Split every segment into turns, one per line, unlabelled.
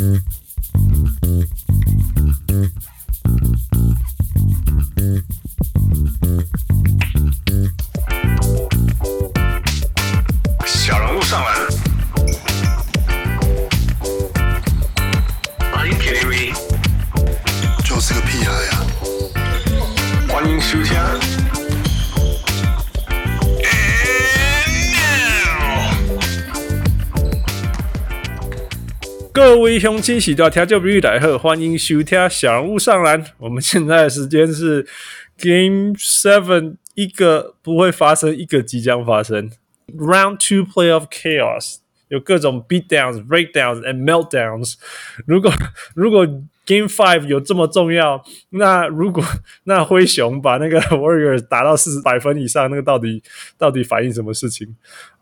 小人物上篮，Are you kidding me？
就是个屁孩呀！
歡迎收聽。
各位鄉親喜多聽眾朋友大家好，歡迎收聽小人物上籃。我們現在的時間是 Game 7， 一個不會發生，一個即將發生。Round 2 Playoff Chaos 有各種 beatdowns, breakdowns and meltdowns。如果 Game 5有這麼重要，那灰熊把那個 Warriors 打到400分以上，那個到底反映什麼事情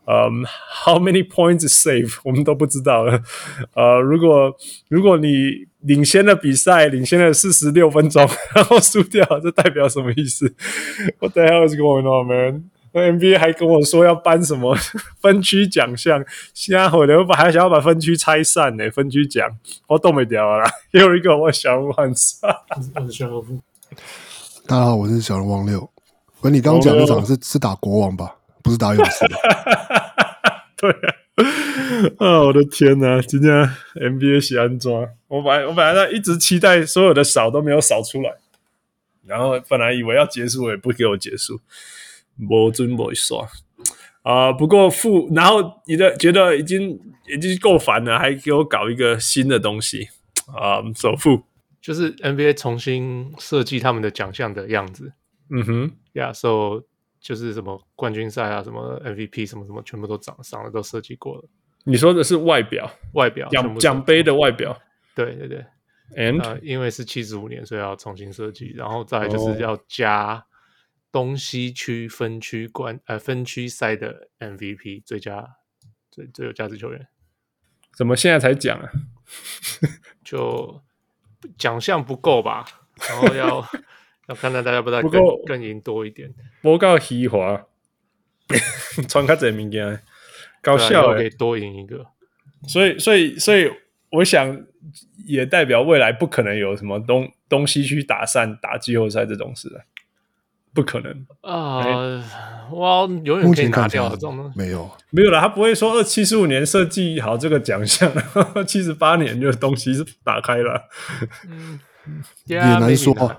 ？How many points is safe 我們都不知道了。如果你領先了比賽，領先了46分鐘，然後輸掉，這代表什麼意思 ？What the hell is going on, man？ 那 NBA 還跟我說要頒什麼分區獎項，現在我還想要把分區拆散呢，分區獎我動不掉了啦。又一個我小人物漢斯，
我是小人物。大家好，我是小人王六。你剛剛講那場是打國王吧？不是打勇士。
對啊，我的天哪！今天 NBA 是安怎？我本來在一直期待所有的掃都沒有掃出來，然後本來以為要結束，也不給我結束，沒準沒耍不過然後覺得已經夠煩了，還給我搞一個新的東西首富
就是 NBA 重新設計他們的獎項的樣子。
嗯哼
，so 就是什麼冠軍賽啊，什麼 MVP 什麼什麼，全部都長了，都設計過了。你
說的是外表獎杯的外表？
對對對。
And
因為是75年，所以要重新設計，然後再來就是要加東西區分區賽的 MVP 最有價值球員。
怎麼現在才講啊？
就獎項不夠吧，然後要看到大家不知道更贏多一點。
不夠虛華，穿較儕物件，搞笑
可以多贏一個。
所以我想也代表未來不可能有什麼東西區打散打季後賽這種事了，不可能
哇，永遠可以拿掉這種東西。
沒有
啦，他不會說75年設計好這個獎項，78年就東西是打開了。
也難說啊。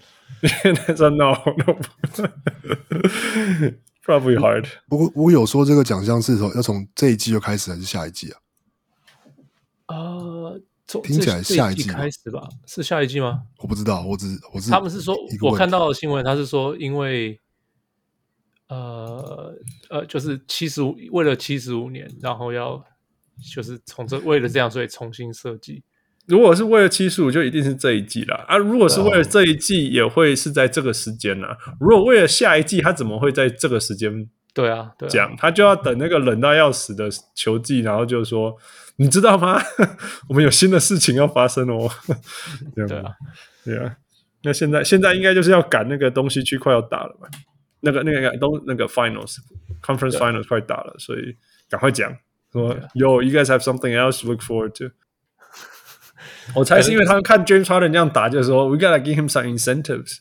No, probably hard。
我有說這個獎項是要從這一季就開始還是下一季啊？聽起來下一季
開始吧？是下一季嗎？
我不知道，我是
他們是說，我看到的新聞，他是說因為就是為了75年，然後就是為了這樣，所以重新設計。
如果是為了75，就一定是這一季啦。如果是為了這一季，也會是在這個時間啦。如果為了下一季，他怎麼會在這個時間？
對啊，
講他就要等那個冷到要死的球季，然後就說，你知道嗎？我們有新的事情要發生哦。對啊。那現在應該就是要趕那個東西區快要打了嘛？那個 Finals Conference Finals 快打了，所以趕快講說，Yo, you guys have something else to look forward to。我猜是因為他們看 James Harden 這樣打，就是說 We gotta give him some incentives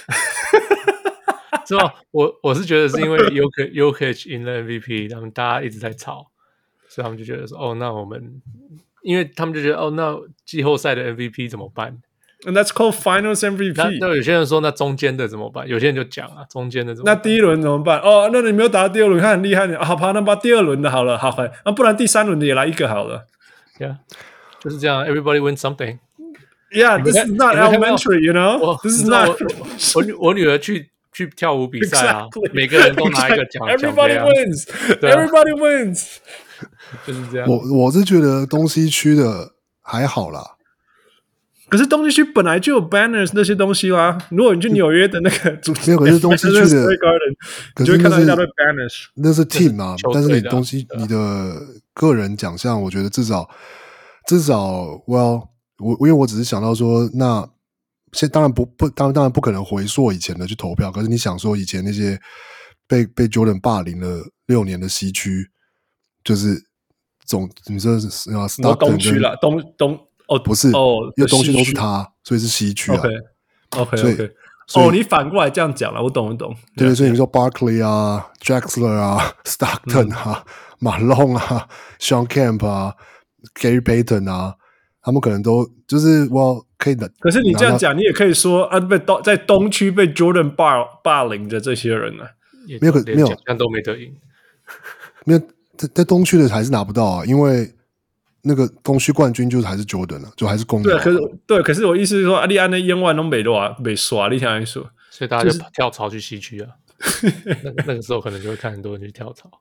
是吧？我是覺得是因為 Jokic 贏了 MVP， 他們大家一直在吵，所以他們就覺得說，那我們，因為他們就覺得，那季後賽的 MVP 怎麼辦
？And that's called Finals MVP。
那有些人說，那中間的怎麼辦？有些人就講啊，中間的怎麼辦？
那第一輪怎麼辦？那你沒有打到第二輪，看很厲害，好吧，那把第二輪的好了，好，那不然第三輪的也來一個好了。
Yeah。就是這樣 ，everybody wins something.
Yeah, this is not elementary, you know. This is not.
我女兒去跳舞比賽啊，每個人都拿一個獎。
Everybody wins, everybody wins.
就是這樣。
我是覺得東西區的還好啦。
可是東西區本來就有 banners 那些東西啦。如果你去紐約的那個主題，
可是東西區的，
你就會看到一大堆 banners。
那是 team 啊，但是你東西你的個人獎項，我覺得至少 ，well， 因為我只是想到說，那當然不可能回溯以前的去投票，可是你想說以前那些被 Jordan 霸凌了6年的西區，就是你說是
東區啦，東
不是因為東區都是他，所以是西區啊。
OK。你反過來這樣講了，我懂。
對，所以你說 Barkley 啊、Drexler 啊、Stockton 啊、Malone 啊、Sean Kemp 啊、Gary Payton 啊，他們可能都就是可以的。
可是你這樣講，你也可以說啊，在東區被 Jordan 霸凌的這些人呢，
沒有
獎項都沒得贏，
沒有在東區的還是拿不到啊，因為那個東區冠軍就還是 Jordan 啊，就還是公牛。
可是我意思是說，你按那10000都沒刷，你想一說，
所以大家就跳槽去西區啊。那個時候可能就會看很多人去跳槽。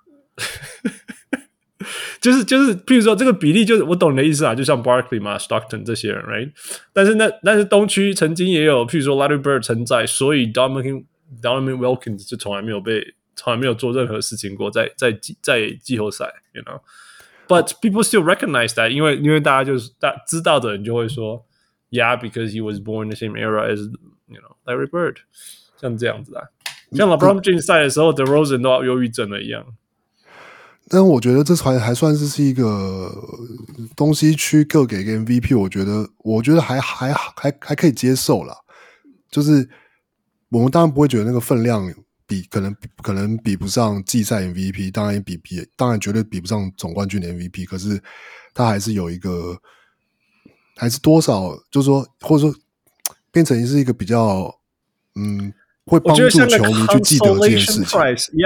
就是，譬如說這個比例，就是我懂你的意思啊，就像 Barkley 嘛、Stockton 這些人 ，right？ 但是東區曾經也有，譬如說 Larry Bird 存在，所以 Donovan Wilkins 就從來沒有做任何事情過，在季後賽 ，you know。But people still recognize that， 因為大家知道的人就會說 ，Yeah, because he was born in the same era as you know Larry Bird， 像這樣子啊，像 LeBron James 賽的時候，DeRozan 都要憂鬱症了一樣。
但我覺得這還算是一個東西區各給個 MVP， 我覺得還可以接受啦。就是我們當然不會覺得那個分量可能比不上季賽 MVP， 當然絕對比不上總冠軍的 MVP， 可是他還是有一個，還是多少，就是說或者說變成是一個比較會幫助球迷去記得這件事情。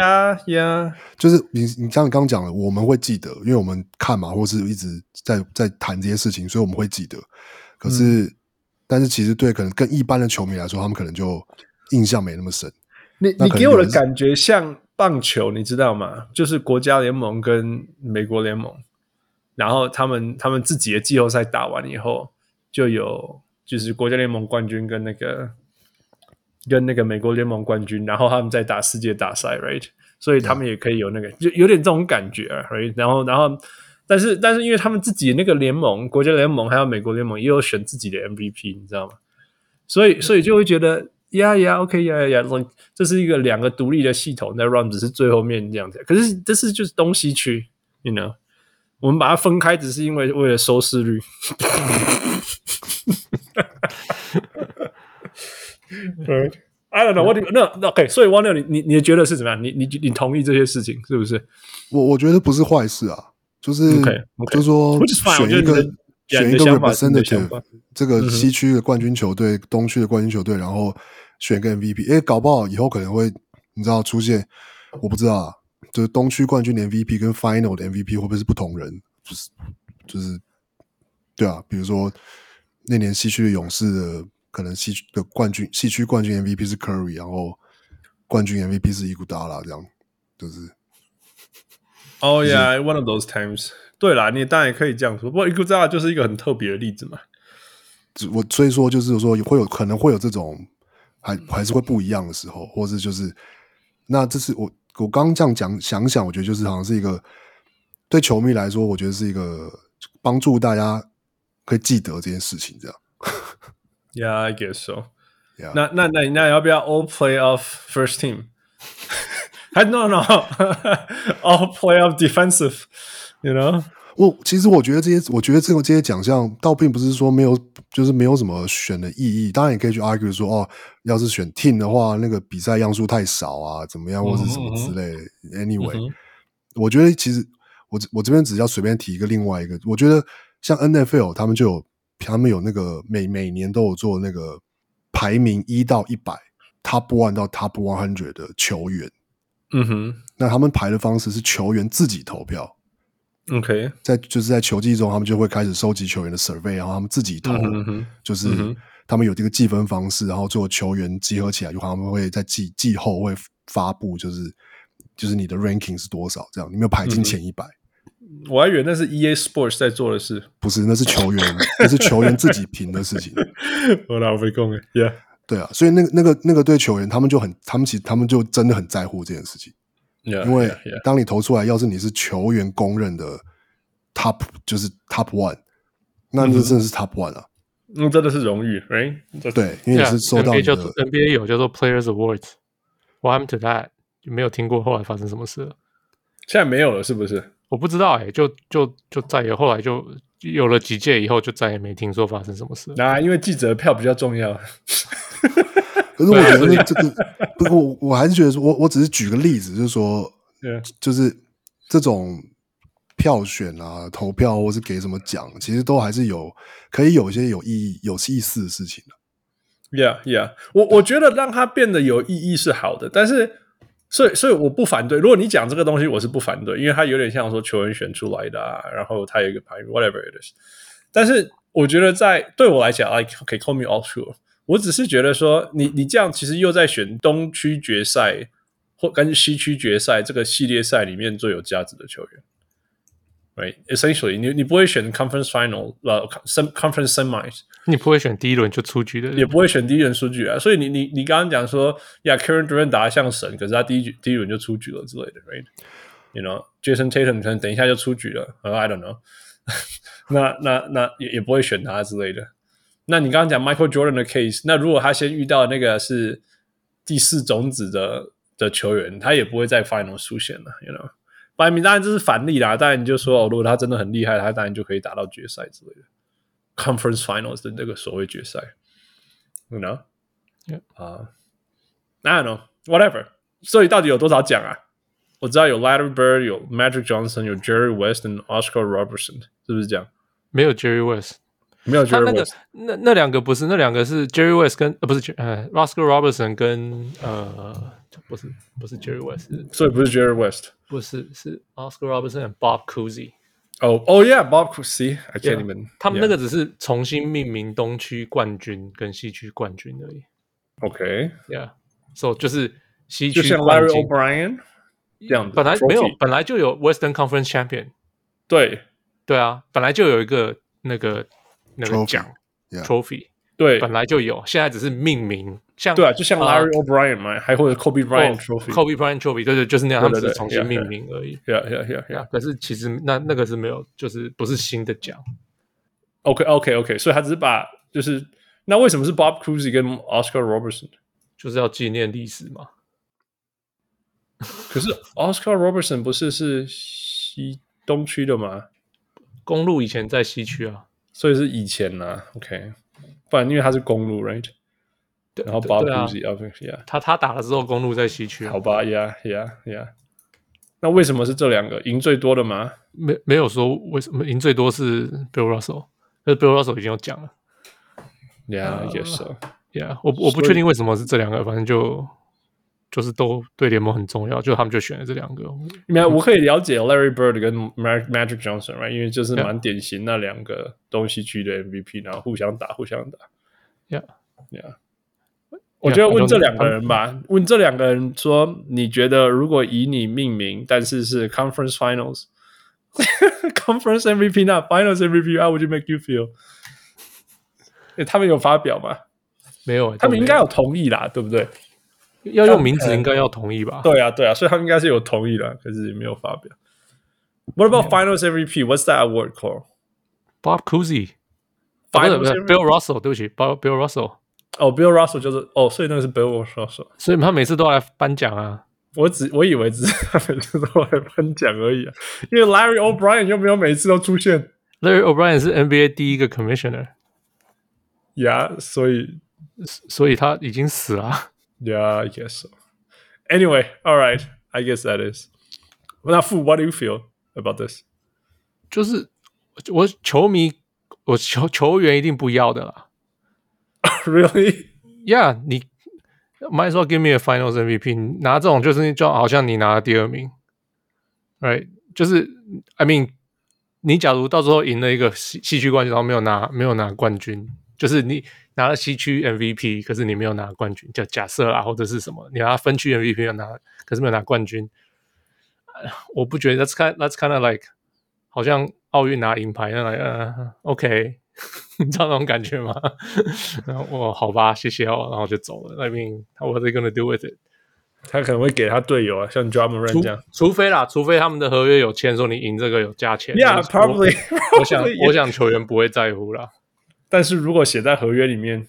Yeah.
就是你像你剛剛講的，我們會記得，因為我們看嘛，或是一直在談這些事情，所以我們會記得。可是，但是其實對可能更一般的球迷來說，他們可能就印象沒那麼深。
你給我的感覺像棒球，你知道嗎？就是國家聯盟跟美國聯盟，然後他們自己的季後賽打完以後，就是國家聯盟冠軍跟那個美國聯盟冠軍，然後他們再打世界大賽 ，right？ 所以他們也可以有那個，就有點這種感覺 ，right？ 然後，但是因為他們自己的那個聯盟，國家聯盟還有美國聯盟也有選自己的 MVP， 你知道嗎？所以就會覺得 ，yeah，OK，yeah，這是一個兩個獨立的系統在 run， 只是最後面這樣子。可是這是就是東西區 ，you know， 我們把它分開，只是為了收視率。Right. I don't know. What do you, OK， 所以汪六，你觉得是怎麼樣？你同意這些事情是不是？
我覺得不是壞事啊，就是
okay.
就是說選一個 representative， 這個西區的冠軍球隊、東區的冠軍球隊，然後選個 MVP。搞不好以後可能會你知道出現，我不知道啊，就是東區冠軍的 MVP 跟 Final 的 MVP 會不會是不同人？就是對啊，比如說那年西區的勇士的。可能西區冠軍 MVP 是 Curry， 然後冠軍 MVP 是伊古達拉，這樣就是。
Oh yeah, one of those times。對啦，你當然也可以這樣說，不過伊古達拉就是一個很特別的例子嘛。
所以說就是說可能會有這種還是會不一樣的時候，或是就是那這是我剛剛這樣講想，我覺得就是好像是一個對球迷來說，我覺得是一個幫助大家可以記得這件事情這樣。
Yeah, I guess so.
Yeah.
那要不要 all playoff first team? No, all playoff defensive. You know?
其實我觉得这些獎項倒並不是說沒有什麼選的意義。當然也可以去 argue 說要是選 team 的話，那個比賽樣數太少啊，怎麼樣或是什麼之類的。Anyway，我覺得其實我這邊只要隨便提另外一個，我覺得像 NFL 他們有那個每年都有做那個排名1到100 Top 1到 Top 100的球員。那他們排的方式是球員自己投票。
OK，
在球季中，他們就會開始收集球員的 survey， 然後他們自己投，就是他們有這個計分方式，然後最後球員集合起來，就他們會在季後會發布，就是你的 ranking 是多少，這樣你沒有排進前100。
我還以為那是 EA Sports 在做的事，
不是，那是球員自己評的事情。
我老被供，Yeah，
對啊，所以那個對球員，他们就真的很在乎這件事情。
Yeah,
因為當你投出來，要是你是球員公認的 top， 就是 top 1， 那就真的是 top 1啊。
真的是榮譽 ，right？
對，因為你是收到你的
NBA 有叫做 Players Awards。What happened to that？ 就沒有聽過後來發生什麼事了？
現在沒有了，是不是？
我不知道就再也後來就有了幾屆以後，就再也沒聽說發生什麼事。
因為記者票比較重要。
可是我覺得這個，不过我還是覺得說，我只是舉個例子，就是說，就是這種票選啊、投票或是給什麼獎，其實都還是可以有一些有意義、有意思的事情的。
Yeah， 我覺得讓它變得有意義是好的，但是所以我不反對。如果你講這個東西，我是不反對，因為它有點像說球員選出來的啊，然後它有一個排名 whatever it is。但是我覺得對我來講 ，like okay, call me all sure。我只是覺得說，你這樣其實又在選東區決賽或跟西區決賽這個系列賽裡面最有價值的球員。Right, essentially, 你不會選 conference final, conference semis，
你不會選第一輪就出局的人，
也不會選第一輪出局啊。所以你剛剛講說，Kevin Durant 打得像神，可是他第一輪就出局了之類的 ，right? You know, Jason Tatum 可能等一下就出局了，I don't know 那也不會選他之類的。那你剛剛講 Michael Jordan 的 case， 那如果他先遇到那個是第4種子的球員，他也不會在 final 出現了 ，you know。當然這是反例啦，當然你就說，如果他真的很厲害，他當然就可以打到決賽之類的 ，Conference Finals 的那個所謂決賽 ，you know， I don't know whatever。所以到底有多少獎啊？我知道有 Larry Bird， 有 Magic Johnson， 有 Jerry West 和 Oscar Robertson， 是不是這樣？
沒有 Jerry West，
沒有 Jerry West，
那兩個不是，那兩個是 Jerry West 跟不是Oscar Robertson 跟不是 Jerry West，
所以不是 Jerry West，
不是，是 Oscar Robertson 和 Bob Cousy。
Oh yeah, Bob Cousy，I can't even。
他們那個只是重新命名東區冠軍跟西區冠軍而已。OK，yeah，so 就是西區
就像 Larry O'Brien 這樣子，
本來沒有，本來就有 Western Conference Champion。對啊，本来就有一個那個獎 Trophy。对，本来就有，现在只是命名，像
对啊，就像 Larry O'Brien 嘛，还或者 Kobe Bryant
Trophy，Kobe Bryant Trophy， 对，就是那样，他们只是重新命名而已。
Yeah。
可是其實那個是沒有，就是不是新的獎。
OK， 所以他只是把就是那為什麼是 Bob Cousy 跟 Oscar Robertson？
就是要紀念歷史嘛。
可是 Oscar Robertson 不是西東區的嗎？
公路以前在西區啊，
所以是以前啊。OK。不然因為他是公路 ，right？ 然後 Bob Cousy，
他打了之後，公路在西區。
好吧 ，Yeah。那為什麼是這兩個贏最多的嗎？
沒有說為什麼贏最多是 Bill Russell， 可是 Bill Russell 已經有講了。
Yeah， 也是。
Yeah， 我不確定為什麼是這兩個，反正就是都對聯盟很重要，就他們就選了這兩個。
我可以了解 Larry Bird 跟 Magic Johnson，right？ 因為就是蠻典型那兩個東西區的 MVP， 然後互相打。Yeah。我覺得問這兩個人吧，問這兩個人說，你覺得如果以你命名，但是 Conference Finals，Conference MVP 那 Finals MVP，how would you make you feel？ 他們有發表嗎？
沒有，
他們應該有同意啦，對不對？
要用名字應該要同意吧？
對啊，所以他們應該是有同意的，可是也沒有發表。What about Finals MVP? What's that award called?
Bob Cousy. Bill Russell， 对不起 ，Bill Russell。
Bill Russell 就是所以那個是 Bill Russell。所
以他每次都來頒獎啊。
我以為只是他每次都來頒獎而已啊，因為 Larry O'Brien 又沒有每次都出現。
Larry O'Brien 是 NBA 第一個 Commissioner。Yeah， 所以他已經死了。
Yeah, I guess so. Anyway, all right. I guess that is. 那Fu, what do you feel about this?
就是我球迷，我球員一定不要的啦。
Really?
Yeah, 你 might as well give me a Finals MVP. 拿這種就好像你拿了第2名 ，right？ 就是 I mean， 你假如到時候贏了一個西區冠軍，然後沒有拿冠軍，就是你拿了西區 MVP， 可是你沒有拿冠軍，就假設啦，或者是什麼，你拿分區 MVP 可是沒有拿冠軍，我不覺得 that's kind of like 好像奧運拿銀牌那樣，OK， 你知道那種感覺嗎？然後我好吧，謝謝哦，然後就走了。I mean, what are they gonna do with it？
他可能會給他隊友啊，像 Ja Morant 這樣，
除非他們的合約有簽說你贏這個有加錢。
Yeah, probably.
我想球員不會在乎啦。
但是如果寫在合約裡面，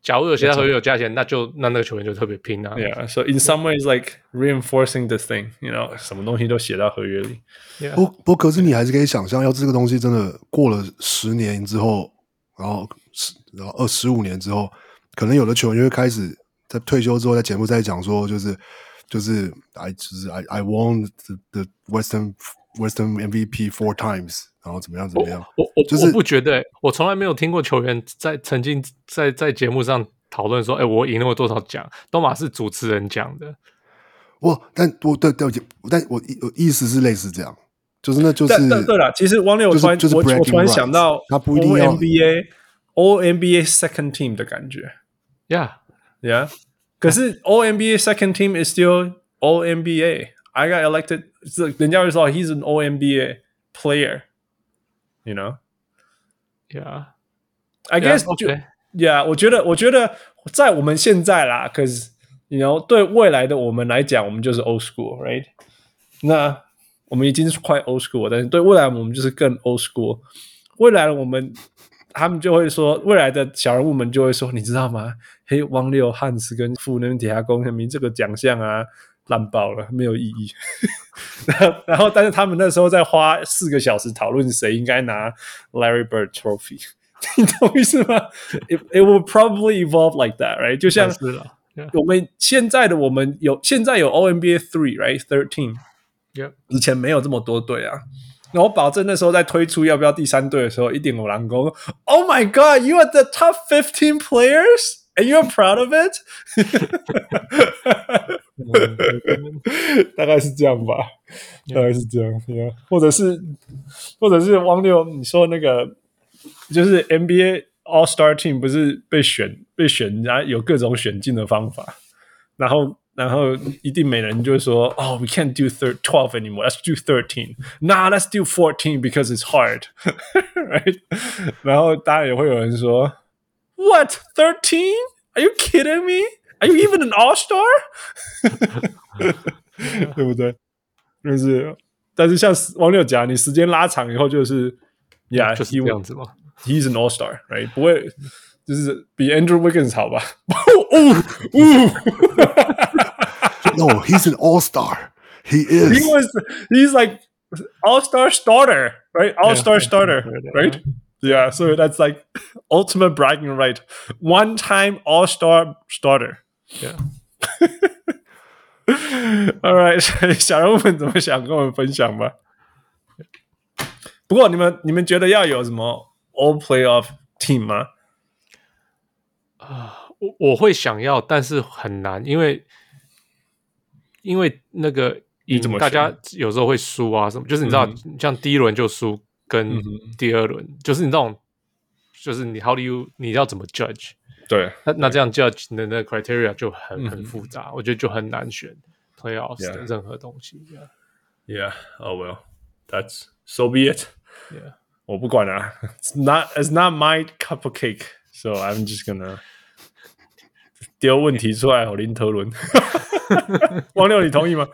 假如有其他合約有加錢，那個球員就特別拼啊。
Yeah, so in some ways, like reinforcing the thing, you know, 什麼東西都寫到合約裡。
不過，可是你還是可以想象，要這個東西真的過了10年之後，然後15年之後，可能有的球員就會開始在退休之後，在節目在講說，就是 I won the Western MVP 4 times， 然後怎麼樣。
我不覺得，我從來沒有聽過球員曾經在節目上討論說，我贏了多少獎，都嘛是主持人講的。
但我意思是類似這樣，就是那就是
對了。其實汪六，我突然想到，
他不一定要
All NBA Second Team 的感覺。Yeah. 可是 All NBA Second Team is still All NBA. I got elected. 人家會說 he's an All NBA player. You know?
Yeah.
I guess. Yeah. 我覺得在我們現在啦，可是 you know 對未來的我們來講，我們就是 old school, right? 那我們已經是快 old school， 但是對未來我們就是更 old school。未来的我們。他們就會說，未來的小人物們就會說，你知道嗎？嘿，汪六、漢斯跟傅那邊底下公明這個獎項啊，爛爆了，沒有意義。然後，但是他們那時候在花4個小時討論誰應該拿 Larry Bird Trophy， 你懂意思嗎 ？It will probably evolve like that, right？ 就像我們現在有 All NBA 3, right? 13， 以前沒有這麼多隊啊。然後我保證那時候在推出要不要第3隊的時候，一定有人說 "Oh my God, you are the top 15 players, and you're proud of it?" 大概是這樣吧，大概是這樣。Yeah. 或者是汪六，你說那個就是 NBA All Star Team 不是被選，然後有各種選進的方法，然後一定沒人就會說，we can't do 12 anymore. Let's do 13. Nah, let's do 14 because it's hard. Right? 然後當然也會有人說 ，What 13? Are you kidding me? Are you even an all-star? 對不對？但是像汪六講，你時間拉長以後就是，Yeah，
就是這樣子嘛。
He's an all-star, right? 不會，就是比 Andrew Wiggins 好吧
？No, he's an all-star. He is.
He's like all-star starter, right? All-star starter, right? Yeah, so that's like ultimate bragging right. One-time all-star starter.
Yeah.
All right, 小人物們怎麼想跟我們分享吧。不過你們覺得要有什麼 all playoff team 嗎？
我會想要，但是很難，因為那個贏大家有時候會輸啊什麼，就是你知道，像第一輪就輸，跟第二輪，就是你這種，就是你 你要怎麼 judge？ 對，那這樣 judge 的那個 criteria 就很複雜，我覺得就很難選 playoffs 的任何東西。
Yeah, oh well, that's so be it. Yeah, 我不管啊 ，it's not my cup of cake, so I'm just gonna 丟問題出來，我林特倫。汪六，你同意嗎？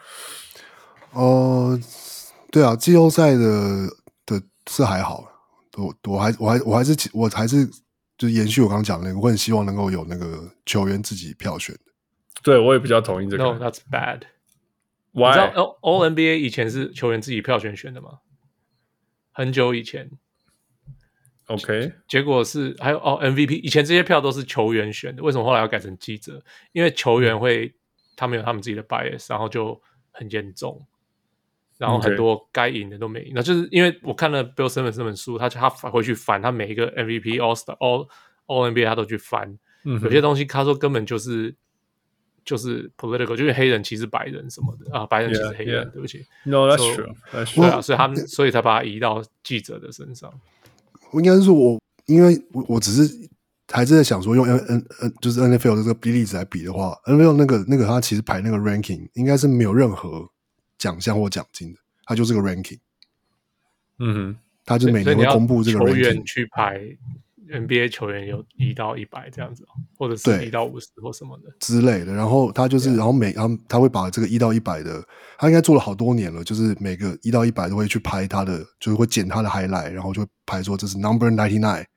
對啊，季後賽的是還好，我還是就是延續我剛剛講的那個，我很希望能夠有那個球員自己票選的。
對，我也比較同意這個。
No, that's bad.
Why?
你知道 All NBA 以前是球員自己票選的嗎？很久以前。
OK，
結果是還有MVP， 以前這些票都是球員選的，為什麼後來要改成記者？因為球員他們有他們自己的 bias， 然後就很嚴重，然後很多該贏的都沒贏。那就是因為我看了 Bill Simmons 那本書，他回去翻他每一個 MVP All NBA 他都去翻，有些東西他說根本就是 political， 就是黑人歧視白人什麼的啊，白人歧視黑人，
yeah.
對不起。
No, that's true. That's true.
對啊，所以才把它移到記者的身上。
我應該是說因為我只是還是在想說，用就是 NFL 的這個例子來比的話 ，NFL 那個他其實排那個 ranking 應該是沒有任何獎項或獎金的，他就是個 ranking。他就每年會公布這個 ranking。球員
去排 NBA 球員有1到100這樣子，或者是1到50或什麼的
之類的。然後他就是，然後他會把這個1到100的，他應該做了好多年了，就是每個1到100都會去拍他的，就是會剪他的 highlight， 然後就會拍說這是 number 99，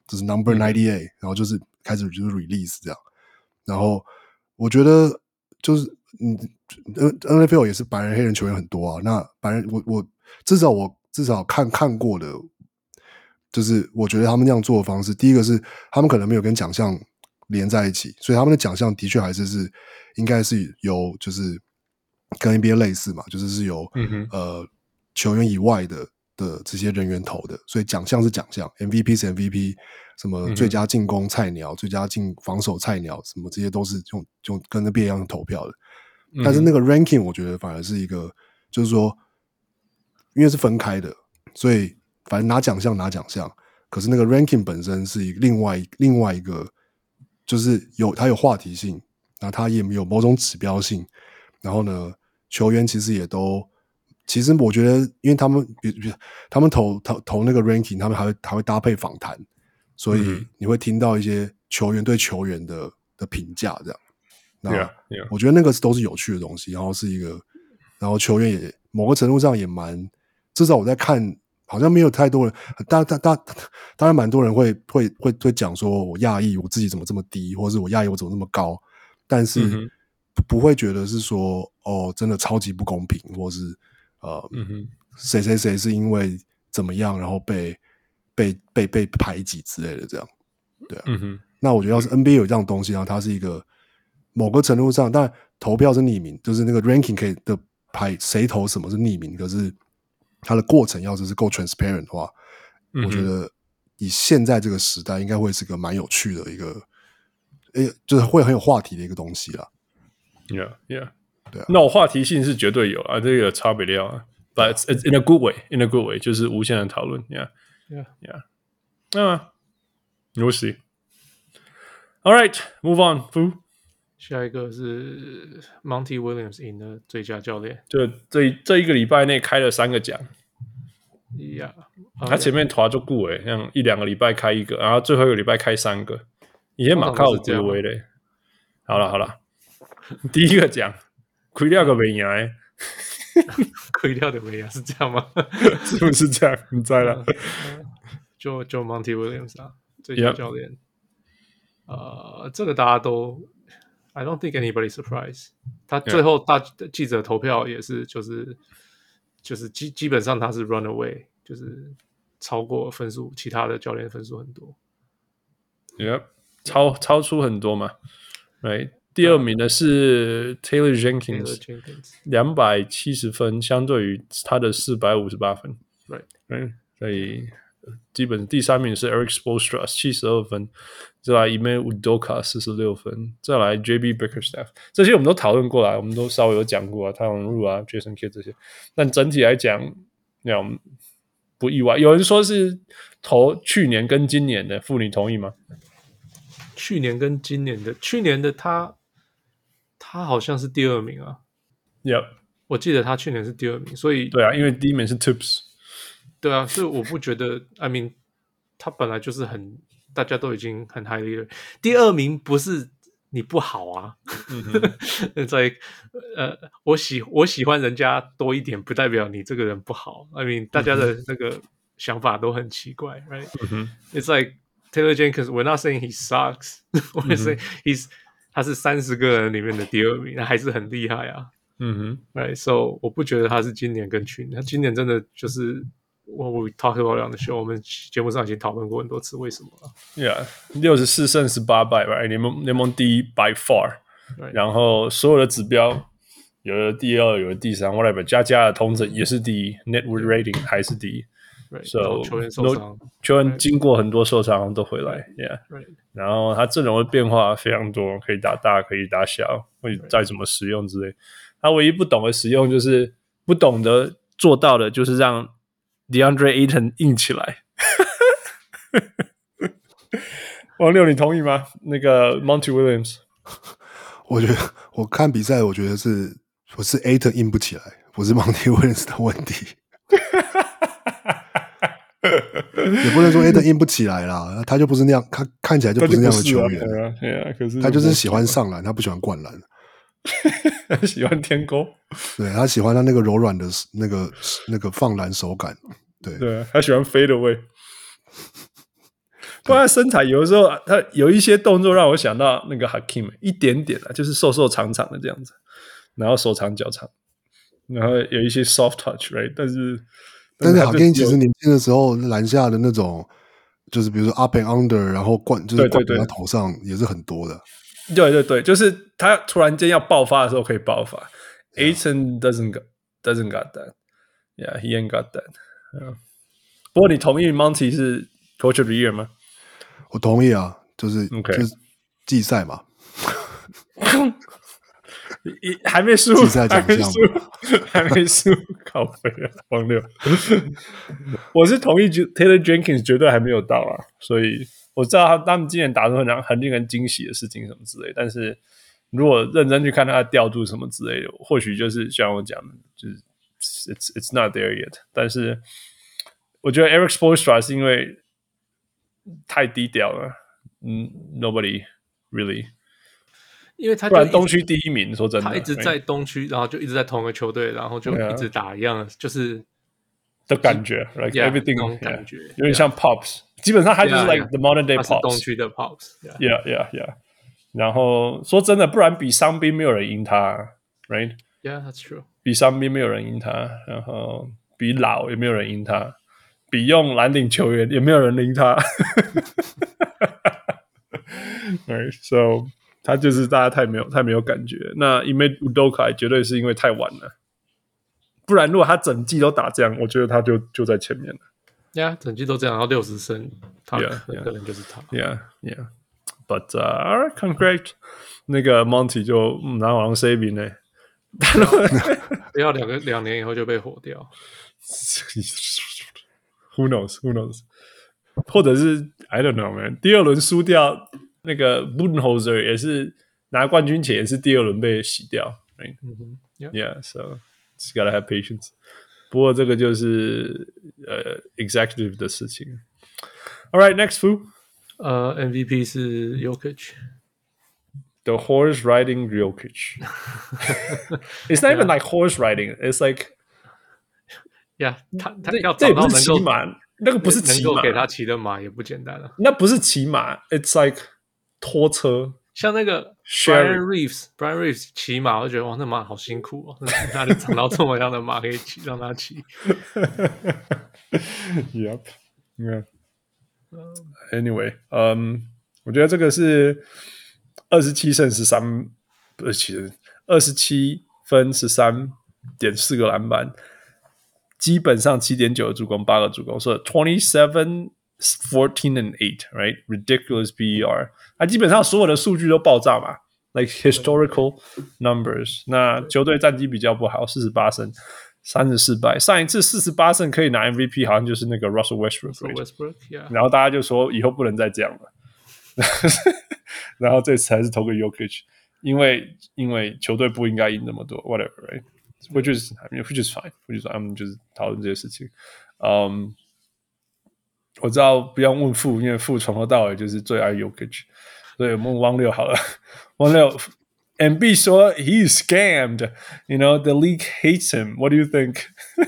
就是 Number 98，然後就是開始就是 release 這樣。然後我覺得就是NFL 也是白人黑人球員很多啊。那白人我至少看過的，就是我覺得他們那樣做的方式，第一個是他們可能沒有跟獎項連在一起，所以他們的獎項的確還是應該是由就是跟 NBA 類似嘛，就是由球員以外的這些人員投的，所以獎項是獎項 ，MVP 是 MVP， 什麼最佳進攻菜鳥、最佳防守菜鳥，什麼這些都是用跟 NBA 一樣投票的。但是那個 ranking 我覺得反而是一個，就是說，因為是分開的，所以反正拿獎項，可是那個 ranking 本身是另外一個，就是它有話題性，然後它也有某种指標性，然後呢，球員其實也都。其實我覺得，因為他們投那個 ranking， 他们還會搭配訪談，所以你會聽到一些球員對球員的評價，這樣。那我覺得那個都是有趣的東西，然後球員也某個程度上也蠻，至少我在看，好像沒有太多人，當然蠻多人會講說我訝異我自己怎麼這麼低，或者是我訝異我怎麼那麼高，但是不會覺得是說哦真的超級不公平，或是。誰是因為怎麼樣，然後被排擠之類的，這樣，對啊。那我覺得要是 NBA 有這樣的東西，然後它是一個某個程度上，當然投票是匿名，就是那個 ranking 可以的排誰投什麼是匿名，可是它的過程要是夠 transparent 的話，我覺得以現在這個時代，應該會是個蠻有趣的一個，就是會很有話題的一個東西啦。
Yeah.
對啊，
那我話題性是絕對有啊，這個差別掉啊 ，but it's in a good way，就是無限的討論 ，yeah，we'll see. All right, move on.
下一個是 Monty Williams 贏了最佳教練，
就這一個禮拜內開了3個獎，他前面拖就顧誒，像1-2個禮拜開一個，然後最後一個禮拜開3個，以前馬靠這位嘞。好了，第一個獎。虧掉個沒贏，
虧掉的沒贏是這樣嗎？
是不是這樣？你猜了？
就 Monty Williams 啊，最佳教練。這個大家都 ，I don't think anybody surprised。他最後大記者投票也是，就是基本上他是 run away， 就是超過分數，其他的教練分數很多。
超出很多嘛，right。第2名的是 Taylor Jenkins 270分，相對於他的458分。Right. 所以基本第3名是 Eric Spoelstra 72分，再來 Ime Udoka 46分，再來 JB Bickerstaff。這些我們都討論過來，我們都稍微有講過啊，泰隆路啊 ，Jason Kidd 這些。但整體來講，那樣不意外。有人說是投去年跟今年的，傅你同意嗎？
去年跟今年的，去年的他好像是第2名啊。我記得他去年是第2名，所以
對啊，因為第1名是 Tips。
對啊，所以我不覺得 I mean 他本來就是大家都已經很 highly 了。第2名不是你不好啊。在我喜歡人家多一點，不代表你這個人不好。I mean 大家的那個想法都很奇怪 ，right？It's like Taylor Jenkins, we're not saying he sucks. We're saying他是30個人裡面的第2名，他還是很厲害啊。Right, so 我不覺得他是今年跟去年，他今年真的就是我 talk about on the show， 我們節目上已經討論過很多次為什麼了。
64勝18敗 ，right？ 聯盟第1 by far， 然後所有的指標有的第2，有的第3 ，whatever， 加的統整也是第1 ，net worth rating 還是第1。So
球員受傷，
球員經過很多受傷都回來 ，Yeah。然後他陣容的變化非常多，可以打大，可以打小，會再怎麼使用之類。他唯一不懂的使用就是不懂得做到的，就是讓 DeAndre Ayton 硬起來。王六，你同意嗎？那個 Monty Williams，
我覺得我看比賽，我覺得是 Ayton 硬不起來，不是 Monty Williams 的問題。也不能說 Ayton 硬不起來啦，他就不是那樣，他看起來就不是那樣的球員。可是他就是喜歡上籃，他不喜歡灌籃。
他喜歡天勾，
對，他喜歡他那個柔軟的那個放籃手感。對，
他喜歡 fade away。 不然身材有的時候他有一些動作讓我想到那個 Hakeem 一點點啊，就是瘦瘦長長的這樣子，然後手長腳長，然後有一些 soft touch，right？ 但是
Hakeem 其實年輕的時候籃下的那種，就是比如說 up and under， 然後就是灌在他頭上也是很多的。
对对对，就是他突然間要爆發的時候可以爆發。Ayton doesn't got that. Yeah, he ain't got that. 不過你同意 Monty 是 Coach of the Year 嗎？
我同意啊，就是季賽嘛，
還沒輸，
季賽獎項
還沒輸，靠北啊，荒謬。我是同意 Taylor Jenkins 絕對還沒有到啊，所以我知道他們今年打出很令人驚喜的事情什麼之類，但是如果認真去看他的調度什麼之類的，或許就是像我講的，就是 it's not there yet。但是我覺得 Eric Spoelstra 是因為太低調了，nobody really。
因為他
不然東區第一名，說真的，
他一直在東區，然後就一直在同一個球隊，然後就一直打一樣的，就是
的感覺 ，like everything
那種感覺，
有點像 Pops， 基本上他就是 like the modern day Pops，
東區的
Pops，yeah。然後說真的，不然比傷兵沒有人贏他 ，right？Yeah,
that's true。
比傷兵沒有人贏他，然後比老也沒有人贏他，比用藍領球員也沒有人贏他。Right, so 他就是大家太沒有感覺。那因為 Udoka 絕對是因為太晚了，不然如果他整季都打這樣，我覺得他就在前面了。
Yeah, 整季都這樣，然後60勝，他可能就是他。
Yeah.But all right, congrats。那個 Monty 就拿完 saving 呢，
不要2年以後就被火掉。
Who knows？ 或者是 I don't know man。第二輪輸掉那個 Budenholzer 也是拿冠軍前也是第二輪被洗掉。Right? Yeah, so just gotta have patience。不過這個就是executive 的事情。All right, next fool。MVP
是
Jokic。The horse riding Jokic. It's not even like horse riding. It's like,
yeah, 他要找到能夠
騎馬，那個不是騎馬，
能夠給他騎的馬也不簡單了。
那不是騎馬 ，It's like 拖車。
像那個 Brian Reeves 騎馬，我就覺得哇，那馬好辛苦哦，哪裡找到這麼樣的馬可以騎，讓他騎
？Yep, yeah.Anyway, 我覺得這個是27勝13，不是其實27分13.4個籃板，基本上7.9個助攻，8個助攻，所以 27, 14 and 8, right? Ridiculous PER， 他基本上所有的數據都爆炸嘛 ，like historical numbers。那球隊戰績比較不好，48勝。34敗，上一次48勝可以拿 MVP， 好像就是那個 Russell Westbrook， 然後大家就說以後不能再這樣了，然後這次還是投給 Jokic， 因為球隊不應該贏那麼多 ，whatever，right？ which is fine， 他們就是討論這些事情。我知道不用問傅，因為傅從頭到尾就是最愛 Jokic， 所以我們問汪六好了，汪六。MB 說 he is scammed, you know, the league hates him. What do you think?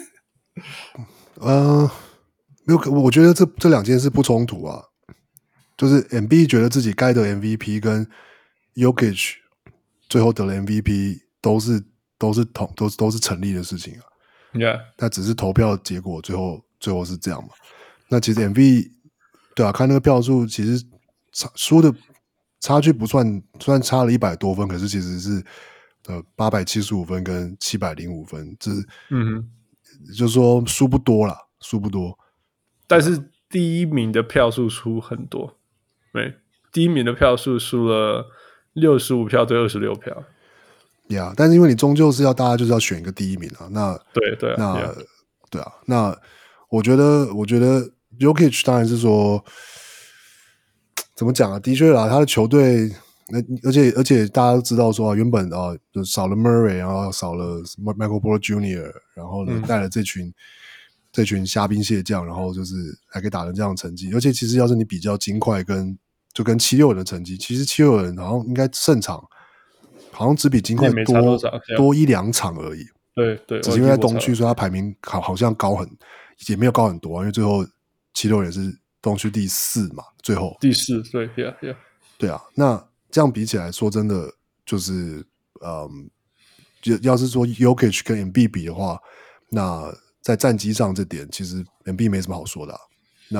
没有，我覺得這兩件事不衝突啊。就是 MB 覺得自己該得 MVP 跟 Jokic 最後得了 MVP 都是成立的事情啊。
Yeah，
那只是投票結果最後是這樣嘛。那其實 MV 對啊，看那個票數其實輸的。差距不算，雖然差了100多分，可是其實是875分跟705分，這就是說輸不多啦，輸不多。
但是第一名的票數輸很多，對，第一名的票數輸了65票對26票。
Yeah， 但是因為你終究是要大家就是要選一個第一名啊，那
對，
對啊，那我覺得 Jokic 當然是說。怎麼講啊？的確啦，他的球隊，而且大家都知道說，原本就少了 Murray， 然後少了 Michael Porter Jr.， 然後呢帶了這群蝦兵蟹將，然後就是還可以打成這樣的成績。而且其實要是你比較金塊跟76人的成績，其實76人好像應該勝場好像只比金塊多1-2場而已。
對，
只是因為在東區，所以他排名好像也沒有高很多啊，因為最後76人是東區第4嘛，最後
第4，对 ，Yeah，
对啊。那這樣比起來說，真的就是要是說 Jokic 跟 Embiid 比的話，那在戰績上這點，其實 Embiid 沒什麼好說的啊。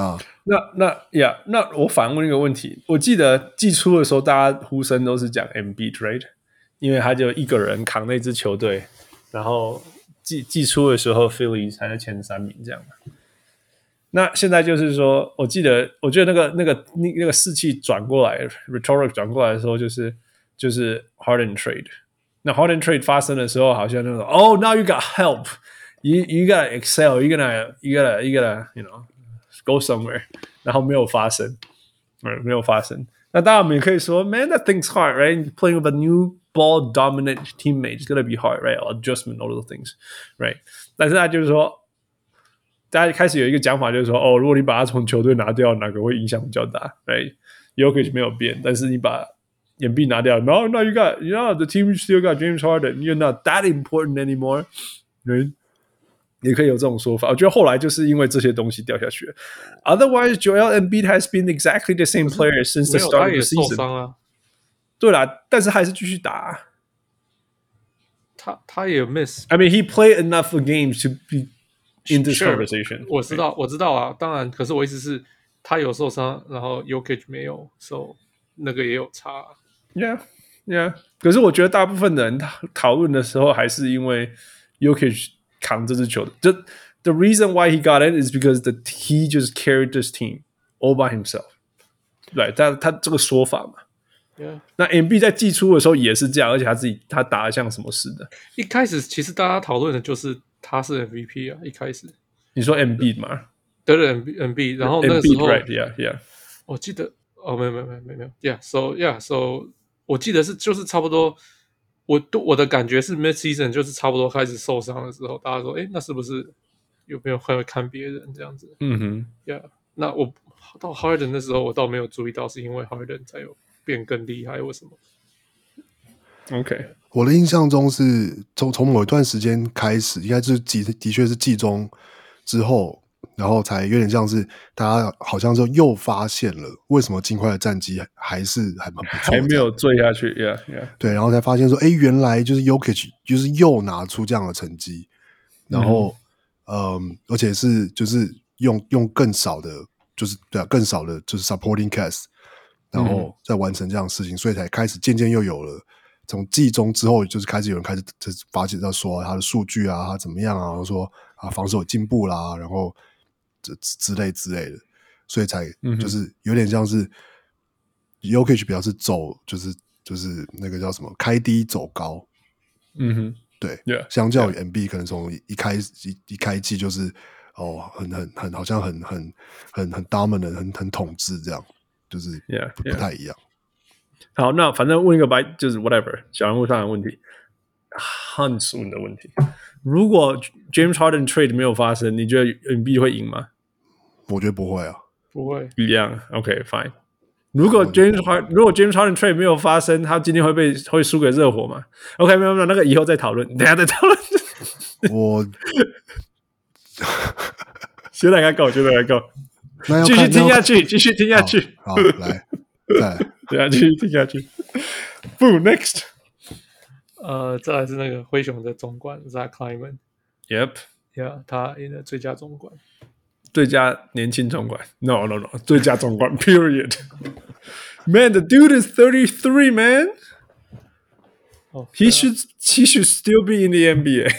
那我反問一個問題，我記得季初的時候，大家呼聲都是講 Embiid right， 因為他就一個人扛那支球隊，然後季初的時候 Philly 才在前3名這樣嘛。那現在就是說，我覺得那個士氣轉過來 ，rhetoric 轉過來的時候，就是 Harden trade。那 Harden trade 發生的時候，好像那種，Oh, now you got help, you gotta excel, you gotta you know go somewhere， 然後沒有發生，沒有发生。那當然我們也可以說 ，Man, that thing's hard, right? Playing with a new ball dominant teammate is gonna be hard, right? Adjustment, all those things, right? 但是他就是說。大家開始有一個講法，就是說，如果你把他從球隊拿掉，哪個會影響比較大 ？Right? Jokic 沒有變，但是你把Embiid拿掉 ，No, you got, the team still got James Harden. You're not that important anymore. Right? 也可以有這種說法。我覺得後來就是因為這些東西掉下去了。Otherwise, Joel Embiid has been exactly the same player since the start of the season.
他也受傷啊。
對啦，但是還是繼續打。
他也 miss.
I mean, he played enough games to be.In this conversation，
我知道啊，當然，可是我意思是，他有受傷，然後 Jokic 沒有， so 那個也有差。
Yeah。可是我覺得大部分的人討論的時候，還是因為 Jokic 扛這支球隊。The reason why he got in is because he just carried this team all by himself。对，他這個說法嘛。
Yeah.
那 Embiid 在季初的時候也是這樣，而且他打得像什麼似的。
一開始其實大家討論的就是他是 MVP 啊，一開始。你
說 Embiid 嗎？
對 Embiid， 然後那個時候
Embiid, right, yeah.
我記得沒有 ，so 我記得就是差不多，我的感覺是 mid season 就是差不多開始受傷的時候，大家說，那是不是有沒有會看別人這樣子？Yeah， 那我到 Harden 的時候，我倒沒有注意到，是因為 Harden 才有變更厲害，為什麼
？OK，
我的印象中是從某一段時間開始，應該就是的確是季中之後，然後才有點像是大家好像就又發現了為什麼金塊的戰績還蠻不錯，
還沒有墜下去 ，Yeah，
對，然後才發現說，原來就是 Jokic 就是又拿出這樣的成績，然後而且是就是用更少的，就是对啊，更少的就是 supporting cast， 然後再完成這樣的事情，所以才開始漸漸又有了。從季中之後，就是開始有人開始就是發現到說他的數據啊，他怎麼樣啊，然後說防守有進步啦，然後之類的，所以才就是有點像是 Jokic 比較是走就是那個叫什麼開低走高，對，
yeah,
相較於 Embiid 可能從一開季就是很好像很 dominant 很統治這樣，就是不太一樣。
好，那反正問一個就是 whatever 小人物上的問題 ，Hans 問的問題，如果 James Harden trade 沒有發生，你覺得 Embiid 會贏嗎？
我覺得不會啊，
不會
一樣。OK fine。如果 James Harden trade 沒有發生，他今天會輸給熱火嗎 ？OK 沒有，那個以後再討論，等一下再討論。我現在該夠，繼續聽下去，
好，來，再來。
對啊，繼續聽下去。不 ，next。
再來是那個灰熊的總管 Zach Kleiman。Yep。Yeah， 他贏了最佳總管，
最佳年輕總管。No， 最佳總管 ，period。Man, the dude is 33, man. He should still be in the NBA.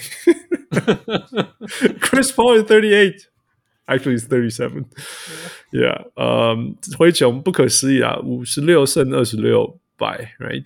Chris Paul is 38.Actually, it's 37. Yeah. 灰熊不可思議啊，56勝26敗 ，right?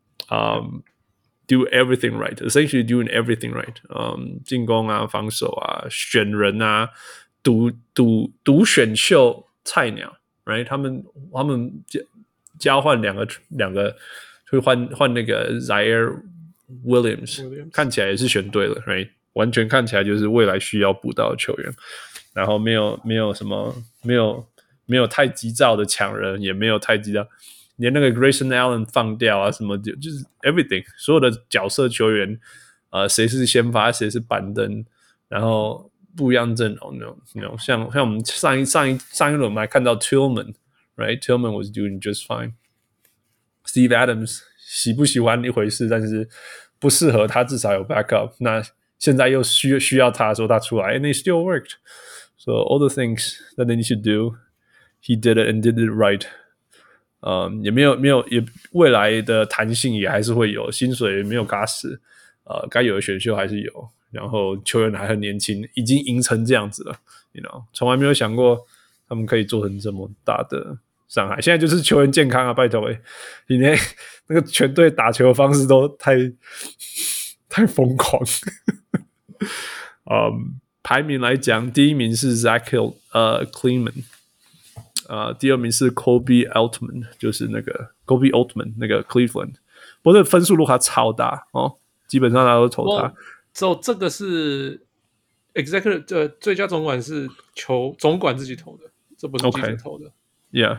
Do everything right. Essentially doing everything right. 進攻啊，防守啊，選人啊，獨選秀菜鳥 ，right? 他們交換兩個，會換那個 Zaire Williams， 看起來也是選對了 ，right? 完全看起來就是未來需要補到的球員。然後沒有什麼沒有太急躁的搶人，也沒有太急躁，連那個 Grayson Allen 放掉啊什麼的，就是 everything 所有的角色球員，誰是先發誰是板凳，然後不一樣陣容那種，像我們上一輪我們還看到 Tillman，right？Tillman was doing just fine。Steve Adams 喜不喜歡一回事，但是不適合他至少有 backup。那現在又需要他說他出來 ，and they still worked. So all the things that they need to do, he did it and did it right. 也没有也未來的彈性也還是会有，薪水没有嘎死，該有的選秀還是有，然後球員還很年輕，已經贏成這樣子了 ，you know， 從來沒有想過他們可以做成這麼大的傷害。現在就是球員健康啊，拜託你那個全隊打球的方式都太瘋狂。排名來講，第一名是 Zach Kleiman。第二名是 Kobe Altman， 就是那個 Kobe Altman 那個 Cleveland， 不过这分數落差超大哦，基本上大家都投他。
这個是 Executive 最佳總管是總管自己投的，這不是記者投的。
Yeah，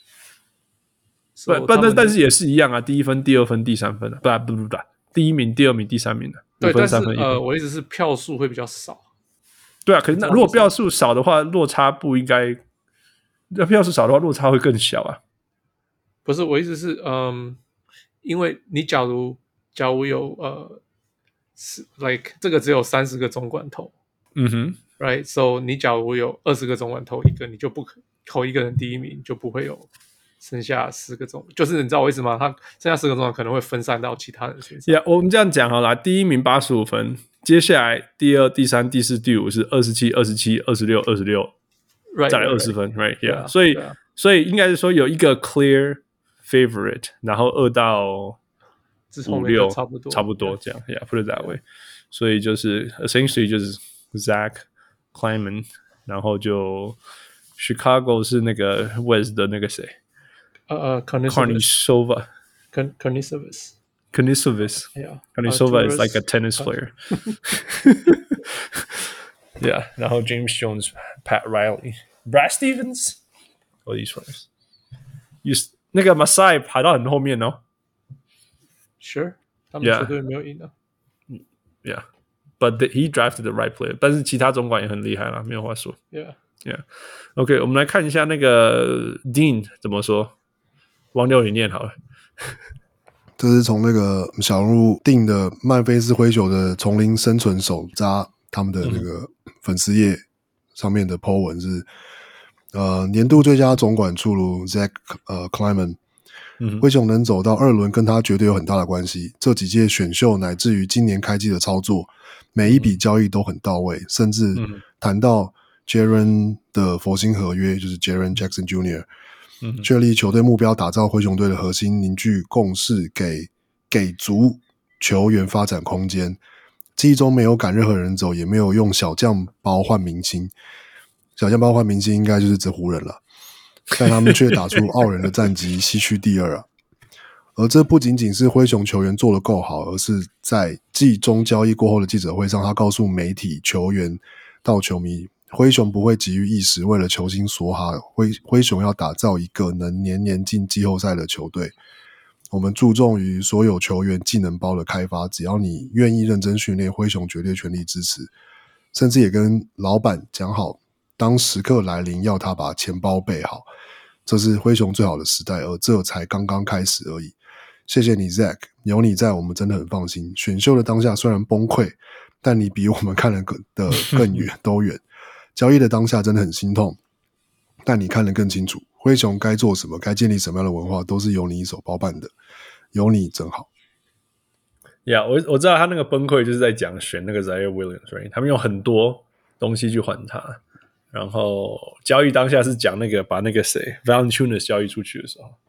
但是也是一樣啊，第一分、第二分、第三分啊，不，第一名、第二名、第三名的。
對，但是我意思是票數會比較少。
對啊，可是如果票數少的話，落差不應該。要票數少的話，落差會更小啊。
不是，我意思是，因為你假如有like 這個只有30個總管投，right， so 你假如有20個總管投一個，你就不可投一個人第一名，就不會有剩下10個總，就是你知道我意思嗎？他剩下10個總管可能會分散到其他人身上。
Yeah， 我們這樣講好了，第一名85分，接下來第二、第三、第四、第五是27、27、26、26。再來20分 ，right？ Yeah， 所以應該是說有一個 clear favorite， 然後2到5、6差不多這樣 ，Yeah，put it that way。所以就是 essentially 就是 Zach Kleiman， 然後就 Chicago 是那個 West 的那個誰
Karnisovas
，Karnisovas is like a tennis player。Yeah， 然後 James Jones、Pat Riley、Brad Stevens，all these players。那個 Masai 排到很後面哦。
Sure， 他們球隊沒有贏的。
Yeah，but he drafted the right player。但是其他總管也很厲害啦，沒有話說。Yeah。OK， 我們來看一下那個 Dean 怎麼說。王六你念好了。
這是從那個小人物定的曼菲斯灰熊的叢林生存手札。他們的那個粉絲頁上面的 po 文是，年度最佳總管出爐 Zach Kleiman， 灰熊能走到2輪跟他絕對有很大的關係。這幾屆選秀乃至於今年開季的操作，每一筆交易都很到位，甚至談到 Jaren 的佛心合約，就是 Jaren Jackson Jr.， 確立球隊目標，打造灰熊隊的核心，凝聚共識，給足球員發展空間。記憶中沒有趕任何人走，也沒有用小將包換明星。小將包換明星應該就是指湖人了，但他們卻打出傲人的戰績，西區第2啊。而這不僅僅是灰熊球員做得夠好，而是在季中交易過後的記者會上，他告訴媒體、球員到球迷，灰熊不會急於一時，為了球星梭哈，灰熊要打造一個能年年進季後賽的球隊。我們注重於所有球員技能包的開發，只要你願意認真訓練，灰熊絕對全力支持。甚至也跟老闆講好，當時刻來臨，要他把錢包備好。這是灰熊最好的時代，而這才剛剛開始而已。謝謝你 Zach， 有你在，我們真的很放心。選秀的當下雖然崩潰，但你比我們看得更遠都遠。交易的當下真的很心痛，但你看得更清楚。灰熊該做什麼，該建立什麼樣的文化，都是由你一手包辦的。有你真好。
我知道他那個崩潰就是在講選那個 Zaire Williams，right？ 他們用很多東西去換他，然後交易當下是講那個把那個誰 Valanciunas 交易出去的時候。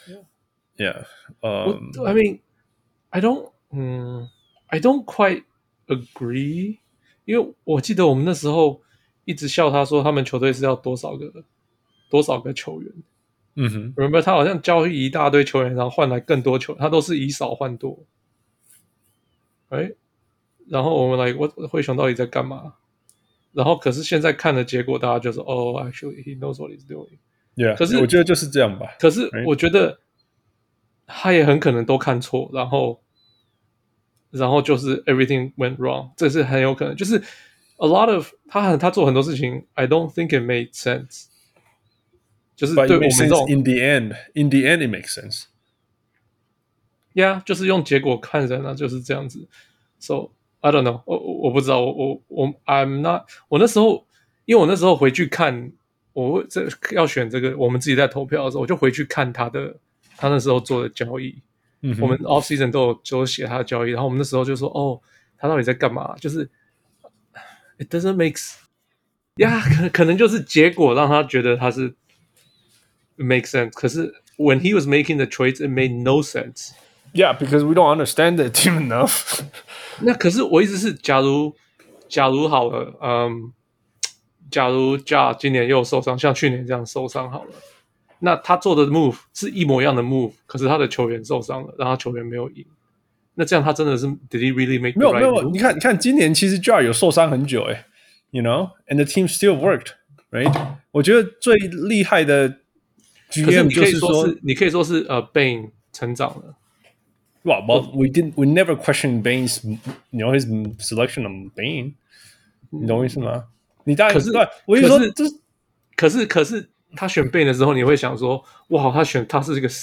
I mean, I don't quite agree， 因為我記得我們那時候一直笑他說他們球隊是要多少個球員。Remember 他好像交易一大堆球員，然後換來更多球員，他都是以少換多。然後我們來，灰熊到底在幹嘛？然後可是現在看的結果，大家就說actually he knows what he's doing。可是
我覺得就是這樣吧。
可是我覺得他也很可能都看錯，然後就是 everything went wrong，這是很有可能。就是 a lot of 他做很多事情 ，I don't think it made sense。就是对我们这种
in the end it makes sense。Yeah，
就是用結果看人啊，就是這樣子。So I don't know， 我不知道，I'm not， 我那時候，因為我那時候回去看，我要選這個，我們自己在投票的時候，我就回去看他那時候做的交易。我們 off season 都有寫他的交易，然後我們那時候就說，哦，他到底在幹嘛？就是 it doesn't make sense。可能就是結果讓他覺得他是 make sense， 可是 when he was making the trades, it made no sense。Yeah,
because we don't understand the team enough 。
那可是我意思是，假如好了，假如 Ja 今年又受傷，像去年這樣受傷好了，那他做的 move 是一模一樣的 move， 可是他的球員受傷了，讓他球員沒有贏。那這樣他真的是 Did he really make the right move？
沒有，你看今年其實 Ja 有受傷很久，you know，and the team still worked，right？ 我覺得最厲害的 GM 就是說，
你可以說是Bane 成長了。
Well, we never questioned Bane's, his selection of Bane. 你懂我意思嗎？你当然我跟你說，可是他選 Bane 的時候，你會想說，哇，他是一個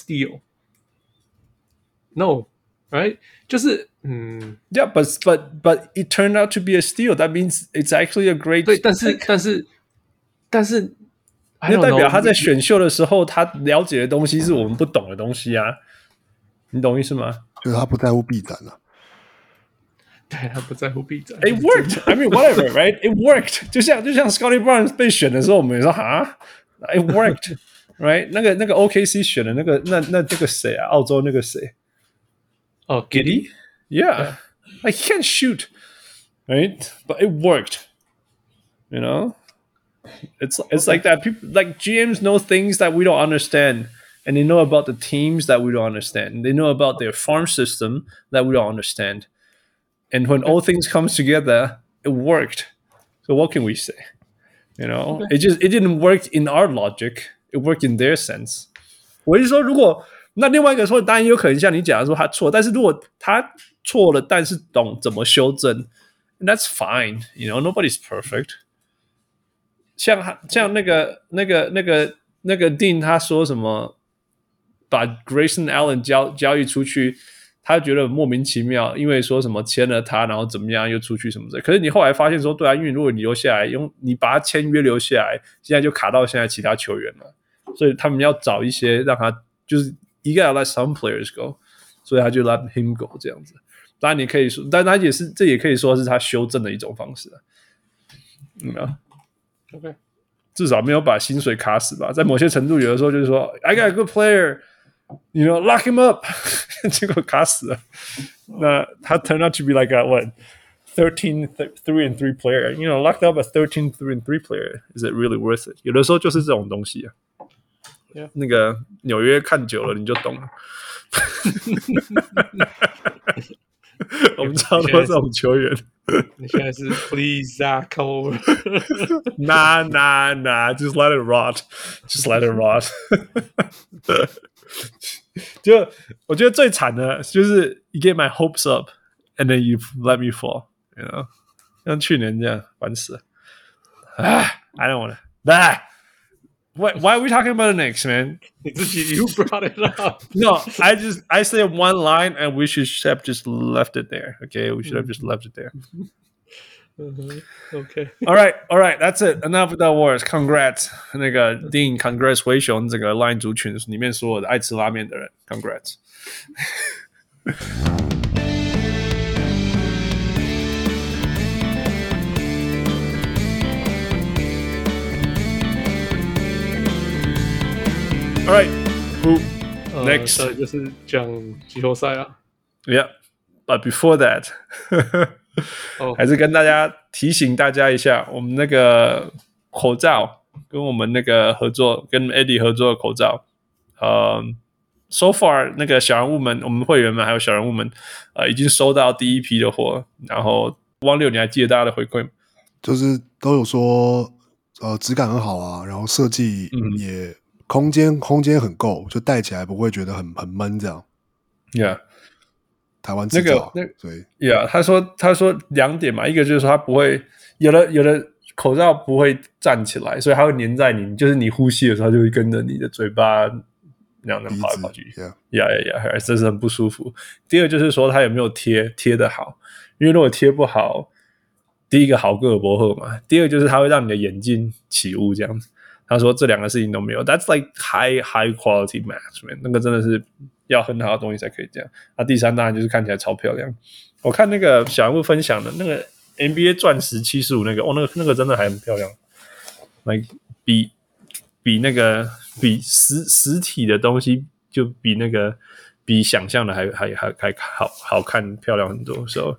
steal。No, right？ 就是 Yeah, but it turned out to be a steal. That means it's actually a great.
对，但是，
那代表他在選秀的時候，他了解的東西是我們不懂的東西啊。你懂意思嗎？
就是他不在乎臂展啊。
對，他不在乎臂展。
It worked. I mean, whatever, right? It worked. 就像 Scottie Barnes 被選的時候，我們也說哈 ，It worked, right? 那個 OKC 選的那個誰啊？澳洲那個誰？
哦
，Giddey? Yeah. I can't shoot, right? But it worked. You know, it's like that. People like GMs know things that we don't understand.And they know about the teams that we don't understand. They know about their farm system that we don't understand. And when all things comes together, it worked. So what can we say? You know, it didn't work in our logic. It worked in their sense. 我是说，如果那另外一個說，當然有可能像你講的說他錯，但是如果他錯了，但是懂怎麼修正 ，that's fine. You know, nobody's perfect. 像那個 Dean 他說什麼？把 Grayson Allen 交易出去，他覺得莫名其妙，因為說什麼簽了他，然後怎麼樣又出去什麼的。可是你後來發現說，對啊，因為如果你留下來，你把他簽約留下來，現在就卡到現在其他球員了，所以他們要找一些讓他就是一個要 let some players go， 所以他就 let him go 這樣子。當然你可以說，但他這也可以說是他修正的一種方式啊。
OK，
至少沒有把薪水卡死吧。在某些程度，有的時候就是說 ，I got a good player。You know, lock him up 結果卡死了。那他 turned out to be like a what 13 3-3 player. You know, locked up a 13 3-3 player. Is it really worth it? 有的時候就是這種東西啊。
Yeah.
那個紐約看久了你就懂了。我們超多這種球員。
你現在是 Please Zach over
Nah, just let it rot. Just let it rot. 就我覺得最慘的就是 you get my hopes up and then you let me fall, you know? 像去年這樣煩死了。I don't want to. Why are we talking about the Knicks, man?
You brought it up.
No, I said one line and we should have just left it there. Okay, we should have just left it there.
Okay.
All right, that's it. Enough with that words. Congrats. 那個 Dean, congrats 灰熊這個 Line 族群裡面所有的愛吃拉麵的人 ，congrats. All right, next
就是講季後賽啊。
Yeah, but before that. 還是跟大家提醒大家一下，我們那個口罩跟我們那個合作，跟 Eddie 合作的口罩，so far 那個小人物們，我們會員們還有小人物們，已經收到第一批的貨。然後汪六，你還記得大家的回饋嗎？
就是都有說，質感很好啊，然後設計也空間很夠，就戴起來不會覺得很悶這樣。
Yeah。台灣製造，
所以
他說2點嘛，一個就是說它不會有的口罩不會站起來，所以它會粘在你，就是你呼吸的時候，它就會跟着你的嘴巴那樣跑來跑去。呀，這是很不舒服。第二就是說，它有沒有貼得好？因為如果貼不好，第一個好個不好嘛，第二就是它會讓你的眼睛起霧這樣子。他說這兩個事情都沒有 ，That's like high quality match， 那個真的是要很好的東西才可以這樣。那第三當然就是看起來超漂亮。我看那個小人物分享的那個 NBA 鑽石75那個，那個真的還很漂亮，like 比實體的東西就比想象的還好看漂亮很多。So，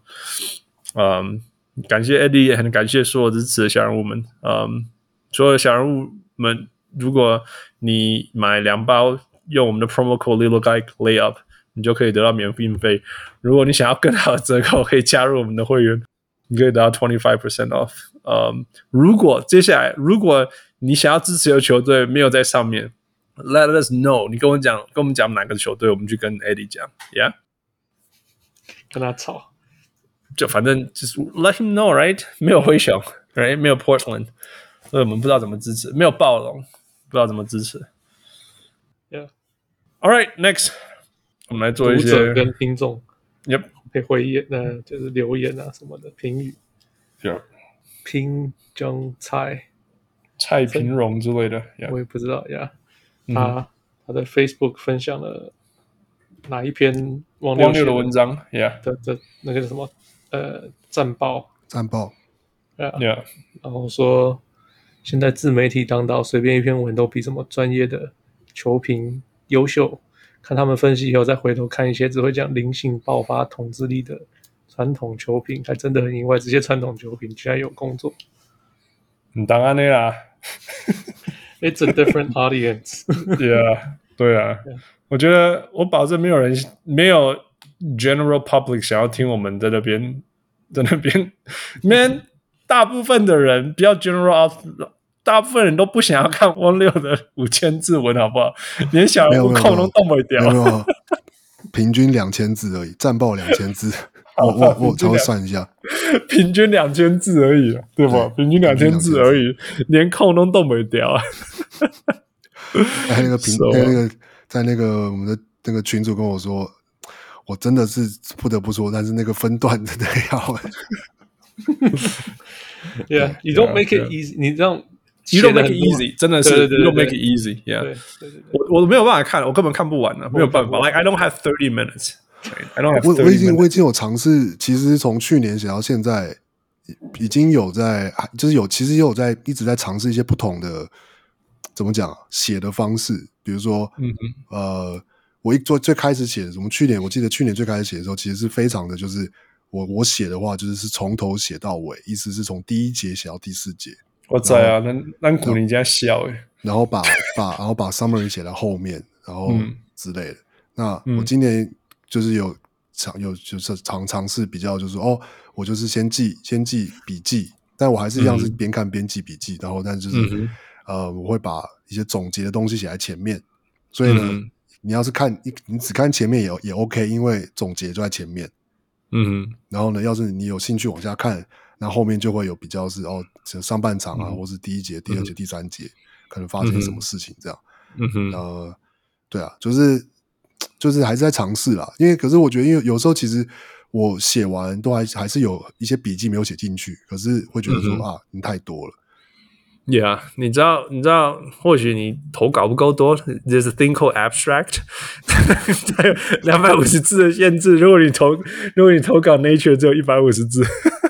感謝 Eddie， 也很感謝所有支持的小人物們。所有的小人物們，如果你買2包，用我們的 promo code Little Guy Layup， 你就可以得到免費。如果你想要更好的折扣，可以加入我們的會員，你可以得到 25% off。如果你想要支持的球隊沒有在上面 ，Let us know， 你跟我們講哪個球隊，我們去跟 Eddie 講 ，Yeah，
跟他吵，
就反正就是 Let him know， right？ 沒有灰熊 ，right？ 沒有 Portland。所以我們不知道怎麼支持，沒有暴龍，不知道怎麼支持。
Yeah.
All right, next， 我們來做一些
讀者跟聽眾
，Yep，
可以回言，就是留言啊什麼的評語。
Yep，
平江蔡
平榮之類的，
yeah. 我也不知道呀。他的 Facebook 分享了哪一篇汪六的文章
？Yeah，
的那個什麼戰報。
Yeah，
然後說現在自媒體當道，隨便一篇文都比什麼專業的球評優秀。看他們分析以後，再回頭看一些只會講靈性爆發統治力的傳統球評，還真的很意外，這些傳統球評居然有工作。
當然的啦
，It's a different audience 。
對啊，我覺得我保證沒有 general public 想要聽我們在那邊，Man。大部分的人比較 general， 大部分人都不想要看汪六的5000字文，好不好？連小人物空都動不掉。
沒有，平均2000字而已，戰報2000字。我稍微算一下，
平均2000字而已，對吧？平均2000字而已，連空都動不掉。
那個在那個我們的那個群組跟我說，我真的是不得不說，但是那個分段真的要。
Yeah, you don't make it easy. 你這樣
You don't make it easy， 真的是 You don't make it easy. Yeah， 我沒有辦法看，我根本看不完了，沒有辦法。Like I don't have 30 minutes. I don't have 30 minutes.
我已經有嘗試，其實從去年寫到現在，已經有在，就是其實也有在一直在嘗試一些不同的怎麼講寫的方式，比如說，我最開始寫的，我記得去年最開始寫的時候，其實是非常的就是。我寫的話就是從頭寫到尾，意思是從第1節寫到第4節。
我知啊，咱古人家笑誒。
然後把 summary 寫在後面，然後之類的。那我今年就是有就是嘗試比較，就是我就是先記筆記，但我還是一樣是邊看邊記筆記，然後但就是我會把一些總結的東西寫在前面。所以呢，你要是你只看前面也 OK， 因為總結就在前面。然後呢，要是你有興趣往下看，那後面就會有比較是上半場啊，或是第1節、第2節、第3節可能發生什麼事情這樣。對啊，就是還是在嘗試啦。因為可是我覺得，因為有時候其實我寫完都還是有一些筆記沒有寫進去，可是會覺得說你太多了。
Yeah， 你知道，或許你投稿不夠多 ，There's a thing called abstract， 它有250字的限制。如果你投稿 Nature 只有150字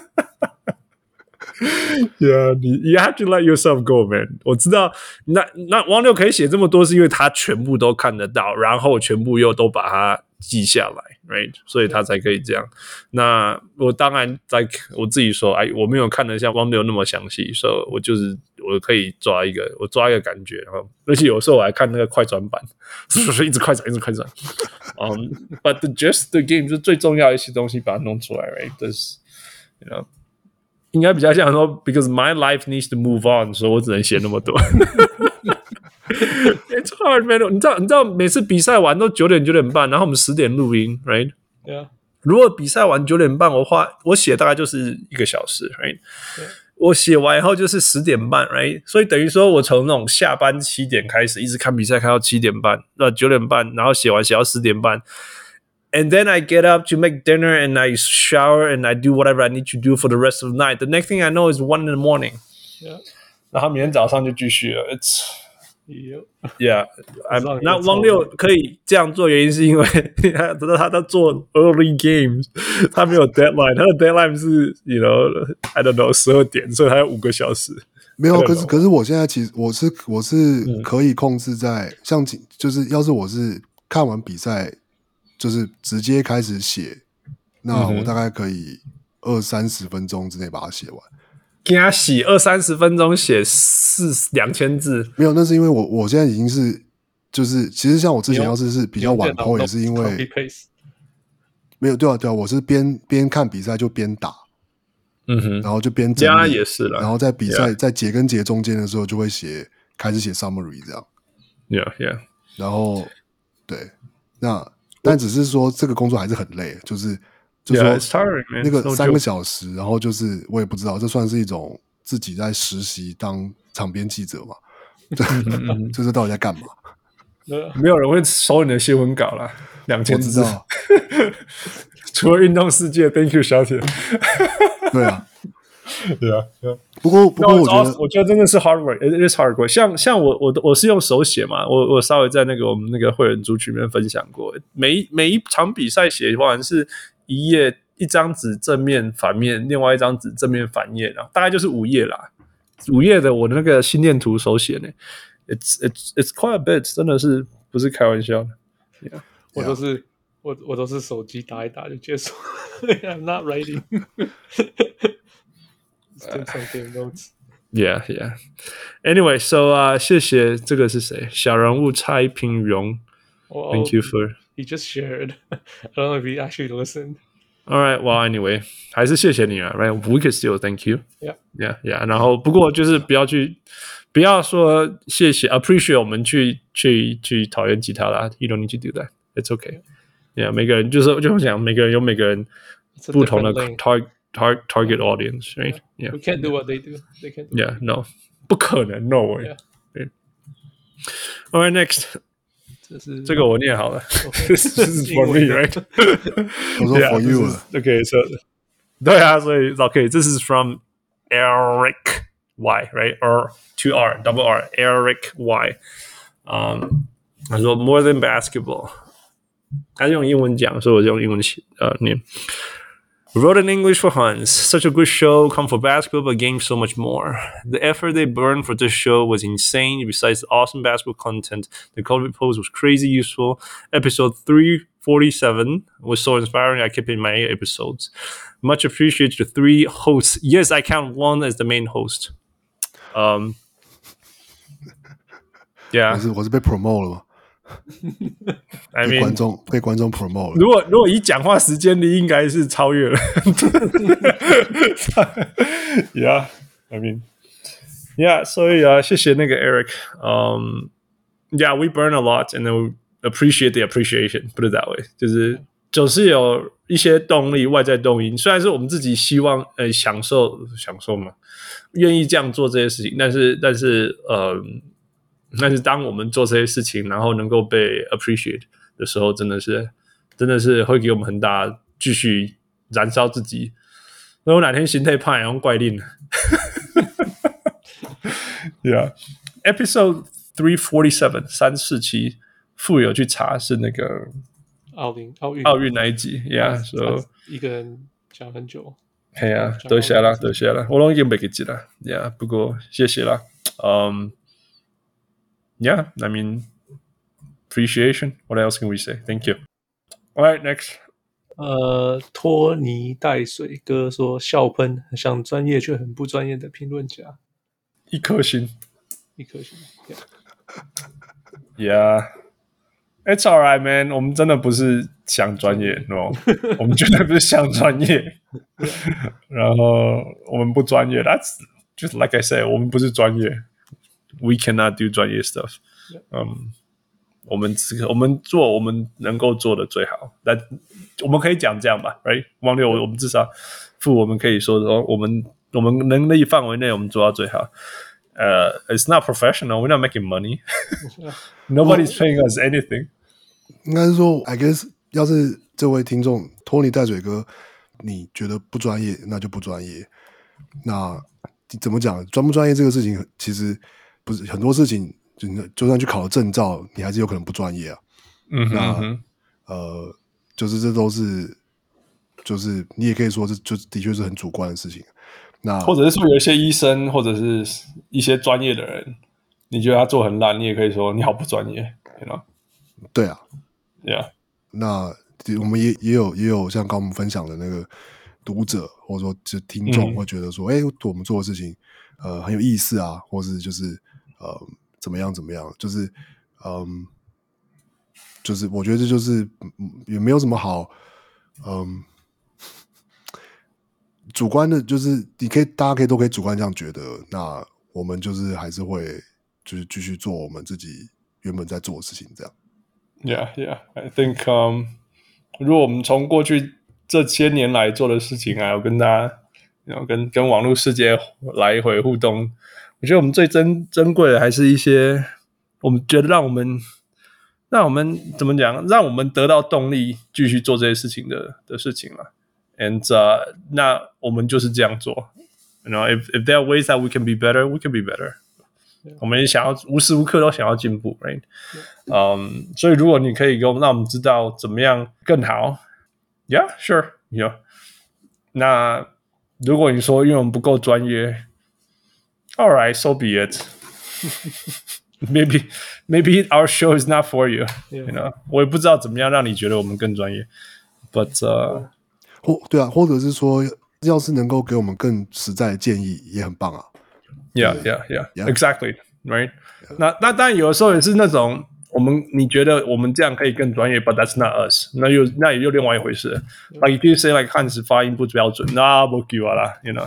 ，Yeah， you have to let yourself go, man。我知道，那汪六可以寫這麼多，是因為他全部都看得到，然後全部又都把它記下來 ，right？ 所以他才可以這樣。那我当然我自己說，我沒有看得像汪六那麼詳細，所以我可以抓一個感覺，然後而且有時候我還看那個快轉版，一直快轉。But the gist the game 就是最重要的一些東西把它弄出來 ，right？ 就是，you know， 應該比較像說 ，because my life needs to move on， 所以我只能寫那麼多。It's hard, man. 你知道每次比賽完都9點半，然後我們10點錄音 ，right？
Yeah.
如果比賽完9點半，我寫大概就是1個小時 ，right？ 我寫完以後就是10點半 ，right？ 所以等於說我從那種下班7點開始，一直看比賽看到7點半，9點半，然後寫到10點半。And then I get up to make dinner and I shower and I do whatever I need to do for the rest of the night. The next thing I know is 1 in the morning.
Yeah.
然後明天早上就繼續了。Yeah. 那汪六可以這樣做，原因是因為他在做 early games， 他沒有 deadline， 他的 deadline 是 I don't know 12點，所以他有5個小時。
沒有，可是我現在其實我是可以控制在像就是要是我是看完比賽。就是直接開始寫，那我大概可以20-30分鐘之內把它寫完。
給他寫20-30分鐘寫2000字，沒
有，那是因為我現在已經是就是其實像我之前要是比較晚 po 也是因為沒有對啊，我是邊看比賽就邊打，然後就邊整理
也是啦，
然後在比賽在節跟節中間的時候就會開始寫 summary 這樣。
Yeah.
然後对那。但只是說這個工作還是很累，就是說那個3個小時，然後就是我也不知道，這算是一種自己在實習當場邊記者嘛？這是到底在幹嘛？
沒有人會收你的新聞稿啦，2000字。
我知道
除了運動世界 ，Thank you 小鐵。
對啊。
對啊，
不過我
覺得真的是 hard work，it is hard work。像我是用手寫嘛，我稍微在我們那個會員族群裡面分享過，每一場比賽寫完是一張紙正面反面，另外一張紙正面反頁，然後大概就是5頁啦，5頁的我的那個心電圖手寫呢 ，it's quite a bit， 真的是不是開玩笑的。Yeah.
我都是手機打一打就結束，I'm not writing 。
Yeah. Anyway, so 謝謝這個是誰？小人物蔡平榮。Thank you for.
He just shared. I don't know if he actually listened.
All right. Well, anyway, 還是謝謝你啊 ，right? We can still thank you.
Yeah.
然後不過就是不要說謝謝 ，appreciate 我們去討厭吉他啦。You don't need to do that. It's okay. Yeah. 每個人就講，每個人有每個人不同的 target audience, right?
Yeah. We can't do what they do. They can't do.
Yeah, no. 不可能 no way. Yeah. All right, next. 這個我念好了。This is for me, right?
我說 for you.
Okay, so 對啊，所以 okay, this is from Eric Y, right? Or 2 R, double R, Eric Y. 他說 more than basketball. 他是用英文講，所以我就用英文念。Wrote in English for Hans. Such a good show. Come for basketball, but games so much more. The effort they burned for this show was insane. Besides the awesome basketball content, the COVID post was crazy useful. Episode 347 was so inspiring. I kept it in my episodes. Much appreciated to the 3 hosts. Yes, I count 1 as the main host. Yeah.
我是被 promote 了嗎
？I mean,
被觀眾 promote 了。
如果以講話時間力，應該是超越了。Yeah, I mean, yeah. 所以謝謝那個 Eric. Yeah, we burn a lot, and then we appreciate the appreciation. Put it that way. 就是总是有一些動力，外在動因。雖然是我們自己希望享受嘛，願意這樣做這些事情，但是當我們做這些事情，然後能夠被 appreciate 的時候，真的是會給我們很大繼續燃燒自己。如果哪天心態胖，然後怪令。Yeah, episode 347 347，富有去查是那個奧運那一集。Yeah, so
一個人講很久。
係啊，多謝啦，我都已經沒記記啦。Yeah， 不過謝謝啦。Yeah, I mean, appreciation. What else can we say? Thank you. All right, next.
拖泥帶水哥說笑噴，很像專業卻很不專業的評論家。
1顆星。Yeah. It's all right, man. 我們真的不是想專業 ，no. 我們絕對不是想專業。然後我們不專業 ，That's just like I said. 我們不是專業。We cannot do 專業 stuff. 我們做我們能夠做的最好。但我們可以講這樣吧 ，right？ 汪六，我們至少我們可以說我們我們能力範圍內我們做到最好。It's not professional. We're not making money. Nobody's paying us anything.
應該是說 ，I guess 要是這位聽眾托尼帶水哥，你覺得不專業，那就不專業。那怎麼講？專不專業這個事情，其實不是很多事情，就算去考了證照，你還是有可能不專業啊。就是這都是，就是你也可以說這就的確是很主觀的事情。那
或者是說有一些醫生或者是一些專業的人，你覺得他做很爛，你也可以說你好不專業 ，you know？
對啊
，Yeah。
那我們也有像刚我們分享的那個讀者或者說就聽眾會覺得說，我們做的事情很有意思啊，或是就是怎麼樣，就是我觉得這就是也沒有什麼好主觀的，就是大家都可以主觀這樣覺得，那我們就是還是會就是繼續做我們自己原本在做的事情，這樣。
Yeah, I think, 如果我們從過去這些年來做的事情，還有跟大家，跟網絡世界來回互動，我覺得我們最珍貴的還是一些我們覺得讓我們怎麼講，讓我們得到動力繼續做這些事情的事情了。And 那我們就是這樣做。if there are ways that we can be better, we can be better. 我們也想要無時無刻都想要進步 ，right？ 所以如果你可以让我們知道怎麼樣更好 ，Yeah, sure, yeah. 那如果你說因為我們不夠專業 ，All right, so be it. Maybe our show is not for you. You know, 我也不知道怎麼樣讓你覺得我們更專業 ，but
對啊，或者是說，要是能夠給我們更實在的建議，也很棒啊。
Yeah, exactly, right? 那當然有的時候也是那種你覺得我們這樣可以更專業 ，but that's not us. 那也又另外一回事。Like if you say like 漢斯發音不標準，那不給我啦 ，you know 。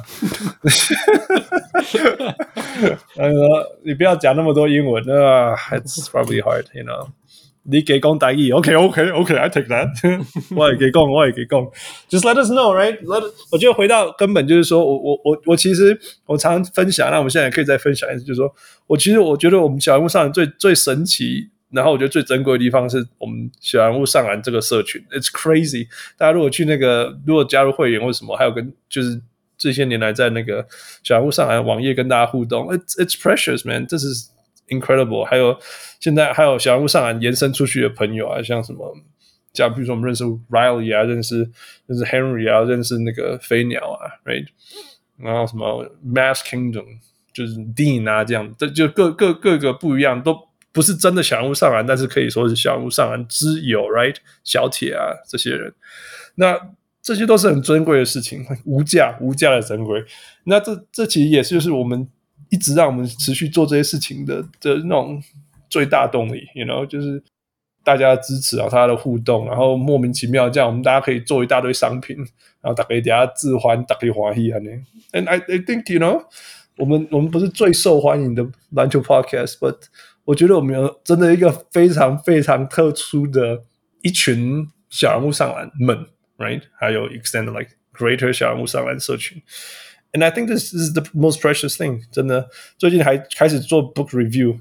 你不要講那麼多英文，it's probably hard, you know. 你給講台語 ，OK, I take that 。我也給講 ，Just let us know, right? 我覺得回到根本就是說，我其實我常常分享，那我們現在也可以再分享一次，就是說我覺得我們小人物上籃最神奇，然後我覺得最珍貴的地方是我們小人物上籃這個社群 ，It's crazy。大家如果去如果加入會員或什麼，還有跟就是這些年來在那個小人物上籃網頁跟大家互動 ，It's precious, man. 這是incredible， 還有現在還有小人物上籃延伸出去的朋友啊，像什麼，像比如說我們認識 Riley 啊，認識 Henry 啊，認識那個飛鳥啊 ，right， 然後什麼 Mass Kingdom 就是 Dean 啊，這樣，這就各個不一樣，都不是真的小人物上籃，但是可以說是小人物上籃之友 ，right， 小鐵啊這些人，那這些都是很珍貴的事情，無價的珍貴。那這其實也是就是我們一直讓我們持續做這些事情的那種最大動力 ，you know， 就是大家的支持啊，大家的互動，然後莫名其妙這樣，我們大家可以做一大堆商品，然後大家等下自歡，大家歡喜呢。And I think you know， 我們不是最受歡迎的籃球 podcast，but 我覺得我們有真的一個非常非常特殊的一群小人物上籃們 ，right？ 還有 extended like greater 小人物上籃社群。And I think this is the most precious thing. 真的，最近還開始做 book review.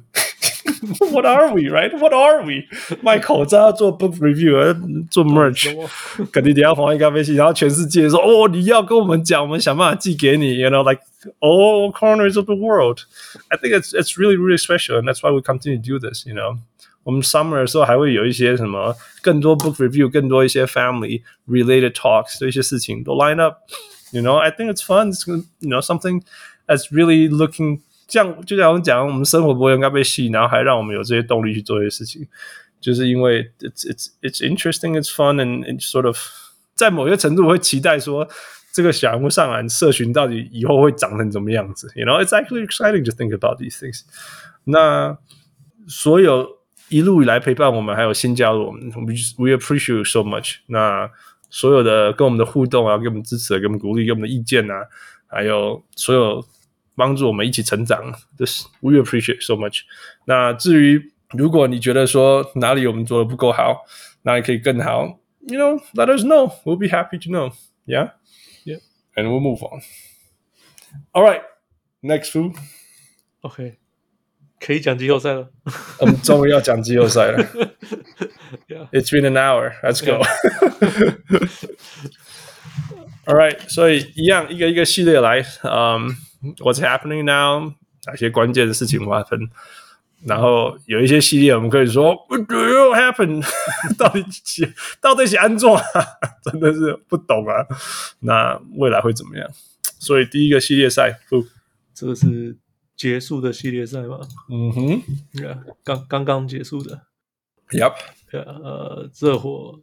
What are we, right? What are we? 賣口罩做 book review， 做 merch， 肯定要黃一咖啡系，然後全世界說哦，你要跟我們講，我們想辦法寄給你。You know, like all corners of the world. I think it's really really special, and that's why we continue to do this. You know, 我們 summer 的時候還會有一些什麼更多 book review， 更多一些 family related talks， 這些事情都 line up。You know, I think it's fun. It's, you know, something that's really looking. 就像我們講，我們生活不會應該被吸引，然後還讓我們有這些動力去做這些事情，就是因為 it's interesting, it's fun, and it's sort of 在某些程度我會期待說，這個小人物上籃社群到底以後會長成怎麼樣子 ？You know, it's actually exciting to think about these things. 那所有一路以來陪伴我們，還有新加入我們 ，we appreciate you so much. 那所有的跟我們的互動啊，給我們支持，給我們鼓勵，給我們的意見啊，還有所有幫助我們一起成長 ，this we appreciate so much。那至於如果你覺得說哪裡我們做的不夠好，哪裡可以更好 ，you know, let us know. We'll be happy to know. Yeah, and we'll move on. All right, next fool.
OK， 可以講季後賽了。
我們終於要講季後賽了。
yeah.
It's been an hour. Let's go. All right， 所以一樣一個一個系列來。What's happening now？ 哪些關鍵的事情發生？然後有一些系列我們可以說 What will happen？ 到底是安怎？真的是不懂啊。那未來會怎麼樣？所以第一個系列賽，
這個是結束的系列賽嗎？
嗯哼，
剛結束的。
Yep。
熱火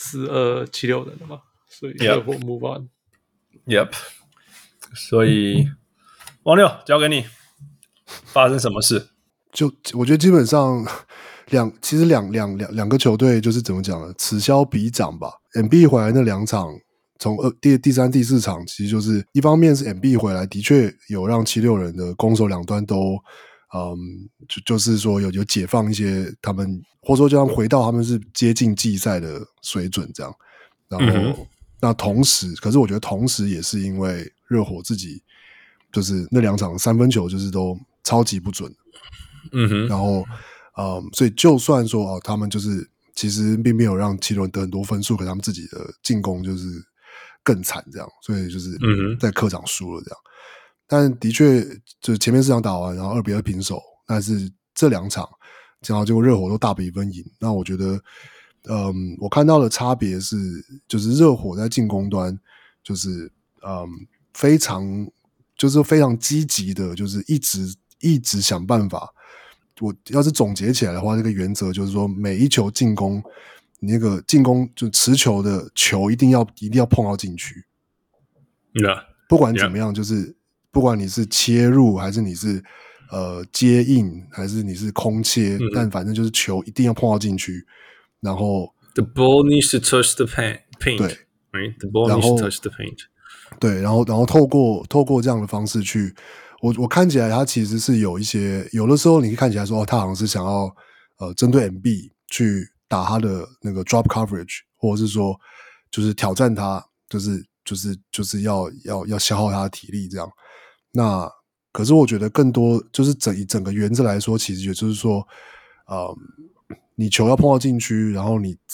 4276人了嘛，所以熱火 move on。
Yep。所以王六交給你，發生什麼事？
就我覺得基本上其實兩個球隊就是怎麼講呢？此消彼長吧。MB 回來那2場，從第三、第4場，其實就是一方面是 MB 回來，的確有讓76人的攻守兩端都，就是說有解放一些他們，或者說就讓回到他們是接近季賽的水準這樣。然後，那同時，可是我覺得同時也是因為熱火自己就是那2場3分球就是都超級不準。然後，所以就算說他們就是其實並沒有讓76人得很多分數，可是他們自己的進攻就是更慘這樣，所以就是在客場輸了這樣。但的確，就是前面4場打完，然後2-2平手，但是這2場，然後結果熱火都大比分贏。那我覺得，我看到的差別是，就是熱火在進攻端，就是非常積極的，就是一直想辦法。我要是總結起來的話，這個原則就是說，每一球進攻，你那個進攻就持球的球一定要碰到禁區。不管怎麼樣，就是不管你是切入還是你是接應還是你是空切，但反正就是球一定要碰到禁區。然後
The ball needs to touch the paint.
對
，right? The ball needs to touch the paint.
對，然后透過這樣的方式去。我看起來他其實是有一些，有的時候你看起來說他好像是想要針對 MB 去打他的那個 drop coverage， 或者是說就是挑戰他，就是要消耗他的體力這樣。那可是我覺得更多就是整個原則來說，其實也就是說，你球要碰到禁區，然後你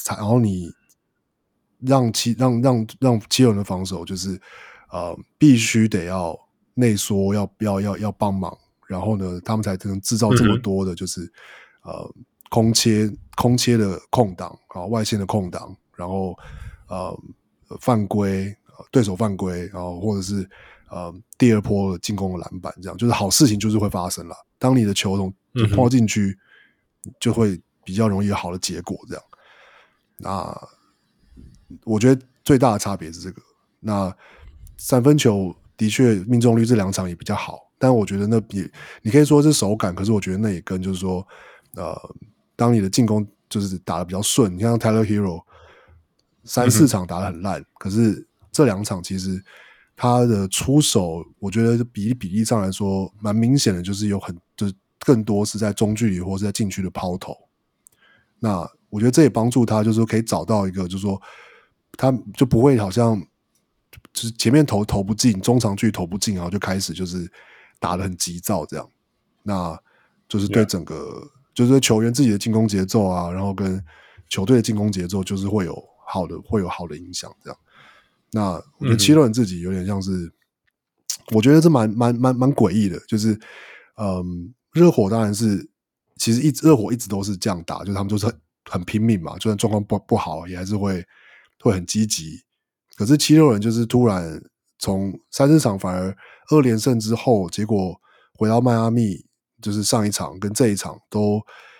讓七人的防守就是必須得要內縮，要幫忙，然後呢，他們才能制造這麼多的，就是空切的空檔啊，外線的空檔，然後犯規，對手犯規，然後或者是第二波的進攻的籃板，這樣就是好事情就是會發生了。當你的球碰到禁區，就會比較容易有好的結果。這樣，那我覺得最大的差別是這個。那三分球的確命中率這2場也比較好，但我覺得那你可以說是手感，可是我覺得那也跟就是說，當你的進攻就是打得比較順，你像 Tyler Hero 3-4場打得很爛，可是這2場其實他的出手，我覺得比例上來說蠻明顯的，就是就是更多是在中距離或是在禁區的拋投。那我覺得這也幫助他，就是說可以找到一個，就是說他就不會好像就是前面投不進，中長距離投不進，然後就開始就是打得很急躁這樣。那就是對整個就是對球員自己的進攻節奏啊，然後跟球隊的進攻節奏，就是会有好的影響這樣。那我覺得76人自己有點像是，我覺得這蠻詭異的，就是熱火當然是其實熱火一直都是這樣打，就是他們就是很拼命嘛，就算狀況不好也還是會很積極。可是76人就是突然從3-4場反而2連勝之後，結果回到邁阿密，就是上一場跟這一場都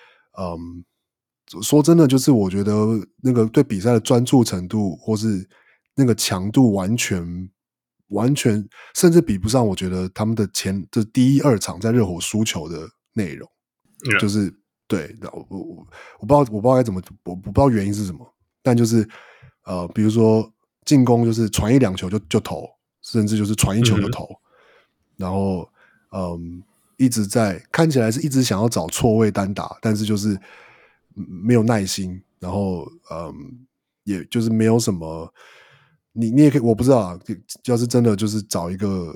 說真的，就是我覺得那個對比赛的專注程度或是那個強度完全甚至比不上我覺得他們的就第1-2場在熱火輸球的內容。就是對，我不知道該怎麼，我不知道原因是什麼，但就是比如說進攻就是傳1-2球就投，甚至就是傳1球就投，然後一直在看起來是一直想要找錯位單打，但是就是沒有耐心，然後也就是沒有什麼，你也可以，我不知道啊，要是真的就是找一個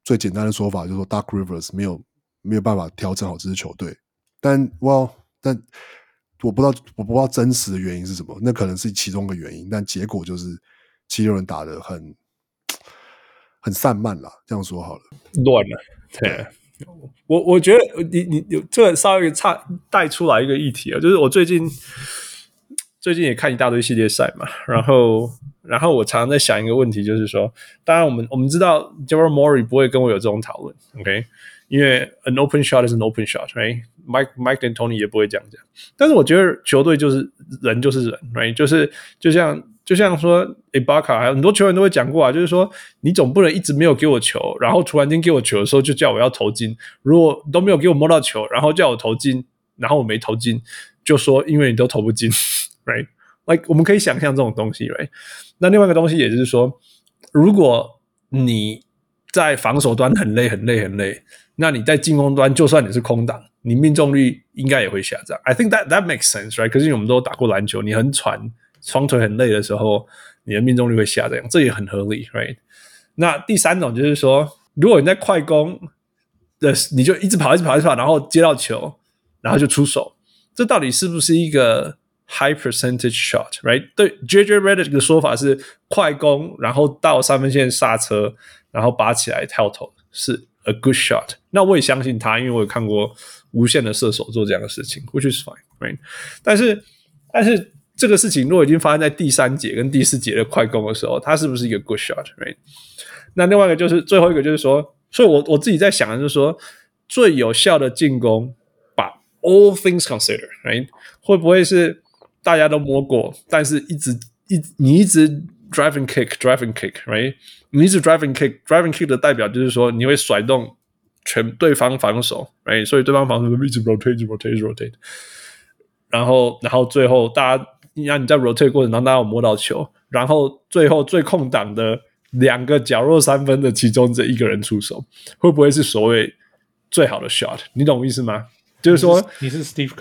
最簡單的說法就是說 Doc Rivers 沒有辦法調整好這支球隊，但我不知道真實的原因是什麼，那可能是其中一個原因，但結果就是七六人打得很散漫啦，這樣說好了，
亂了，对。我覺得你這個稍微帶出來一個議題啊，就是我最近也看一大堆系列賽嘛，然後我常常在想一個問題，就是說，當然我們知道 Daryl Morey 不會跟我有這種討論 ，OK， 因為 an open shot is an open shot，right？ Mike D'Antoni 也不會這樣講，但是我覺得球隊就是人就是人 ，right？ 就像說 Ibaka 還有很多球員都會講過啊，就是說你總不能一直沒有給我球，然後突然間給我球的時候就叫我要投進，如果都沒有給我摸到球，然後叫我投進，然後我沒投進，就說因為你都投不進 ，right？ Like 我們可以想象這種東西 ，right？ 那另外一個東西也就是說，如果你在防守端很累，那你在進攻端就算你是空檔，你命中率應該也會下降。I think that makes sense, right？ 可是我們都打過籃球，你很喘，雙腿很累的時候，你的命中率會下降，這也很合理 ，right？ 那第三種就是說，如果你在快攻的，你就一直跑，然後接到球，然後就出手，這到底是不是一個 high percentage shot, right？ 對 JJ Redick 的說法是快攻，然後到三分線剎車，然後拔起來跳投是 a good shot。那我也相信他，因為我有看過無限的射手做這樣的事情 ，which is fine, right？ 但是這個事情如果已經發生在第三節跟第四節的快攻的時候，它是不是一個 good shot, right？ 那另外一個就是最後一個就是說，所以我自己在想的就是說，最有效的進攻，把 all things consider, right？ 會不會是大家都摸過，但是你一直 driving kick, right？ 你一直 driving kick 的代表就是說你會甩動全對方防守 ，right？ 所以对方防守一直 rotate。然後最後大家让你在 rotate 過程当中大家有摸到球，然後最後最空檔的兩個角落三分的其中這一個人出手，會不會是所謂最好的 shot？ 你懂我意思嗎？就是說
你是 Steve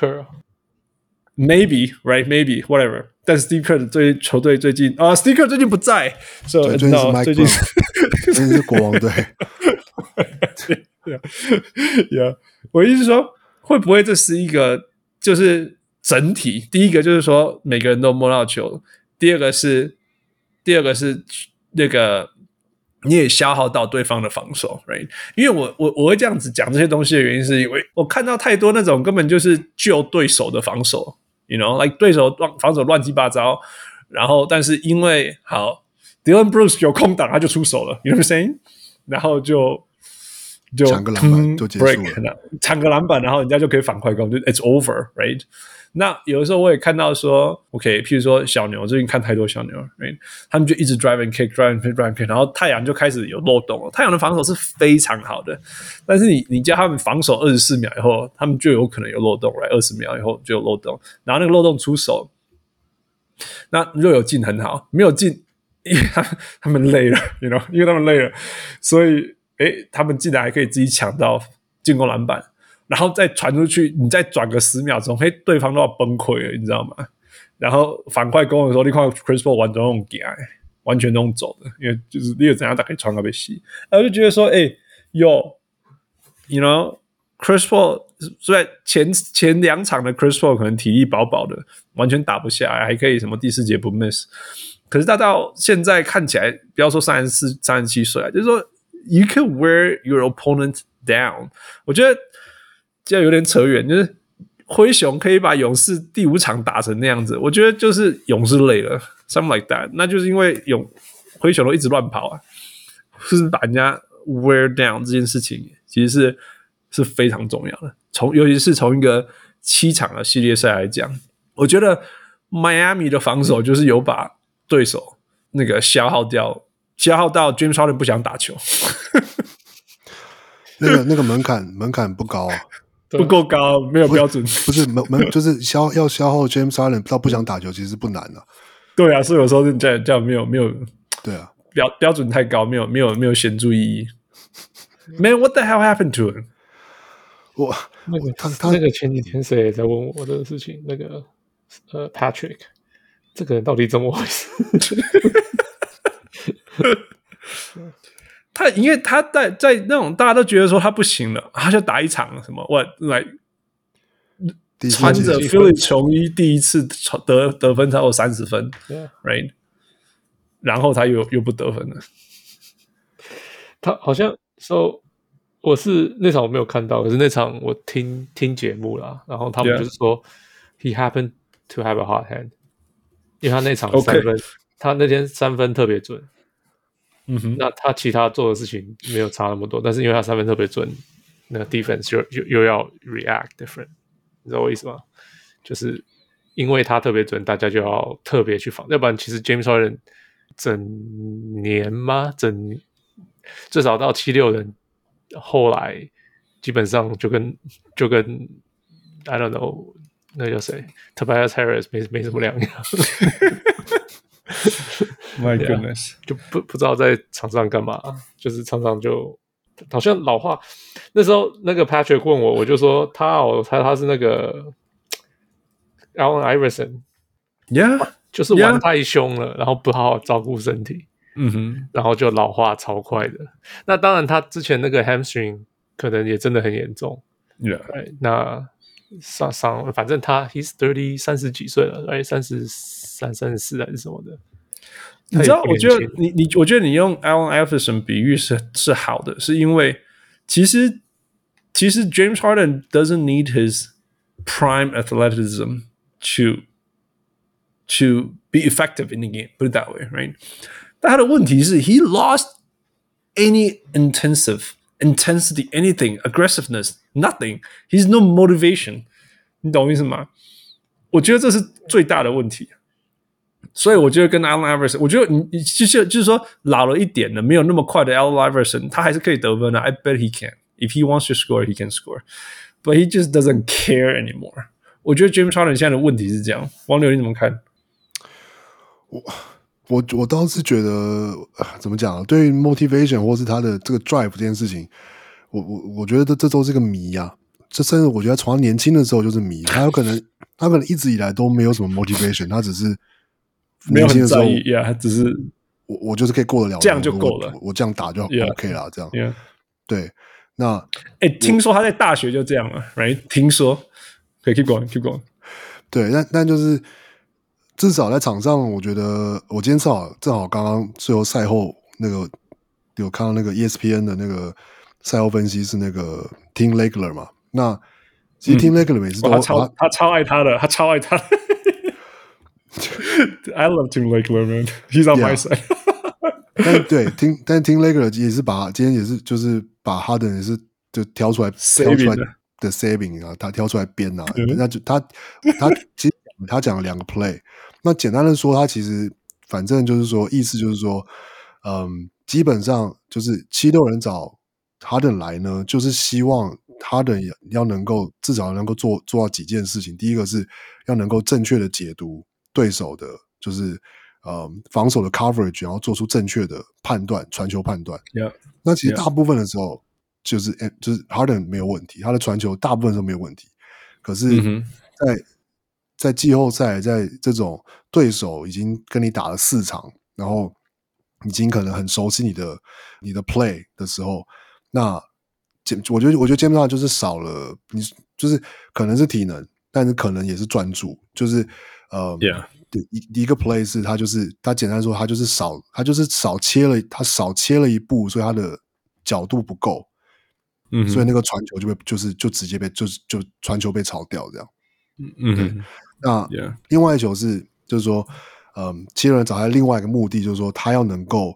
Kerr。Maybe, right? Maybe, whatever. 但是 Steve Kerr 的球隊最近Steve Kerr 最近不在，所以
最近是 Mike Brown， 最近是國王隊。
Yeah， 我意思是說，會不會這是一個就是整體？第一個就是說每個人都摸到球，第二個是那個你也消耗到對方的防守 ，right？ 因為我會這樣子講這些東西的原因，是因為我看到太多那種根本就是救對手的防守。You know, like 對手防守亂七八糟，然後但是因為好 Dylan Brooks 有空檔他就出手了 ，You know what I'm saying？ 然後就
搶個籃板就結束了，
搶個籃板，然後人家就可以反快攻，就 It's over, right？ 那有的時候我也看到說 ，OK， 譬如說小牛，最近看太多小牛 ，right？ 他們就一直 drive and kick， 然後太陽就開始有漏洞了。太陽的防守是非常好的，但是你叫他們防守24秒以後，他們就有可能有漏洞 ，right？ 20秒以後就有漏洞，然後那個漏洞出手，那如果有进很好，沒有进，因為他們累了 ，you know， 因為他們累了，所以他們竟然還可以自己搶到進攻籃板。然後再傳出去，你再轉個10秒鐘，對方都要崩潰了，你知道嗎？然後反快攻的時候，你看 Chris Paul 完全用走，完全用走的，因為就是你有怎樣打可以傳到被洗。我就覺得說，you know Chris Paul 所以前兩場的 Chris Paul 可能體力飽飽的，完全打不下來，還可以什麼第4節不 miss。可是他到現在看起來，不要說34、37歲啊，就是說 you can wear your opponent down。我覺得這有點扯遠，就是灰熊可以把勇士第5場打成那樣子，我覺得就是勇士累了 ，something like that。那就是因為灰熊都一直亂跑啊，就是把人家 wear down 這件事情，其實是非常重要的。尤其是從一個7場的系列賽來講，我覺得 Miami 的防守就是有把對手那個消耗到 James Harden 不想打球。
那個門檻不高啊。
不夠高，沒有標準。
不是就是要消耗 James Harden 到不想打球，其實不難啊。
對啊，所以有時候這樣沒有
对啊，
標準太高，沒有顯著意義。Man, what the hell happened to him？
那個前幾天誰也在問我這個事情，那個Patrick， 這個人到底怎麼回事？
他對，因為他在那種大家都覺得說他不行了，他就打一場什麼穿着 Philly 球衣第一次得分超過30分 ，right？ 然後他又不得分了。
他好像說，我是那场我没有看到，可是那場我聽節目啦，然後他們就是說、he happened to have a hot hand， 因為他那場3分，他那天3分特別準。那他其他做的事情沒有差那麼多，但是因為他3分特別準，那個 defense 又要 react different， 你知道我意思嗎？就是因為他特別準，大家就要特別去防，要不然其實 James Harden 整年嘛，最少到76人，後來基本上就跟 I don't know 那叫誰 Tobias Harris 沒什麼兩樣。
My goodness，
就不知道在場上幹嘛，就是常常就好像老話。那時候那個 Patrick 問我，我就說他是那個 Allen Iverson， 就是玩太凶了，然後不好好照顧身體，然後就老化超快的。那當然，他之前那個 hamstring 可能也真的很嚴重，right？ 那反正he's 30幾歲了，right？ 33、34還是什麼的。
你知道，我覺得你用 Allen Iverson 比喻是好的，是因為其實 James Harden doesn't need his prime athleticism to be effective in the game, put it that way, right? 但他的問題是 he lost any intensity, anything, aggressiveness, nothing. He's no motivation. 你懂我意思嗎？我覺得這是最大的問題。所以我覺得跟 Allen Iverson， 我覺得你就是說老了一點的，沒有那麼快的 Allen Iverson， 他還是可以得分的。I bet he can. If he wants to score, he can score. But he just doesn't care anymore. 我覺得 James Harden 現在的問題是這樣。王流你怎麼看？
我倒是覺得怎麼講？對於 motivation 或是他的這個 drive 這件事情，我覺得這都是個謎啊。這甚至我覺得從他年輕的時候就是謎。他可能一直以來都沒有什麼 motivation， 他只是
沒有很在意呀，他只是
我就是可以過得了，
這樣就夠了，
我這樣打就 OK 了，這樣。對，那
聽說他在大學就這樣了 ，right？ 聽說，可以 keep going。
對，但就是至少在場上，我覺得我今天正好刚剛最後賽後那個有看到那個 ESPN 的那個賽後分析是那個 Tim Legler 嘛，那其實 Tim Legler 每次都
他超愛他的，他超愛他的。I love Tim Legler, man. He's on my side.
但Tim Legler 也是今天也是就是把Harden也是就挑出來的 saving 啊，他挑出來編啊，那就他其實他講了2個 play。那簡單的說，他其實反正就是說意思就是說，基本上就是76人找Harden來呢，就是希望Harden要能夠至少能夠做到幾件事情。第一個是要能夠正確的解讀對手的，就是防守的 coverage， 然後做出正確的判斷，傳球判斷。那其實大部分的时候就是 Harden 沒有問題，他的傳球大部分都沒有問題。可是在季後賽，在這種對手已經跟你打了4場，然後已經可能很熟悉你的 play 的時候，那我覺得基本上就是少了你，就是可能是體能，但是可能也是專注，就是第一個 play 是他簡單說他少切了一步，所以他的角度不夠，所以那個傳球就直接被就傳球被抄掉這樣，那另外一球是就是說76人找他另外一個目的就是說他要能夠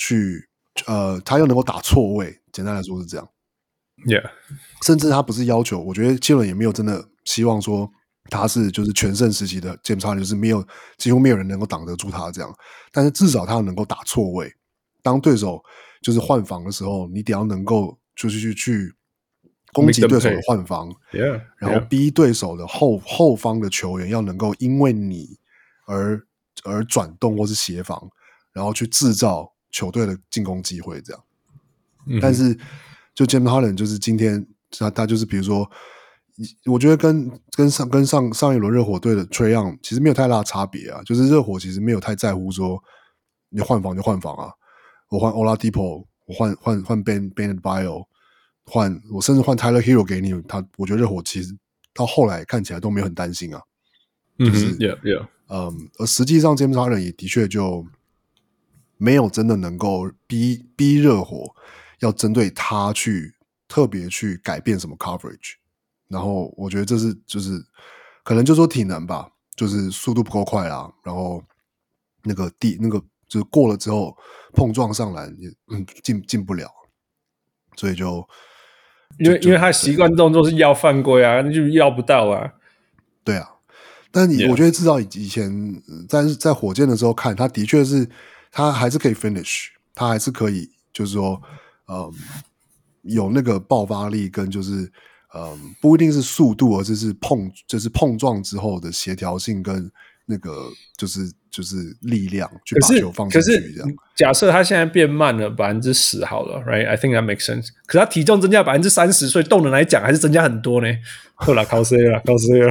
打錯位，簡單來說是這樣。甚至他不是要求，我覺得76人也沒有真的希望說他是就是全盛時期的 James Harden， 就是幾乎沒有人能夠擋得住他這樣，但是至少他能夠打錯位，當對手就是換防的時候，你得要能夠就是去攻擊對手的換防，然後逼對手的後方的球員要能夠因為你而轉動或是協防，然後去制造球隊的進攻機會這樣。但是就 James Harden 就是今天他就是比如說，我覺得跟上一輪熱火隊的 Trae Young 其實沒有太大的差別啊，就是熱火其實沒有太在乎說你換防就換防啊，我換 Oladipo 我換 Ben Adebayo， 我甚至換 Tyler Hero 給你，我覺得熱火其實到後來看起來都沒有很擔心啊，就是
yeah.
而實際上 James Harden 也的確就沒有真的能夠逼熱火要針對他去特別去改變什麼 coverage， 然後我覺得這是就是可能就說體能吧，就是速度不夠快啦，然後那個就是過了之後碰撞上籃也進不了，所以就
因為他習慣動作是要犯規啊，那就要不到啊，
對啊。但我覺得至少以前在火箭的時候看，他的確是他還是可以 finish， 他還是可以就是說有那個爆發力跟就是不一定是速度，而是碰撞之後的協調性跟那個就是力量去把球放进去這样。
假設他現在變慢了10%好了 ，right？ I think that makes sense。可是他體重增加30%，所以动能來講還是增加很多呢。好啦，靠誰了？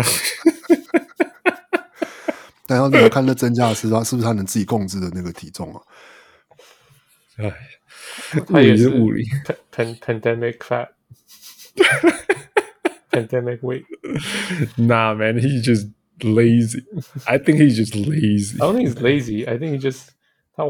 但要你要看那增加的是不是他能自己控制的那個體重啊？
哎，
他也是
物理
pandemic fat pandemic weight。
Nah, man, he's just lazy. I think he's just lazy.
I don't think he's lazy. I think he just 他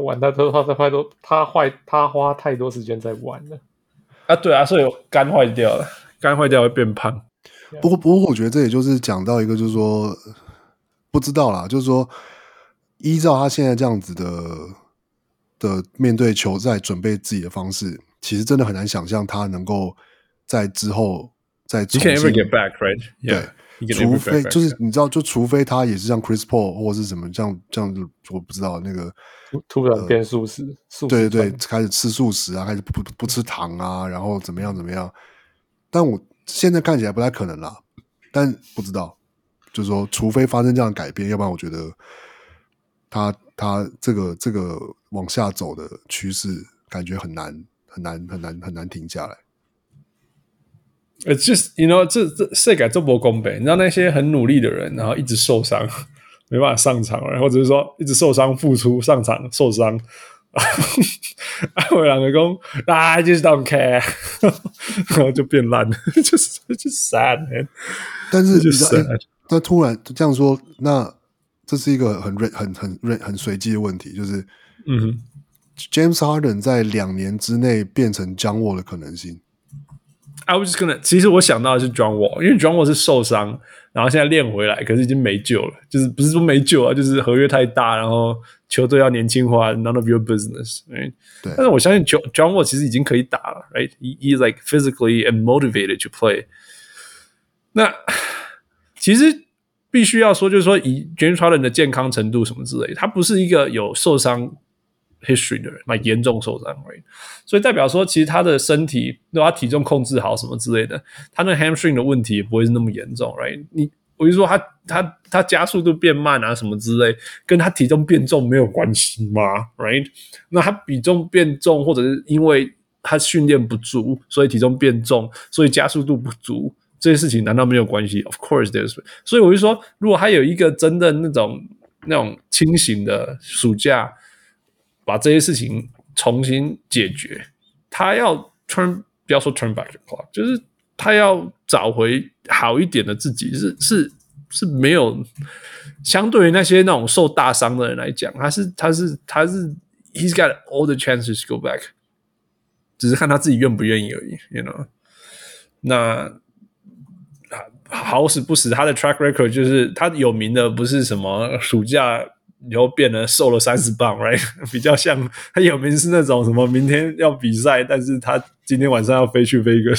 花太多時間在玩了
啊，對啊，所以肝壞掉了，肝壞掉會變胖。
不過我覺得這也就是講到一個，就是說不知道啦，就是說依照他現在這樣子的面對球賽準備自己的方式，其實真的很難想象他能夠在之後再重新
You can never get back, right? Yeah.
對，除非就是你知道，就除非他也是像 Chris Paul 或是什麼這樣，我不知道那個
突然變素食，
對，開始吃素食啊，開始不吃糖啊，然後怎麼樣，但我現在看起來不太可能啦，但不知道，就是說，除非發生這樣的改變，要不然我覺得他這個往下走的趨勢，感覺很難停下來。
It's just, you know, 這世界這不公平。你知道那些很努力的人，然後一直受傷，沒辦法上場，或者是說一直受傷復出上場受傷，我兩個說I just don't care， 然後就變爛了，就是sad man。
但是你知道，他突然這樣說，那這是一個很隨機的問題，就是James Harden 在2年之內變成 John Wall 的可能性。
I was just gonna， 其實我想到的是 John Wall， 因為 John Wall 是受傷，然後現在練回來，可是已經沒救了，就是不是說沒救啊，就是合約太大，然後球隊要年輕化 ，none of your business。Right?
對。
但是我相信 John Wall 其實已經可以打了 ，right? He's like physically and motivated to play。那其實必須要說，就是說以 James Harden 的健康程度什麼之類的，他不是一個有受傷 history 的人，蠻嚴重受傷 ，right？ 所以代表說，其實他的身體，如果他體重控制好什麼之類的，他那 hamstring 的問題也不會是那麼嚴重 ，right？ 我就說他加速度變慢啊什麼之類，跟他體重變重沒有關係嗎 ？right？ 那他體重變重，或者是因為他訓練不足，所以體重變重，所以加速度不足，這些事情難道沒有關係 ？Of course there's。所以我就說，如果他有一個真的那種清醒的暑假，把這些事情重新解決，他要不要說 turn back the clock， 就是他要找回好一點的自己，是沒有相對於那些那種受大傷的人來講，他是 he's got all the chances to go back， 只是看他自己願不願意而已 ，you know。那好死不死，他的 track record 就是他有名的不是什麼暑假以後變了瘦了30磅 ，right？ 比較像他有名是那種什麼明天要比賽，但是他今天晚上要飛去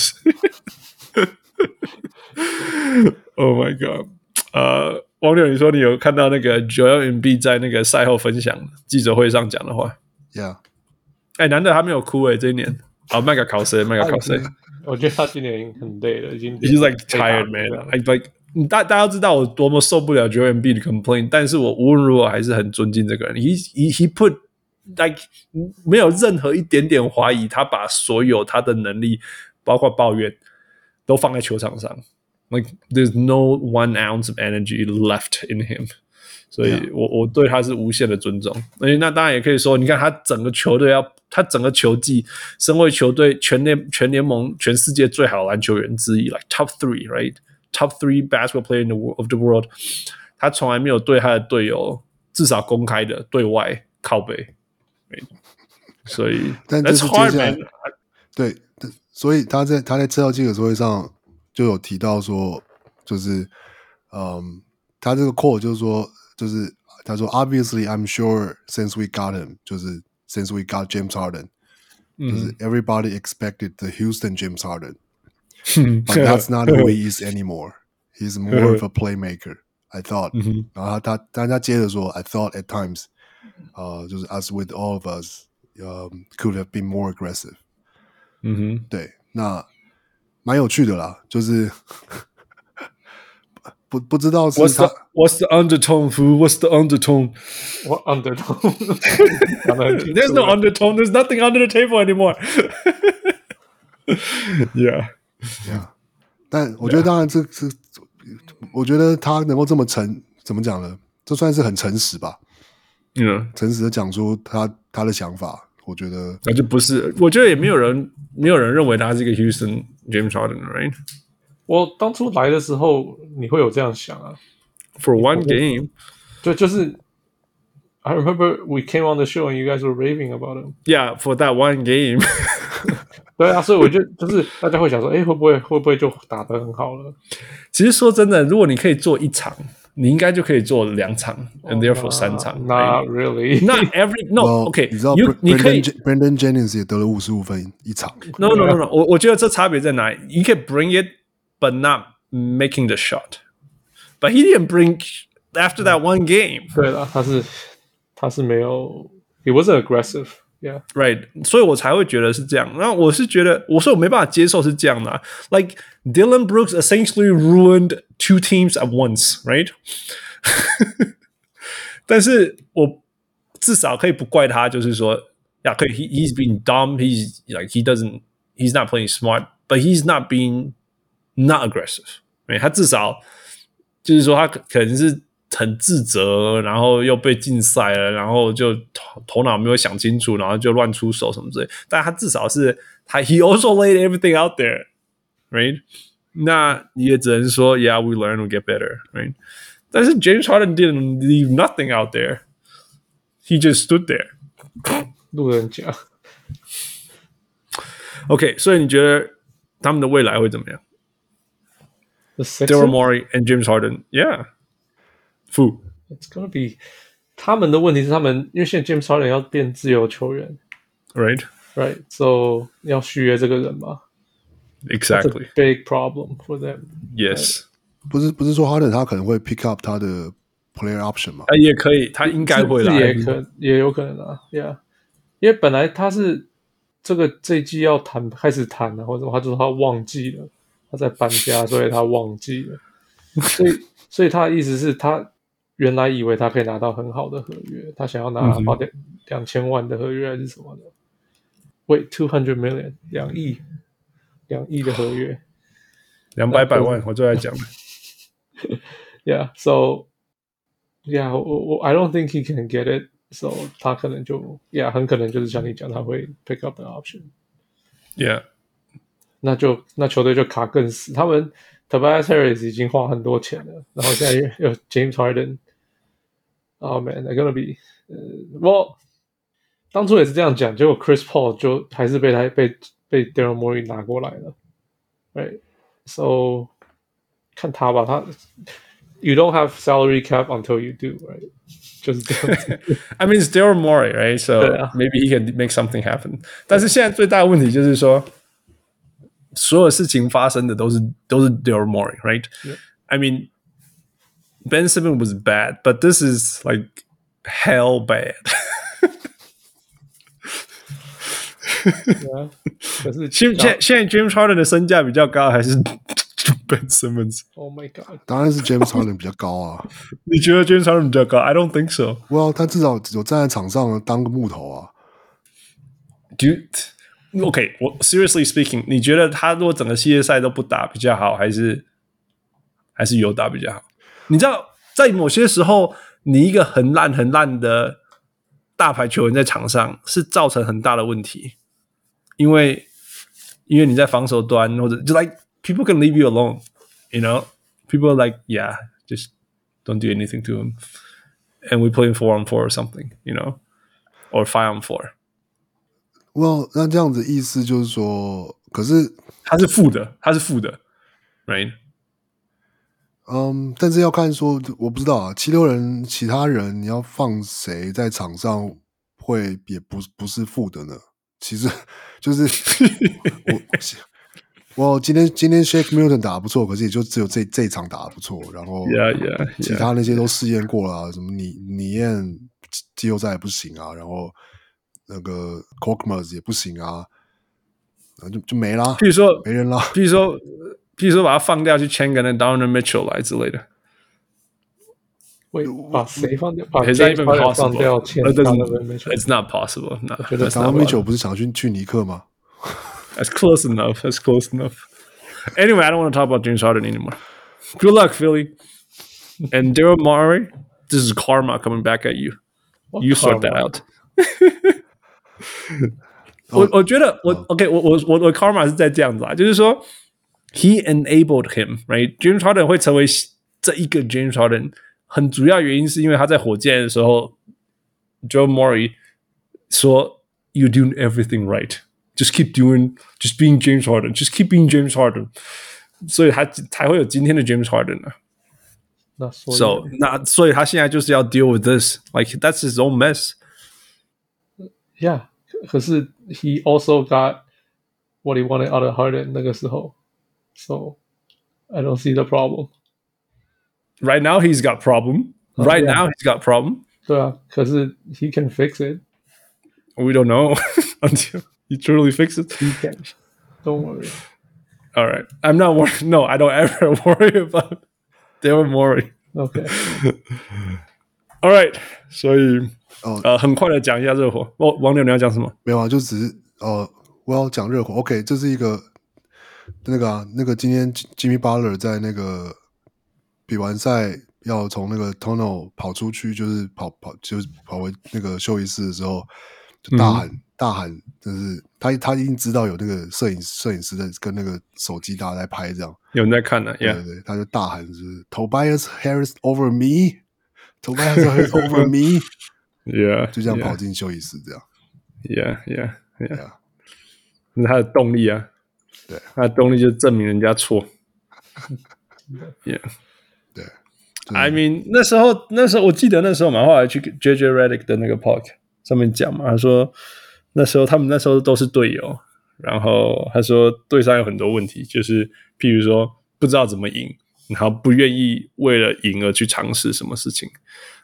Vegas。Oh my god！ 王柳，你說你有看到那個 Joel Embiid 在那個賽後分享記者會上講的話
？Yeah。
難得他沒有哭這一年。麥克考誰？
我覺得他今年已經很累了，已經。
He's like tired man. Like 大家知道我多麼受不了 Joel Embiid 的 complaint， 但是我無論如何還是很尊敬這個人。He put like 沒有任何一點點懷疑，他把所有他的能力，包括抱怨，都放在球場上。Like there's no 1 ounce of energy left in him。 所以我對他是無限的尊重。而且那當然也可以說，你看他整個球队他整個球季，身為球隊全聯盟全世界最好的籃球員之一 ，like top 3 right top 3 basketball player of the world， 他從來沒有對他的隊友至少公開的對外靠北。所以，
但這是接下來对，所以他在次要記者會上就有提到說，就是他這個 quote 就是說，就是他說 ，Obviously, I'm sure since we got him， 就是 since we got James Harden， 就是 everybody expected the Houston James Harden， but that's not who he is anymore. He's more of a playmaker. I thought， 然後但他接着說 ，I thought at times， 就是 as with all of us，could have been more aggressive。对，那蠻有趣的啦，就是。不知道是他
What's the undertone, fool? What's the undertone?
What undertone?
There's no undertone. There's nothing under the table anymore. Yeah.
但我覺得當然我覺得他能夠這麼怎麼講呢？這算是很誠實吧。誠實的講出他的想法，我覺得
那就不是。我覺得也沒有人認為他是一個 Houston James Harden, right?
我當初來的時候，你會有這樣想啊
？For one game，
就是 I remember we came on the show and you guys were raving about him.
Yeah, for that one game 。
对啊，所以我覺得就是大家會想說，會不會就打得很好了？
其實說真的，如果你可以做1場，你應該就可以做2場 ，and therefore 3場。
Not really.
Not every no. OK，
你知道
你可以
Brandon Jennings 也得了55分1場。
No. 我覺得這差別在哪裡？你可以 bring it。But not making the shot. But he didn't bring after that one game.
對啦，他是沒有 He wasn't aggressive. Yeah.
Right. 所以我才會覺得是這樣。那我是覺得，我說我沒辦法接受是這樣的啊。Like Dylan Brooks essentially ruined 2 teams at once, right? 但是我至少可以不怪他，就是說，可以 he's being dumb. He's like he's not playing smart, but he's not being not aggressive， 他至少就是說他可能是很自責，然後又被禁賽了，然後就頭腦沒有想清楚，然後就亂出手什麼之類。但他至少是he also laid everything out there， right？ 那你也只能說 ，Yeah, we learn, we get better， right？ 但是 James Harden didn't leave nothing out there， he just stood there。
路人甲。
OK， 所以你覺得他們的未來會怎麼樣？Daryl Morey and James Harden, yeah. Fu.
It's gonna be 他們的問題是因為現在 James Harden 要變自由球員
Right.
So 要續約這個人嘛
Exactly.
That's a big problem for them.
Yes.
不是說 Harden 他可能會 pick up 他的 player option 嗎？
也可以，他應該會來，
也有可能啊 ，Yeah. 因為本來他是這一季要開始談啊，或者他就說他忘記了。他在搬家，所以他忘記了。所以他的意思是他原來以為他可以拿到很好的合約，他想要拿2000萬的合約還是什麼的。Wait, 200 million 2億的合約
200萬，我最愛講的。
Yeah, so yeah, I don't think he can get it. So 他可能就很可能就是像你講，他會 pick up the option.
Yeah.
那球隊就卡更死，他們 Tobias Harris 已經花很多錢了，然後現在有 James Harden。Oh man, they're gonna be， 當初也是這樣講，結果 Chris Paul 就還是被 Daryl Morey 拿過來了 ，right? So 看他吧，他 You don't have salary cap until you do, right? 就是這樣子。
I mean, it's Daryl Morey, right? So maybe he can make something happen. 但是現在最大的問題就是說。所有事情發生的都是 Daryl Morey, right?
Yeah.
I mean, Ben Simmons was bad, but this is like hell bad.
Yeah.
現在 James Harden 的身價比較高，還是 Ben Simmons?
Oh my god!
當然是 James Harden 比較高啊。
你覺得 James Harden 比較高 ？I don't think so.
Well, 他至少有站在場上當個木頭啊。
OK， 我 seriously speaking， 你覺得他如果整個系列賽都不打比較好，還是有打比較好？你知道，在某些時候， 你一個很爛的大牌球員在場上是造成很大的問題，因為你在防守端或者就 like people can leave you alone, you know, people are like yeah, just don't do anything to him, and we play 4-on-4 or something, you know, or 5-on-4.
Well, 那這樣子意思就是說，可是
他是負的，right？
但是要看说，我不知道啊，76人其他人你要放誰在场上會也不是負的呢？其實就是我今天 Shake Milton 打得不錯，可是也就只有這一場打得不錯，然後其他那些都試驗過了啊，什麼你燕季後賽也不行啊，然後那個 Korkmaz 也不行啊，就沒啦，
譬如說
沒人啦，
譬如說把他放掉去簽個那 Donovan Mitchell 來之類的。
喂，把誰放掉？把
James Harden
放掉簽 Donovan Mitchell？
It's not possible.
我覺得 Donovan Mitchell 不是想去尼克嗎？
That's close enough. That's close enough. Anyway, I don't want to talk about James Harden anymore. Good luck, Philly. And Daryl Morey, this is karma coming back at you. You sort that out. 我覺得OK， 我 karma 是在這樣子啊，就是說 he enabled him, right? James Harden 會成為這一個 James Harden， 很主要原因是因為他在火箭的時候 ，Daryl Morey 說 "You're doing everything right." Just keep just being James Harden. Just keep being James Harden. 所以他才會有今天的 James Harden 啊。所以他現在就是要 deal with this. Like that's his own mess.
Yeah, 可是 he also got what he wanted out of Harden 那個時候。So I don't see the problem.
Right now he's got problem. Right now he's got problem.
對啊，可是 he can fix it.
We don't know until he truly fixes it.
He can. Don't worry.
All right. I'm not worried. No, I don't ever worry about Daryl Morey.
Okay.
All right. 所以很快的講一下熱火。王柳你要講什麼？
沒有啊，就只是我要講熱火。OK， 這是一個那個今天 Jimmy Butler 在那個比完賽要從那個 tunnel 跑出去，就是跑回那個休息室的時候，就大喊，就是他已經知道有那個攝影師在跟那個手機大家在拍，這樣
有人在看呢、啊。
對對，他就大喊就是 Tobias Harris over me， Tobias Harris over me， 就這樣跑進休息室，這樣
，yeah， 那是他的動力啊，
對，
他的動力就是證明人家錯 ，yeah，
對
，I mean 那時候我記得那時候嘛，後來去 JJ Redick 的那個 podcast 上面講嘛，他說他們那時候都是隊友，然後他說隊上有很多問題，就是譬如說不知道怎麼贏，然後不願意為了贏而去嘗試什麼事情，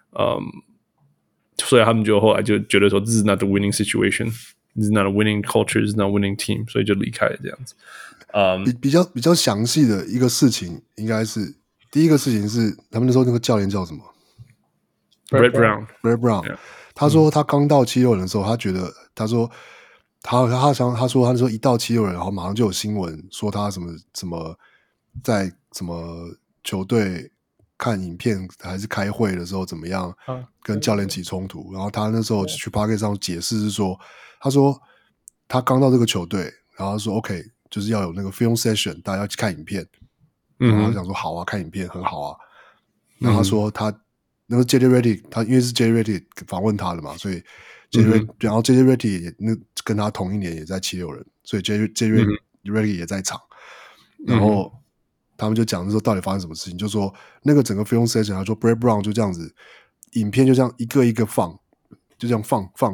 所以他們就後來就覺得說 This is not the winning situation, This is not a winning culture, This is not a winning team， 所以就離開了這樣子。
比較詳細的一個事情，應該是第一個事情是他們那時候那個教練叫什麼
Brett Brown。
他說他剛到76人的時候，他說那時候一到76人，然後馬上就有新聞說他什麼在什麼球隊看影片還是開會的時候怎麼樣跟教練起衝突，然後他那時候去 Podcast 上解釋是說，他說他剛到這個球隊，然後他說 OK 就是要有那個 film session， 大家要去看影片，然後他想說好啊，看影片很好啊，然後他說他。那個 JJ Redick 他因為是 JJ Redick 訪問他的嘛，所以 然後 JJ Redick 也跟他同一年也在76人，所以 JJ Redick 也在場，然後他們就講說到底發生什麼事情，就說那個整個 film session， 他說 Brett Brown 就這樣子，影片就這樣一個一個放，就這樣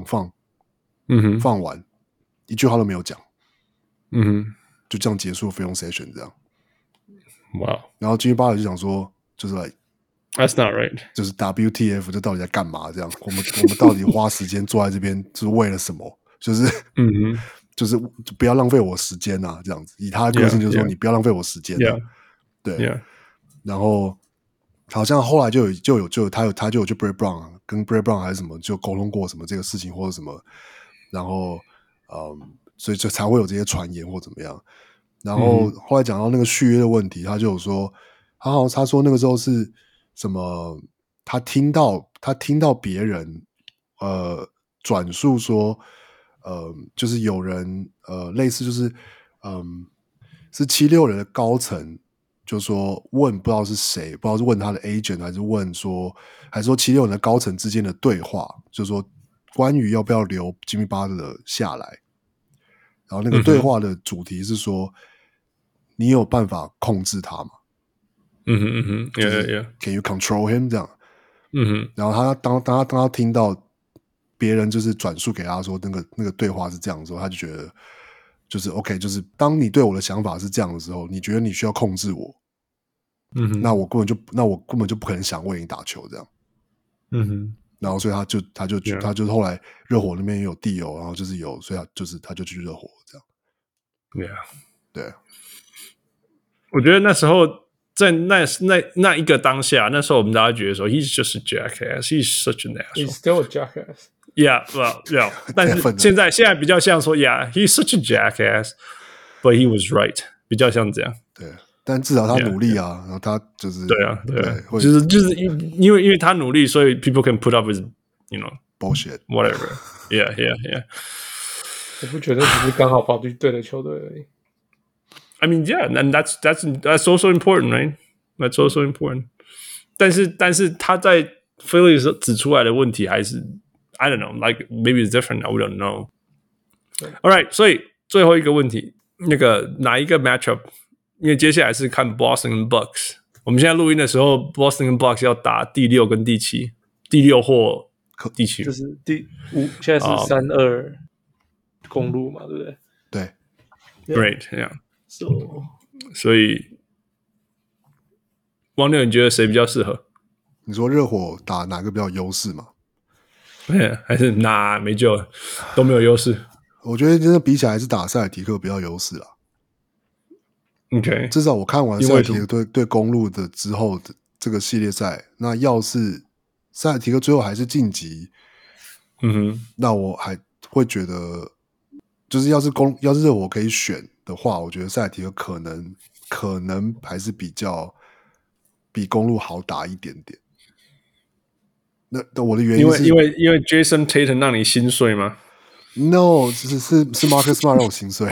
放完，一句話都沒有講，就這樣結束 film session 這樣，
哇，
然後 Jimmy Butler 就講說就是來。
That's not right， 就是
WTF， 这到底在幹嘛？這樣，我們到底花時間坐在這邊，就是為了什麼？就是不要浪費我時間啊！這樣子，以他的個性就是說，你不要浪費我時間、啊。對，然後好像後來就有他就有去 Brett Brown 跟 Brett Brown 還是什麼就溝通過什麼這個事情或者什麼，然後所以就才會有這些傳言或怎麼樣。然後後來講到那個續約的問題，他就有說，他說那個時候是。什麼他聽到別人轉述說，就是有人類似就是是76人的高層，就說問不知道是誰，不知道是問他的 agent 還是說76人的高層之間的對話，就是說關於要不要留 Jimmy Butler 下來，然後那個對話的主題是說，你有辦法控制他嗎？Can you control him 這樣？然後他當他聽到別人就是轉述給他說那個對話是這樣的時候，他就覺得就是 OK， 就是當你對我的想法是這樣的時候，你覺得你需要控制我，那我根本就不可能想為你打球這樣，然後所以他就後來熱火那邊也有地友，然後就是有，所以他就去熱火這樣，對，
我覺得那时候在那一個當下，那時候我們大家覺得說 ，He's just a jackass, he's such an asshole.
He's still a jackass.
Yeah, well, yeah. 但是现在比較像說 ，Yeah, he's such a jackass, but he was right. 比較像這樣。
對，但至少他努力啊，然後他就是
對，就是因為他努力，所以 people can put up with
bullshit,
whatever. Yeah.
我不觉得只是剛好跑去对的球隊而已。
I mean, yeah, and that's also important, right? That's also important. 但是他在 Philly 指出來的問題還是 I don't know, like maybe it's different. I don't know. All right, 所以最後一個問題，那個哪一個 matchup？ 因為接下來是看 Boston 跟 Bucks。我們現在錄音的時候 ，Boston 跟 Bucks 要打第6跟第7，第6或第7，
就是第5，現在是3-2公路嘛，對不對？
對
，Great, yeah. 所以，汪六，你覺得誰比較適合？
你說熱火打哪個比較有優勢嗎？
還是沒救了，都沒有優勢。
我覺得真的比起來還是打塞爾提克比較優勢啦。
OK，
至少我看完塞爾提克對公鹿的之後的這個系列賽，那要是塞爾提克最後還是晉級，那我還會覺得，就是要是熱火可以選的話，我覺得塞爾提克可能還是比公鹿好打一點點。那我的原因是
因為 Jason Tatum 讓你心碎嗎
？No， 是 Marcus Smart 讓我心碎。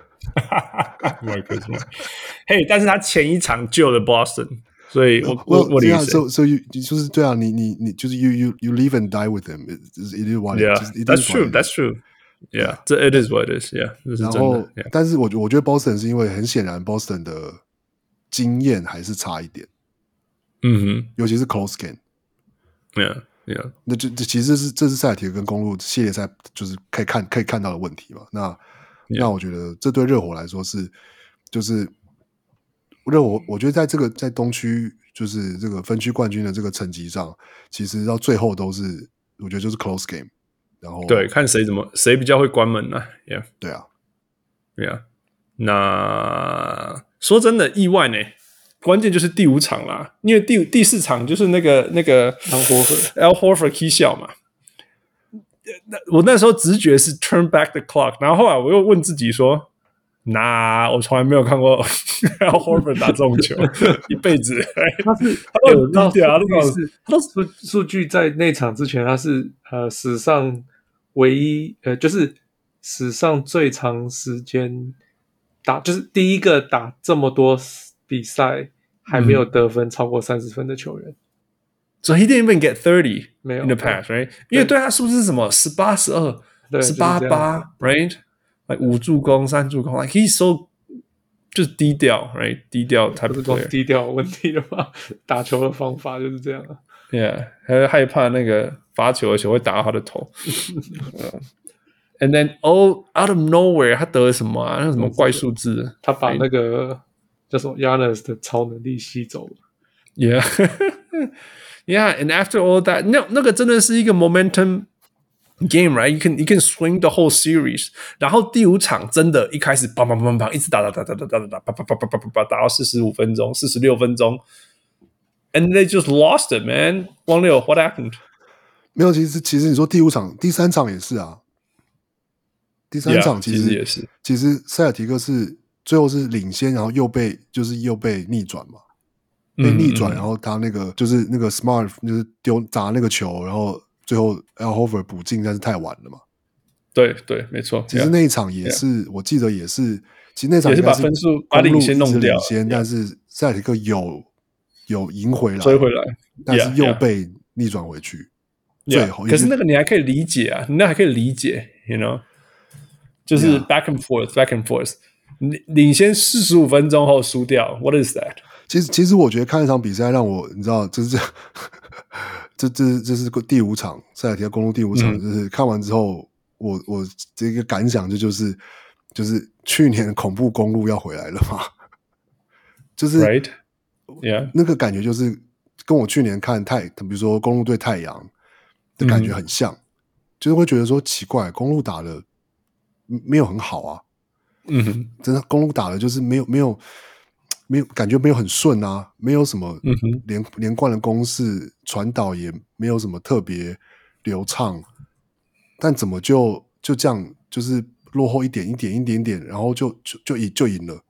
Marcus Smart， 嘿，但是他前一場救了 Boston， 所以我理解。
So you 就是对啊，你就是 you live and die with him. It is what it is.
That's true. That's true. Yeah, it is what it is. Yeah， 這是真的。然後，
但是我覺得 Boston 是因為很顯然 Boston 的經驗還是差一點。尤其是 close game。Yeah. 那就其實這是塞爾提克跟公鹿系列賽就是可以看到的問題嘛。那我覺得這對熱火來說就是熱火，我覺得在東區就是這個分區冠軍的這個成績上，其實到最後都是我覺得就是 close game。然後
對，看誰比較會關門呢？Yeah，
對啊
，Yeah。那說真的，意外呢。關鍵就是第5場啦，因為第4場就是那個 Al Horford 起笑嘛。我那時候直覺是 turn back the clock， 然後後來我又問自己說，我從來沒有看過 Al Horford 打這種球，一輩子。
他
很低調，
他數據在那場之前，他是史上唯一就是史上最長時間打，就是第一個打這麼多比賽還沒有得分超過30分的球員。
So he didn't even get 30
沒有
in the past, right? 因為對他數字是什麼18-12、18-8 right? Like 5助攻、3助攻 ，like he's so 就是低調 right? 低調，他
不是光低調問題了嗎？打球的方法就是這樣啊。
Yeah， 還害怕那個罰球的球會打到他的頭。And then out of nowhere， 他得了什麼啊？那什麼怪數字？
他把那個叫什麼 Giannis 的超能力吸走了。
Yeah， yeah。And after all that， 那個真的是一個 momentum game， right？ You can swing the whole series。然後第5場真的，一開始砰砰砰砰，一直打，打到45分鐘、46分鐘。And they just lost it, man. 汪六 ，What happened？
沒有，其實你說第5場、第3場也是啊。第3場其實
也是，
其實塞爾提克是最後是領先，然後又被逆轉嘛。 被逆轉，然後他那個就是那個 Smart 就是砸那個球，然後最後 Al Horford 補進，但是太晚了嘛。
對對，沒錯。
其實那一場也是，我記得也是，其實那场
也是把分数把領先弄掉，
但是塞尔提克有贏回來，
追回来，
但是又被逆轉回去。最後，
可是那個你還可以理解啊，你那還可以理解 ，you know， 就是 back and forth，back and forth， 領先45分鐘後輸掉 ，what is that？
其實我覺得看一場比賽讓我，你知道，这是第5場塞爾提克公鹿第5場，就是看完之後。我這個感想就是去年恐怖公鹿要回來了嘛，就是
right? Yeah.
那個感覺就是跟我去年看比如說公鹿對太陽的感覺很像，就是會覺得說奇怪，公鹿打的沒有很好啊，真的公鹿打的就是沒有感覺沒有很順啊，沒有什麼連貫的攻勢，傳導也沒有什麼特別流暢。但怎麼就這樣，就是落後一點，然後就贏了。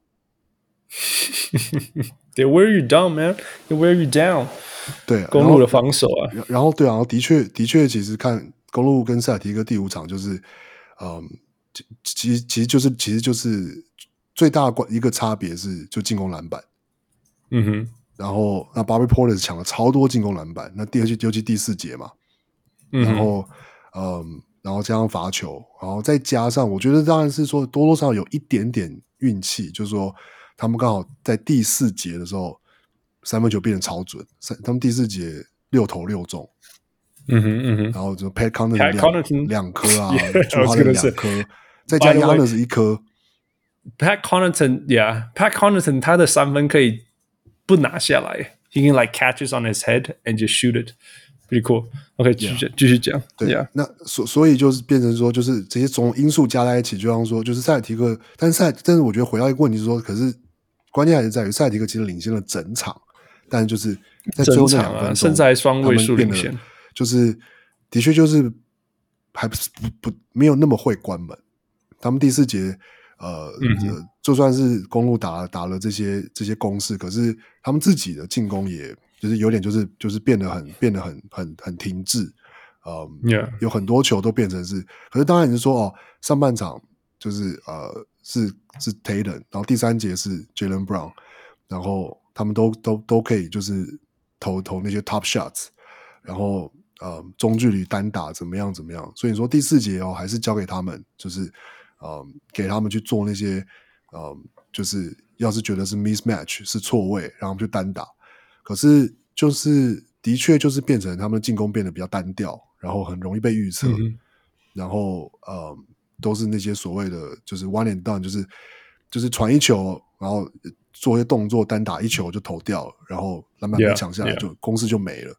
They wear you down, man. They wear you down.
對，
公鹿的防守啊。
然後對啊，的確，其實看公鹿跟塞爾提克第5場，就是其實就是最大的一個差別是就進攻籃板。然後那 Bobby Portis 搶了超多進攻籃板，那尤其第4節嘛。然後加上罰球，然後再加上，我覺得當然是說多少有一點點運氣，就是說他們剛好在第4節的時候3分球變得超準，他們第4節6投6中，然後就 Pat Connaughton 2顆啊，Jrue Holiday 2顆，再加 Giannis 1顆。
Pat Connaughton 他的3分可以不拿下來 ，he can like catches on his head and just shoot it。Pretty cool. OK， 繼續講。
對，
yeah.
那所以就是變成說，就是這些種因素加在一起，就像說，就是塞爾提克，但是我覺得回到一個問題是說，可是關鍵還是在於塞爾提克其實領先了整場，但是就是在最後那2分鐘，
甚至還雙位數領先，
就是的確就是還不沒有那麼會關門。他們第4節就算是公鹿打了這些攻勢，可是他們自己的進攻也。就是有點就是變得很停滯，有很多球都變成是，可是當然你是說上半場就是是 Tatum， 然後第3節是 Jaylen Brown， 然後他們都可以就是投那些 top shots， 然後中距離單打怎麼樣，所以你說第4節還是交給他們，就是給他們去做那些就是要是覺得是 mismatch 是錯位，然後他們去單打。可是就是的確就是變成他們的進攻變得比較單調，然後很容易被預測，然後都是那些所謂的就是 one and done， 就是傳一球，然後做一些動作，單打1球就投掉了，然後籃板被搶下來，就攻勢就沒了。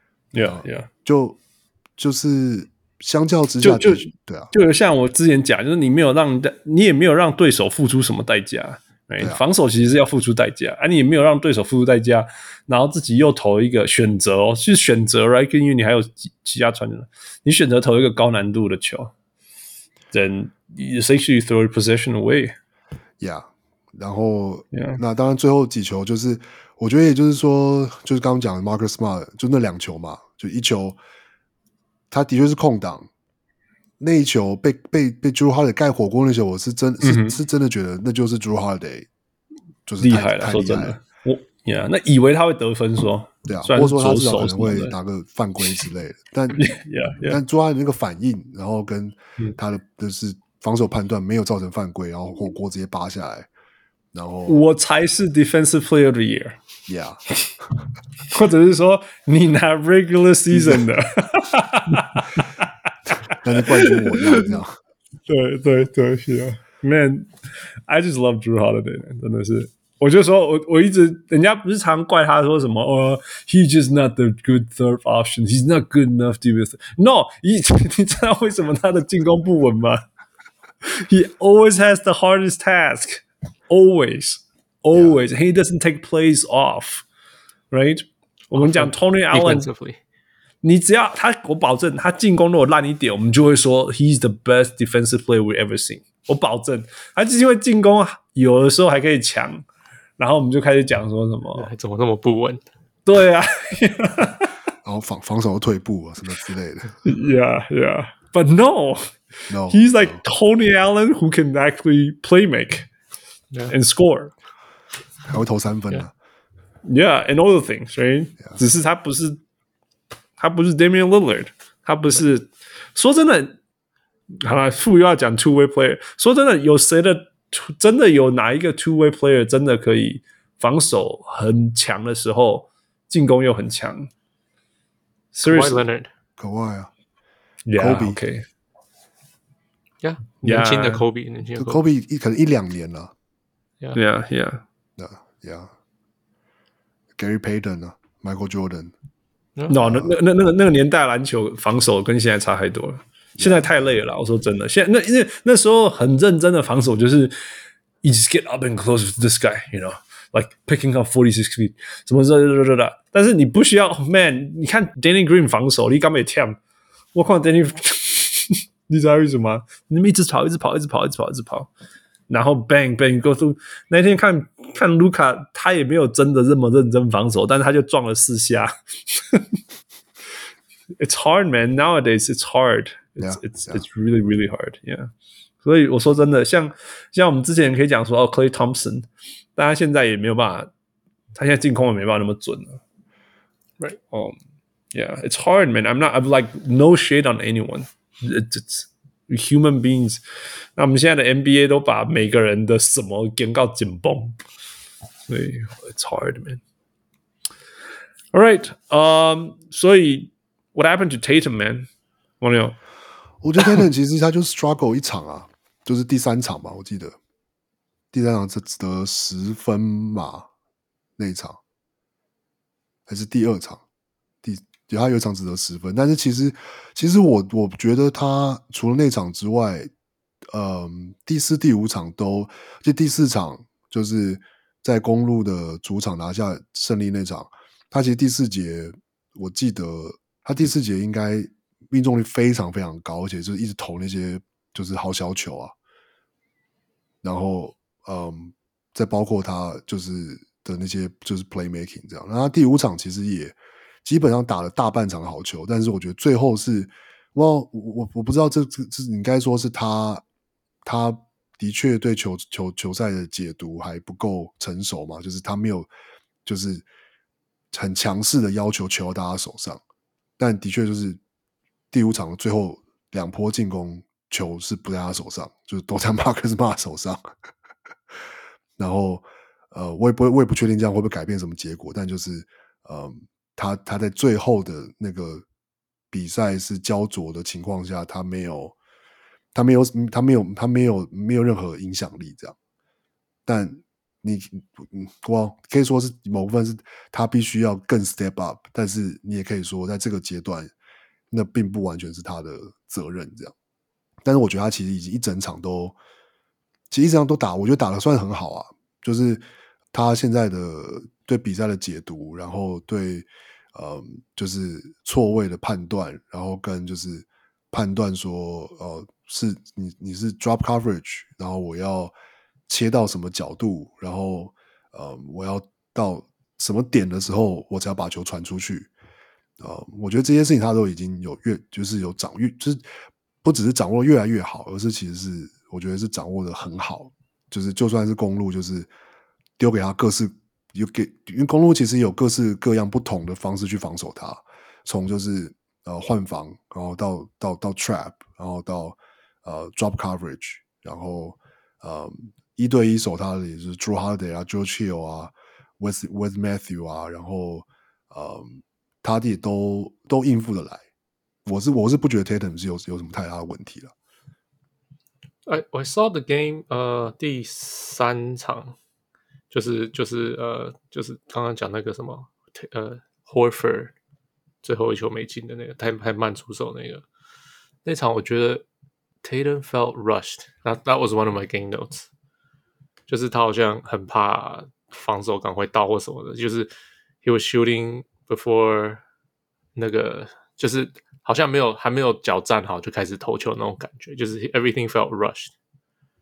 就是相較之下，對啊，
就像我之前講，就是你也沒有讓對手付出什麼代價。防守其實是要付出代價，你也沒有讓對手付出代價，然後自己又投一個選擇是選擇 right， 因為你還有其他傳人，你選擇投一個高難度的球 ，then essentially throw the possession away。
Yeah， 然後那當然最後幾球就是，我覺得也就是說，就是剛剛講的 Marcus Smart 就那2球嘛，就1球，他的確是空檔。那一球被 Jrue Holiday 蓋火鍋那球，我是真的覺得那就是 Jrue Holiday 就是
厲害了，說真的，那以為他會得分說，
對啊，或者說他至少可能會拿個犯規之類的，但 Jrue Holiday 那個反應，然後跟他的就是防守判斷沒有造成犯規，然後火鍋直接扒下來，然後
我才是 Defensive Player of the Year， 或者是說你拿 Regular Season 的。
但是冠軍我要這樣，
對是啊 ，Man， I just love Jrue Holiday， 真的是，我就說我一直，人家不是常怪他說什麼he's just not the good third option， he's not good enough to be no， 你知道為什麼他的進攻不穩嗎 ？He always has the hardest task, always, and he doesn't take plays off, right？ 我們講 Tony Allen。你只要我保證他進攻如果爛一點，我們就會說 he's the best defensive player we ever seen。我保證，他就是因為進攻有的時候還可以強然後我們就開始講說什麼
怎麼那麼不穩？
對啊，
然後防守退步啊什麼之類的。
Yeah. But no, he's like Tony Allen who can actually play make and score.
還會投3分啊。
Yeah, and all the things, right? 只是他不是 Damian Lillard， 他不是。說真的，好了，又要講 two-way player。說真的，有誰的真的有哪一個 two-way player 真的可以防守很強的時候，進攻又很強 ？Seriously,
Leonard,
Kawhi 啊
，Yeah, OK,
Yeah, 年輕的 Kobe， 年輕的
Kobe 可能1-2年了。
Yeah.
Gary Payton 啊 ，Michael Jordan。No，
那个年代籃球防守跟現在差太多了。現在太累了啦，我說真的。現在那時候很認真的防守，就是 you just get up and close with this guy, you know, like picking up 46 feet， 什麼的。但是你不需要 ，man， 你看 Danny Green 防守，你敢沒跳？我看 Danny， 你知道為什麼？你們一直跑，然後 bang go through。那天看盧卡，他也沒有真的這麼認真防守，但是他就撞了4下。It's hard, man. Nowadays, it's hard. It's really, really hard. Yeah. 所以我說真的，像我們之前可以講說Klay Thompson， 但他現在也沒有辦法，他現在進攻也沒辦法那麼準了。Right. Yeah. It's hard, man. I'm like no shade on anyone. It's human beings. 那我們現在的 NBA 都把每個人的什麼給到緊繃，所以 it's hard, man. All right. 所以 what happened to Tatum, man? 王牛，
我覺得 Tatum 其實他就 struggle 一場啊，就是第3場吧，我記得第3場是得10分嘛，那一場還是第2場？他有一場只得10分，但是其實我覺得他除了那場之外，第4、第5場就第4場就是在公鹿的主場拿下勝利那場，他其實第4節我記得他第4節應該命中率非常非常高，而且就是一直投那些就是好小球啊，然後再包括他就是的那些就是 playmaking 這樣，然後他第5場其實也基本上打了大半場好球，但是我覺得最後是我不知道這應該說是他的確對球賽的解讀還不夠成熟嘛，就是他沒有就是很強勢的要求球到他手上，但的確就是第5場的最後2波進攻球是不在他手上，就是都在馬克斯馬手上。然後我也不確定這樣會不會改變什麼結果，但就是他在最後的那個比賽是焦灼的情況下，他沒有任何影響力這樣。但我可以說是某部分是他必須要更 step up， 但是你也可以說在這個階段那並不完全是他的責任這樣。但是我覺得他其實已經一整場都打，我覺得打得算很好啊，就是他現在的對比賽的解讀，然後對就是錯位的判斷，然後跟就是判斷說是你是 drop coverage， 然後我要切到什麼角度，然後我要到什麼點的時候我才要把球傳出去。我覺得這些事情他都已經就是不只是掌握越來越好，而是其實是我覺得是掌握的很好，就是就算是公鹿就是丟給他因為公鹿其實有各式各樣不同的方式去防守他，從就是換防，然後到 trap， 然後到drop coverage， 然後1對1守他的也是 Drew Holiday 啊 George Hill 啊 Wes Matthews 啊，然後他也都應付得來。我是不覺得 Tatum 是有什麼太大的問題了。
I saw the game， 第3場就是剛剛講那個什麼Horford 最後一球沒進的那個太慢出手那場，我覺得 Tatum felt rushed。That was one of my game notes， 就是他好像很怕防守趕快到或什麼的，就是 he was shooting before 那個就是好像還沒有腳站好就開始投球那種感覺，就是 everything felt rushed。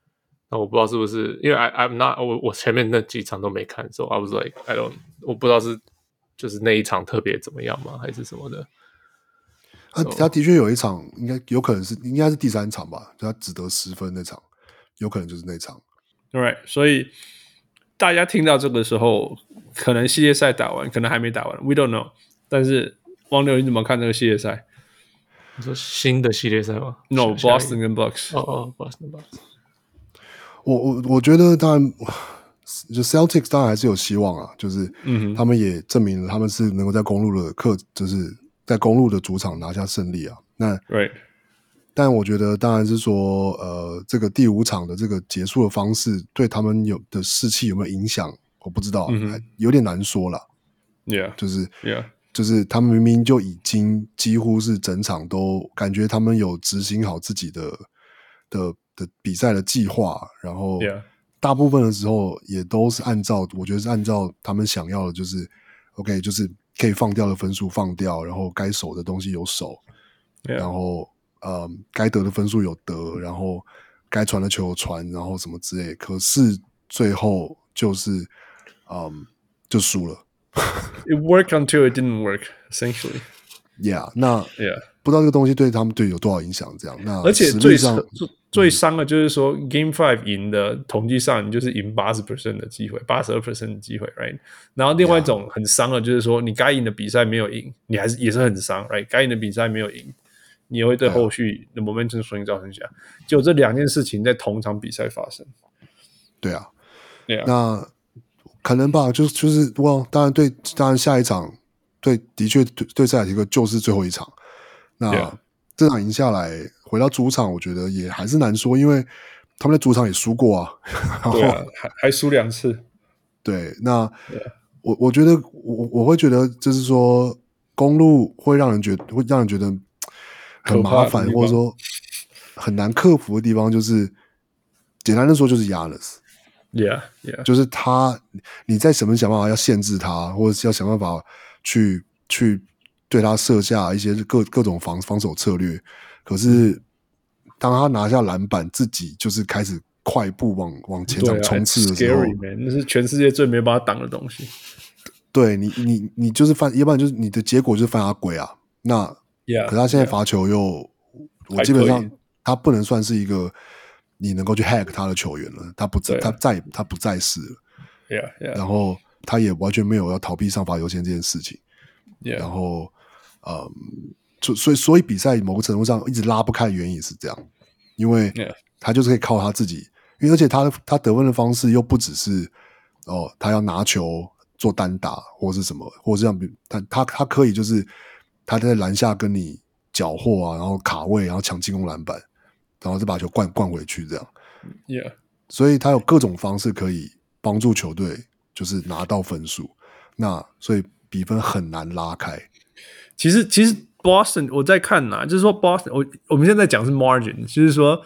那我不知道是不是因為 I'm not 我前面那幾場都沒看，所以 I was like我不知道是就是那一場特別怎麼樣嗎，還是什麼的。
他的確有一場，應該是第3場吧，就他只得10分那場，有可能就是那場。
Right， 所以大家聽到這個時候，可能系列賽打完，可能還沒打完 ，We don't know。但是王流，你怎麼看這個系列賽？
你說新的系列賽嗎
？No，Boston 跟 Bucks。
Boston Bucks。
我覺得當然，就 Celtics 当然還是有希望啊，就是他們也證明了他們是能夠在公路的就是在公路的主场拿下勝利啊。那
Right。
但我覺得當然是說，這個第5場的這個結束的方式對他們的士氣有沒有影響，我不知道，有點難說啦。
Yeah，
就是他們明明就已經幾乎是整場都感覺他們有執行好自己的比賽的計劃，然後大部分的時候也都是我覺得是按照他們想要的，就是 OK， 就是可以放掉的分数放掉，然後該守的東西有守，然後該得的分數有得，然後該傳的球有傳，然後什麼之類的。可是最後就是就輸了。
It worked until it didn't work, essentially.
Yeah， 那不知道這個東西對他們隊有多少影響？這樣，那
而且最傷的就是說，Game 5贏的統計上，你就是贏 80% 的機會，82% 的機會 ，right？ 然後另外一種很傷的，就是說你該贏的比賽沒有贏，你也是很傷 ，right？ 該贏的比賽沒有贏，你也會對後續的 momentum swing 造成影響。就這2件事情在同場比賽發生。
對啊，那可能吧，就是當然下一場的確對塞爾提克就是最後一場。那這場贏下來，回到主場，我覺得也還是難說，因為他們在主場也輸過啊。
對啊，還輸2次。
對，那我覺得我會覺得，就是說公路會讓人覺得很麻煩，或者說很難克服的地方，就是簡單的說，就是 Giannis。Yeah， 就是你在想辦法要限制他，或者是要想辦法去對他設下一些各種防守策略。可是當他拿下籃板，自己就是開始快步往前場衝刺的時候，
Scary, man， 那是全世界最沒辦法擋的東西。
對你就是要不然就是你的結果就是犯他規啊。那可是他現在罰球又，我基本上他不能算是一個你能夠去 hack 他的球員了，他不再是了。然後他也完全沒有要逃避上罚優先這件事情。然後所以比賽某個程度上一直拉不開的原因也是這樣，因為他就是可以靠他自己，而且他得分的方式又不只是他要拿球做單打或是什麼，或是像他可以就是他在籃下跟你繳獲啊，然後卡位，然後搶進攻籃板，然後再把球灌回去這樣。所以他有各種方式可以幫助球隊就是拿到分數，那所以比分很難拉開。
其實 Boston 我在看啊，就是說 Boston 我們現在講是 margin， 就是說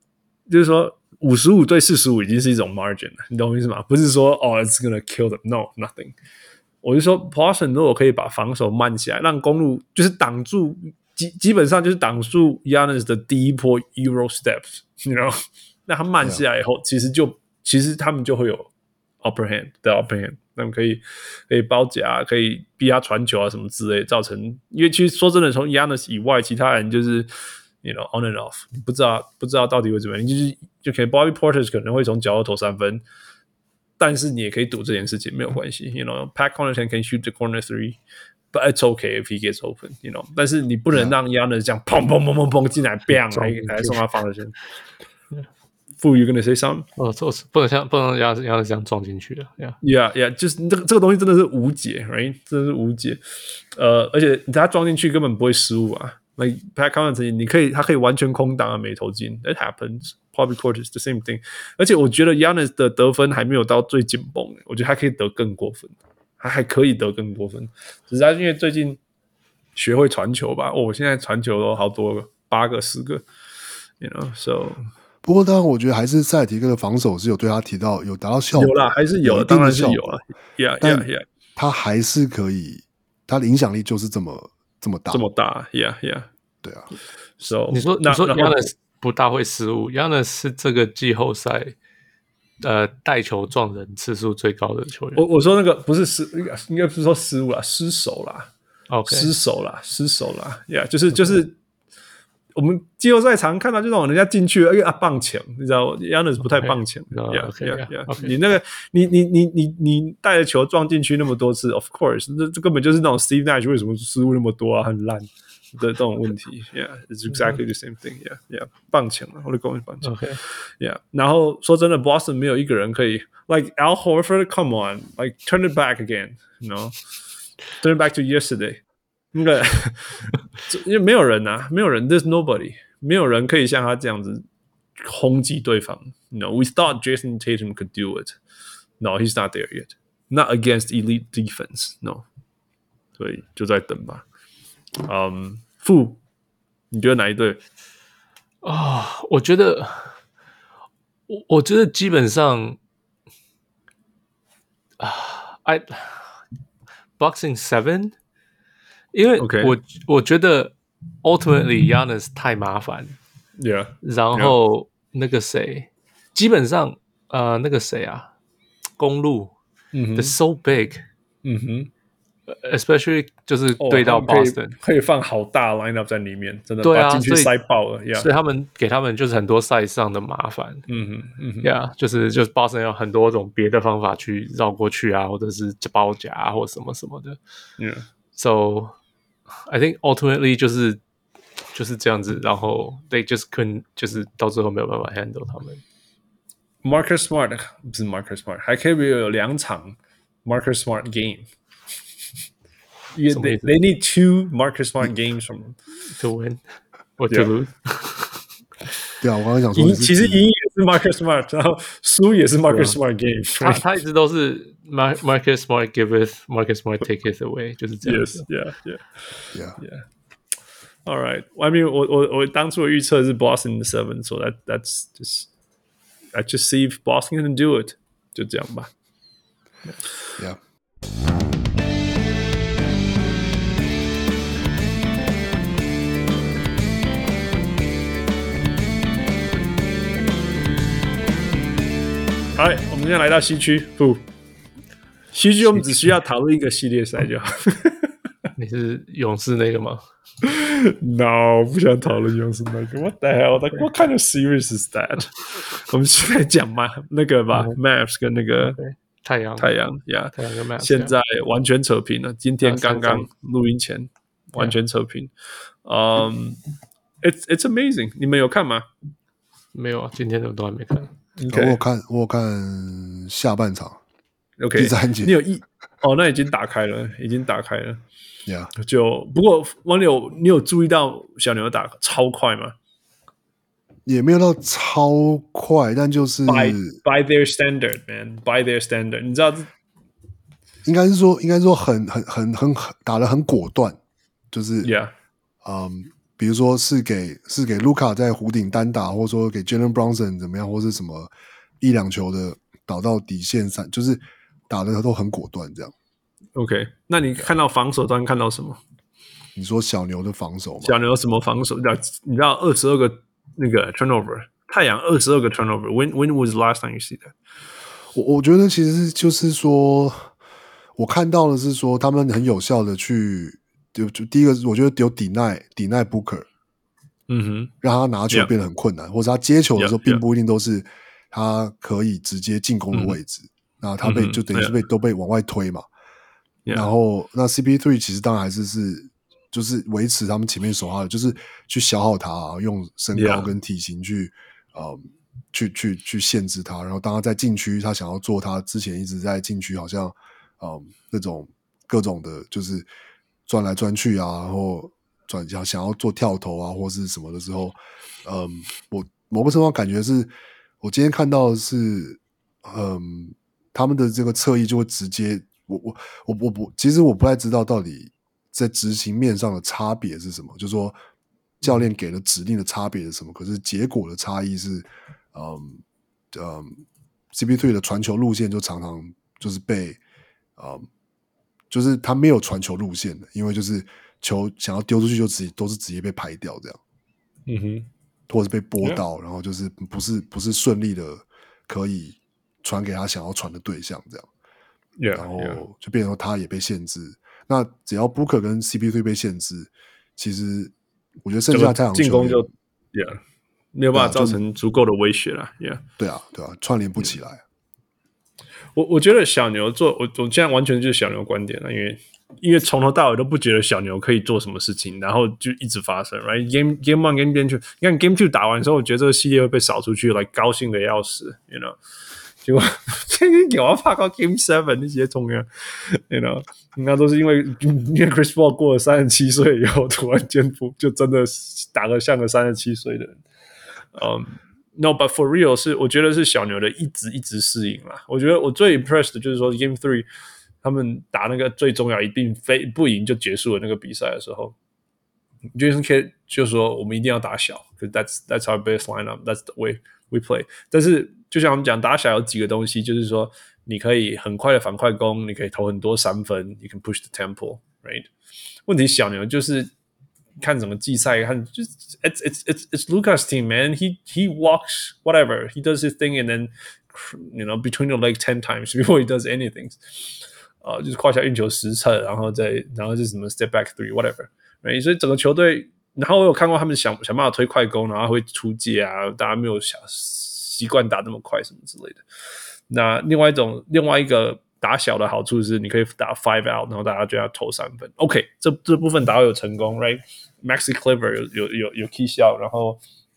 55對45已經是一種 margin 了，你懂我意思嗎？不是說it's gonna kill them， no nothing。我就說 Boston 如果可以把防守慢起来，讓公路就是擋住，基本上就是擋住 Giannis 的第一波 Euro steps，you know， 那他慢下來以後，其實他們就會有 upper hand， 他們可以包夾，可以逼他傳球啊什麼之類的，造成因為其實說真的，從 Giannis 以外，其他人就是you know on and off， 你不知道到底會怎麼樣，就可能 Bobby Portis 可能會從角落投3分，但是你也可以賭這件事情沒有關係 ，you know Pat Connaughton can shoot the corner three。But it's okay if he gets open, you know. 但是你不能讓 Giannis 這樣砰砰砰砰砰進來 ，bang 來送他防守線。Fu, you gonna say something?
不能讓 Giannis 這樣撞進去的
，Yeah， 就是這個東西真的是無解 ，right？ 真的是無解。而且他撞進去根本不會失誤啊。Like Pat Connaughton，他可以完全空檔啊，沒投進。It happens. Bobby Portis the same thing. 而且我覺得 Giannis 的得分還沒有到最緊繃，我覺得他可以得更過分。他還可以得更多分，只是他因為最近學會傳球吧。我現在傳球都好多個，8個10個 ，you know so。不
過当然，我覺得還是塞爾提克的防守是有对他有達到效果，
有啦，還是有，當然是有了。Yeah，
他還是可以，他的影響力就是這麼大，
這麼大。Yeah，
對啊。
So
你說 Giannis 不大會失誤 ，Giannis 是這個季後賽帶球撞人次數最高的球员。
我說那個不是應該不是說失誤啦，失手啦。
OK，
失手啦 ，yeah， 就是我們季後賽常看到就那種人家進去了，棒抢，你知道 Giannis 不太棒抢 ，yeah， 你那個你帶着球撞進去那麼多次 ，of course， 這根本就是那種 Steve Nash 為什麼失誤那麼多啊，很爛的這種問題 ，yeah，it's exactly the same thing，yeah， 棒搶啊，我的公是棒搶 ，yeah， 然後說真的 ，Boston 沒有一個人可以 ，like Al Horford，come on，like turn it back again，you know。Turn back to yesterday， 那個因為沒有人啊，没有人 ，there's nobody， 沒有人可以像他這樣子轟擊對方。No, we thought Jason Tatum could do it. No, he's not there yet. Not against elite defense. No， 所以就在等吧。傅，你覺得哪一隊？
我觉得基本上Boxing 7， 因為我覺得 ultimately Giannis 太麻煩
，yeah，
然後那個誰，基本上那個誰啊，公路，they're so big，especially 就是對到 Boston，
可以放好大 lineup 在裡面，真的
對啊，
把禁區塞爆了，
所以給他們就是很多赛上的麻煩，yeah， 就是 Boston 有很多種別的方法去繞過去啊，或者是包夾啊，或什麼什麼的，so I think ultimately 就是這樣子，然後 they just couldn't 就是到最後沒有辦法 handle 他們。
Marcus Smart 不是 Marcus Smart， 還可以有2場 Marcus Smart game。They need 2 Marcus Smart games from them
to win or to lose。
对啊，我剛剛想說，
其實贏也是 Marcus Smart， 然後輸也是 Marcus Smart game。
他一直都是 Marcus Smart giveth, Marcus Smart taketh away， 就是這樣子。
Yeah. All right. I mean， 我當初的預測是 Boston 7， so that's just I just see if Boston can do it， 就這樣吧。
Yeah.
好，我們現在來到西區，西區我們只需要討論一個系列賽就好。
你是勇士那個嗎
？No， 不想討論勇士那個。What the hell? Like what kind of series is that？ 我們現在講嘛，那個吧 ，Mavs 跟那個
太陽
，yeah，
太陽跟 Mavs，
現在完全扯平了。今天剛剛錄音前完全扯平。It's amazing。你們有看嗎？
沒有啊，今天的都還沒看。
Okay. 我有看下半場
，OK，
第3節。
你有那已經打開了
，Yeah。
不過王柳，你有注意到小牛打超快嗎？
也沒有到超快，但就是
by their standard, man, by their standard， 你知道，
應該是說很打得很果斷，就是
，Yeah，
比如說是給盧卡在弧頂單打，或者說給 Jalen Brunson 怎麼樣，或是什麼1-2球的導到底線上，就是打的都很果斷這樣。
OK， 那你看到防守端看到什麼？
你說小牛的防守嗎？
小牛什麼防守？你知道22個那個 turnover， 太陽22個 turnover。When was the last time you see that？
我覺得其實就是說，我看到的是說他們很有效的去。就第一個，我覺得有 deny Booker， 讓他拿球變得很困難，或者他接球的時候並不一定都是他可以直接進攻的位置，那他就等於是都被往外推嘛。然後那 CP3 其實當然還是就是維持他們前面守他的，就是去消耗他，用身高跟體型去限制他。然後當他在禁區，他想要做他之前一直在禁區好像那種各種的，就是轉來轉去啊，然後想要做跳投啊，或是什麼的時候，我某個程度上感覺是，我今天看到的是，他們的這個側翼就會直接，其實我不太知道到底在執行面上的差別是什麼，就是說教練給了指令的差別是什麼，可是結果的差異是，CP3 的傳球路線就常常就是被就是他沒有傳球路線的，因為就是球想要丟出去就都是直接被排掉這樣，或者是被撥到，然後就是不是順利的可以傳給他想要傳的對象，這樣。
Yeah,
然後就變成說他也被限制。那只要 Booker 跟 CP3 被限制，其實我觉得剩下太陽
進攻就沒有辦法造成足夠的威脅了。
對啊，串聯不起來。
我覺得小牛做我現在完全就是小牛觀點了，因為從頭到尾都不覺得小牛可以做什麼事情，然後就一直發生。Right game 1 game 2，你看 game 2打完之後，我覺得這個系列會被掃出去，來高興的要死 ，you know。結果有啊，怕到 Game 7那些重要 ，you know， 那都是因為 Chris Paul 過了37歲以後，突然間就真的打得像個37歲的人。No, but for real 我覺得是小牛的一直適應啦。我覺得我最 impressed 的就是說 Game 3他們打那個最重要一定不贏就結束了那個比賽的時候 ，Jason Kidd 就說我們一定要打小 ，because that's our best lineup, that's the way we play。但是就像我們講打小有幾個東西，就是說你可以很快的反快攻，你可以投很多三分 ，you can push the tempo, right？ 問題小牛就是看整個季賽，看就是 it's Luka's team, man. He walks whatever, he does his thing, and then you know between the leg 10 times before he does anything. 就是胯下運球10次，然後是什麼 step back 3 whatever, right？ 所以整個球隊，然後我有看過他們想辦法推快攻，然後會出界啊，大家沒有習慣打那麼快什麼之類的。那另外一個打小的好處是，你可以打 5 out， 然後大家就要投3分。OK， 這部分打到有成功 ，right？Maxi Kleber 有 key shot， 然後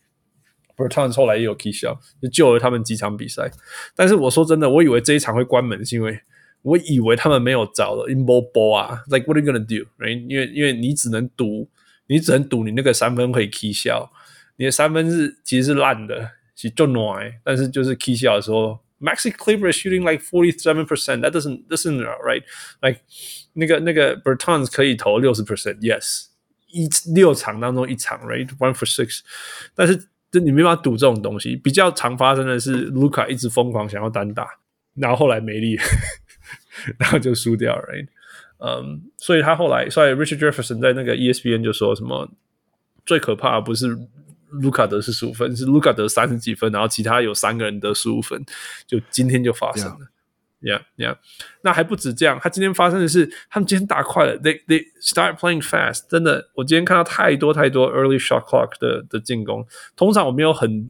Bertans 後來也有 key shot， 就救了他們幾場比賽。但是我說真的，我以為這一場會關門，是因為我以為他們沒有找了 Imbo Ball 啊 ，like what are you gonna do， right？ 因為你只能賭你那個3分可以 key shot， 你的3分其實是爛的。是就暖，但是就是 key shot 的時候 ，Maxi Kleber is shooting like 47%. That doesn't right. Like 那個 Bertans 可以投 60%. Yes， 6場當中1場 ，right? 1 for 6。但是你沒辦法賭這種東西。比較常發生的是 Luka 一直瘋狂想要單打，然後後來沒力，然後就輸掉 ，right？ 所以Richard Jefferson 在那個 ESPN 就說什麼最可怕的不是盧卡得45分，是盧卡得30幾分，然後其他有3個人得15分，就今天就發生了。Yeah. 那還不止這樣，他今天發生的是，他們今天打快了 ，they start playing fast。真的，我今天看到太多 early shot clock 的進攻。通常我没有很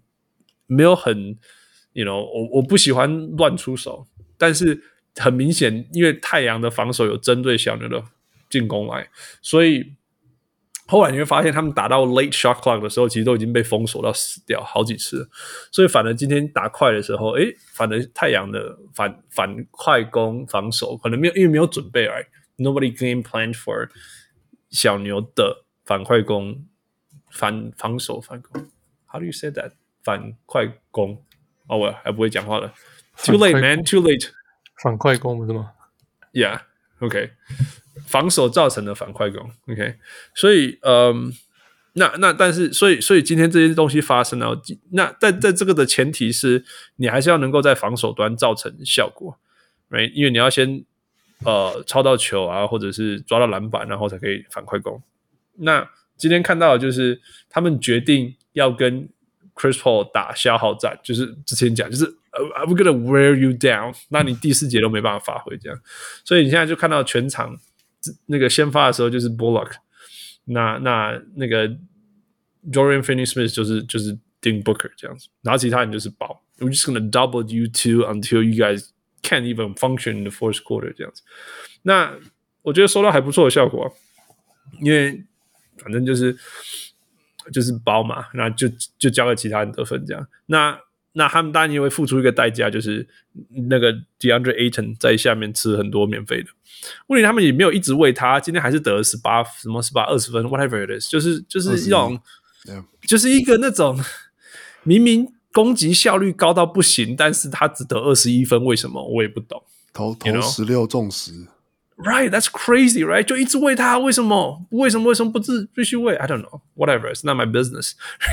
，you know， 我不喜歡亂出手，但是很明顯，因為太陽的防守有針對小牛的進攻來，所以。後來你會發現，他們打到 late shot clock 的時候，其實都已經被封鎖到死掉好幾次了。所以反而今天打快的時候，反而太陽的反快攻防守可能沒有，因為沒有準備right? Nobody game planned for 小牛的反快攻防守反攻。How do you say that？ 反快攻？我還不會講話了。Too late, man. Too late.
反快攻不是嗎
？Yeah. OK。防守造成的反快攻 ，OK， 所以但是所以今天这些東西發生了，那在這個的前提是你還是要能夠在防守端造成效果 ，right？ 因為你要先抄到球啊，或者是抓到籃板，然後才可以反快攻。那今天看到的就是他們決定要跟 Chris Paul 打消耗戰，就是之前講就是。I'm gonna wear you down， 那你第4節都沒辦法發揮這樣，所以你現在就看到全場那個先發的時候就是 Bullock， 那個 Dorian Finney-Smith 就是Devin Booker 這樣子，然後其他人就是包 ，We're just gonna double you two until you guys can't even function in the fourth quarter 這樣子。那我覺得收到還不錯的效果，因為反正就是包嘛，那就交給其他人得分這樣。那他們當然也會付出一個代價，就是那個 DeAndre Ayton 在下面吃很多免費的。問題他們也沒有一直餵他，今天還是得了18 20分 whatever it is， 就是一種，就是一個那種明明攻擊效率高到不行，但是他只得21分，為什麼我也不懂。
投16中10。
Right, that's crazy, right? 就一直餵他，為什麼不必須餵 ？I don't know, whatever, it's not my business.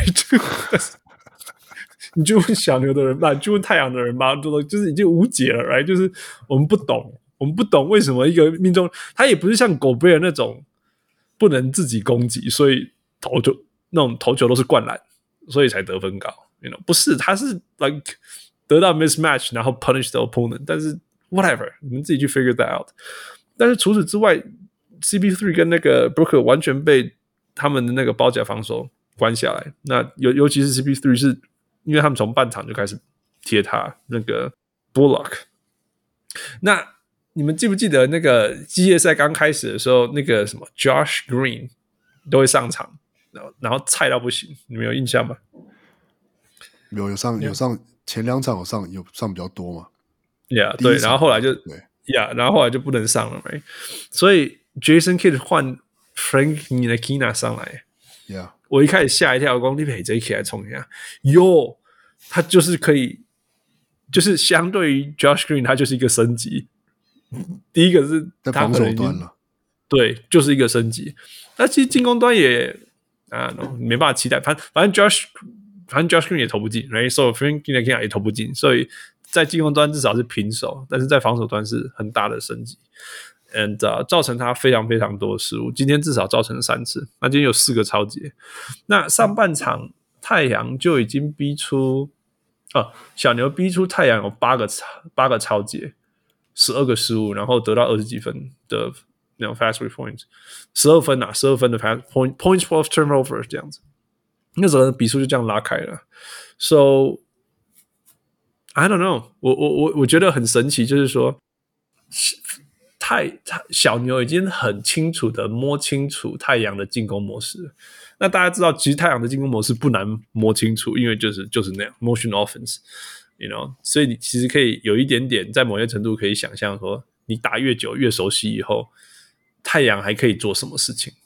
你就問小牛的人吧，就問太陽的人吧，就是已經無解了 ，right？ 就是我們不懂為什麼一個命中，他也不是像狗貝爾那種不能自己攻擊，所以投球都是灌籃，所以才得分高， you know？ 不是，他是 like 得到 mismatch， 然後 punish the opponent， 但是 whatever， 你們自己去 figure that out。但是除此之外 ，CP3 跟那個 Booker 完全被他們的那個包夾防守關下來。那尤其是 CP3 是因為他們從半場就開始貼他那個 Bullock。那你們記不記得那個季業賽剛開始的時候，那個什麼 Josh Green 都會上場，然後菜到不行，你們有印象嗎？有上前2場有上比較多嘛 ？Yeah， 對，然後後來就然後後来就不能上了，right？ 所以 Jason Kidd 換 Frank Ntilikina 上來
，Yeah， 我
一開始嚇一跳，我說你陪這一起來衝一下，他就是可以，就是相對於 Josh Green， 他就是一個升級。第一個是他
在防守端了，
对，就是一個升級。那其實進攻端也沒辦法期待，反正 Josh Green 也投不進 ，right？ So Frank Ntilikina 也投不進，所以在進攻端至少是平手，但是在防守端是很大的升級 ，and 造成他非常非常多的失誤。今天至少造成了3次，那今天有4個抄截。那上半場太陽就已經逼出小牛逼出太陽有8個抄截。12個失誤，然後得到20幾分的那種 fast break points， 12分的 points for turnover 這樣子，那時候的比數就這樣拉開了。So I don't know， 我覺得很神奇，就是說小牛已經很清楚的摸清楚太陽的進攻模式了。那大家知道，其實太陽的進攻模式不難摸清楚，因為就是那樣 motion offense。You know， 所以你其實可以有一點點，在某些程度可以想象說，你打越久越熟悉以後，太陽還可以做什麼事情？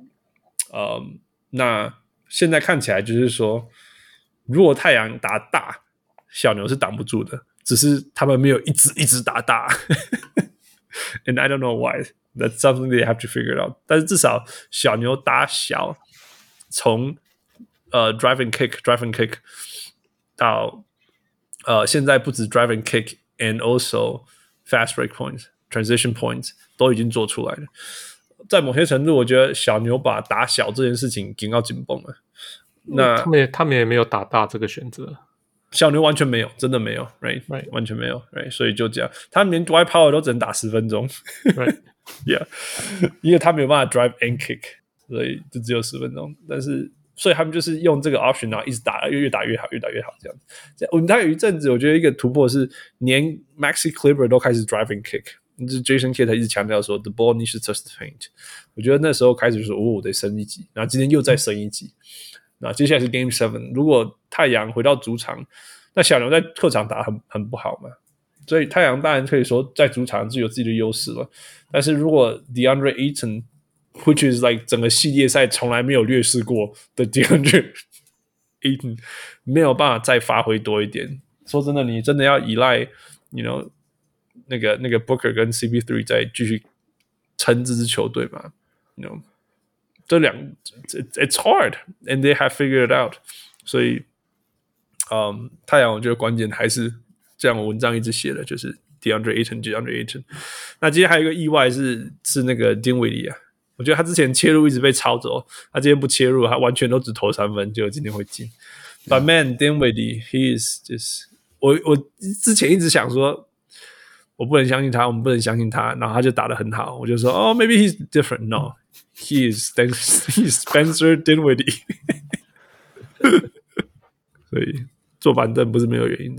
那現在看起來就是說，如果太陽打大，小牛是擋不住的，只是他們沒有一直打大。And I don't know why. That's something they have to figure out. 但是至少小牛打小，從drive and kick 到現在不止 drive and kick and also fast break points, transition points 都已經做出來了。在某些程度，我覺得小牛把打小這件事情緊到緊繃了。那
他們也沒有打大這個選擇。
小牛完全沒有，真的沒有 ，right？ 完全沒有 ，right？ 所以就這樣，他們連 Dwight Powell 都只能打10分鐘
，right？
Yeah， 因為他沒有辦法 drive and kick， 所以就只有10分鐘。但是，所以他們就是用這個 option， 然後一直打，越打越好，越打越好這樣子。我們大概有一陣子，我覺得一個突破是連 Maxi Kleber 都開始 drive and kick， 就是 Jason Kidd 他一直強調說 the ball needs to touch the paint。我覺得那時候開始就說，我得升一級，然後今天又再升一級。那接下來是 Game 7， 如果太陽回到主場，那小牛在客場打很不好嘛，所以太陽當然可以說在主場是有自己的優勢了。但是如果 DeAndre Ayton，which is like 整個系列賽從來沒有劣勢過的 DeAndre Ayton， 沒有辦法再發揮多一點。說真的，你真的要依賴 ，you know， 那個 Booker 跟 CP3 再繼續撐這支球隊嘛 ，you know。這it's hard, and they have figured it out. 所以，太陽我覺得關鍵還是這樣，文章一直寫的就是 DeAndre Ayton。那今天還有一個意外是那個 Dinwiddie 啊，我覺得他之前切入一直被抄走，他今天不切入，他完全都只投3分，結果今天會進。But man, Dinwiddie, he is just 我之前一直想說，我不能相信他，我們不能相信他，然後他就打得很好，我就說maybe he's different. No.He is Spencer Dinwiddie 所以坐板凳不是沒有原因的。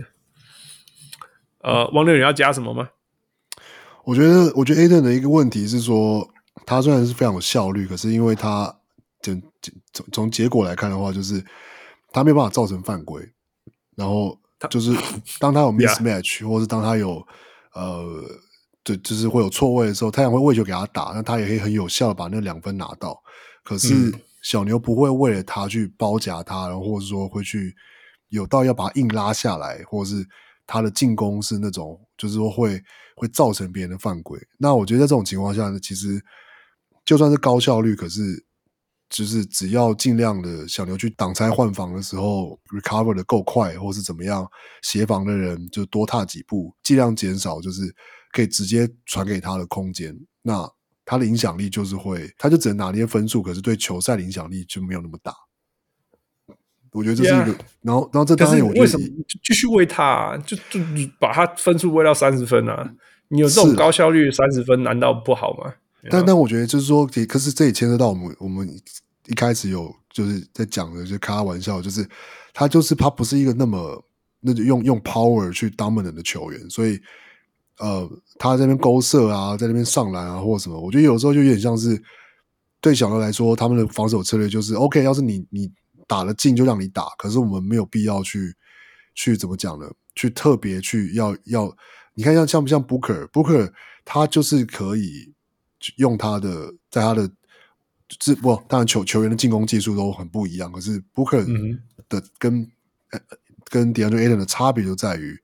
汪六，你要加什麼嗎？
我覺得 Ayton 的一個問題是說，他雖然是非常有效率，可是因為他從結果來看的話，就是他沒有辦法造成犯規，然後就是當他有 mismatch， 或是當他有對，就是會有錯位的時候，太陽會餵球給他打，那他也可以很有效的把那2分拿到。可是小牛不會為了他去包夾他，然後或者說會去有到要把他硬拉下來，或者是他的進攻是那種就是說會造成別人的犯規。那我覺得在這種情況下呢，其實就算是高效率，可是就是只要盡量的小牛去擋拆換防的時候 recover 的夠快，或是怎麼樣，協防的人就多踏幾步，盡量減少就是可以直接傳給他的空間，那他的影響力就是他就只能拿捏分數，可是對球賽的影響力就沒有那麼大。 我覺得這是一個，然後這當然我覺得
為什麼繼續餵他啊？就把他分數餵到30分啊？你有這種高效率30分，難道不好嗎？
但我覺得就是說，可是這也牽涉到我們一開始有就是在講的，就開玩笑，就是他不是一個那用 power 去 dominant 的球員，所以他在那邊勾射啊，在那邊上籃啊或者什麼，我覺得有時候就有點像是對小牛來說，他們的防守策略就是 OK， 要是你打得進就讓你打，可是我們沒有必要去怎麼講呢？去特別去要你看像不像 Booker 他就是可以用他的在他的当然球员的进攻技術都很不一樣，可是 Booker 的跟 DeAndre Ayton 的差別就在於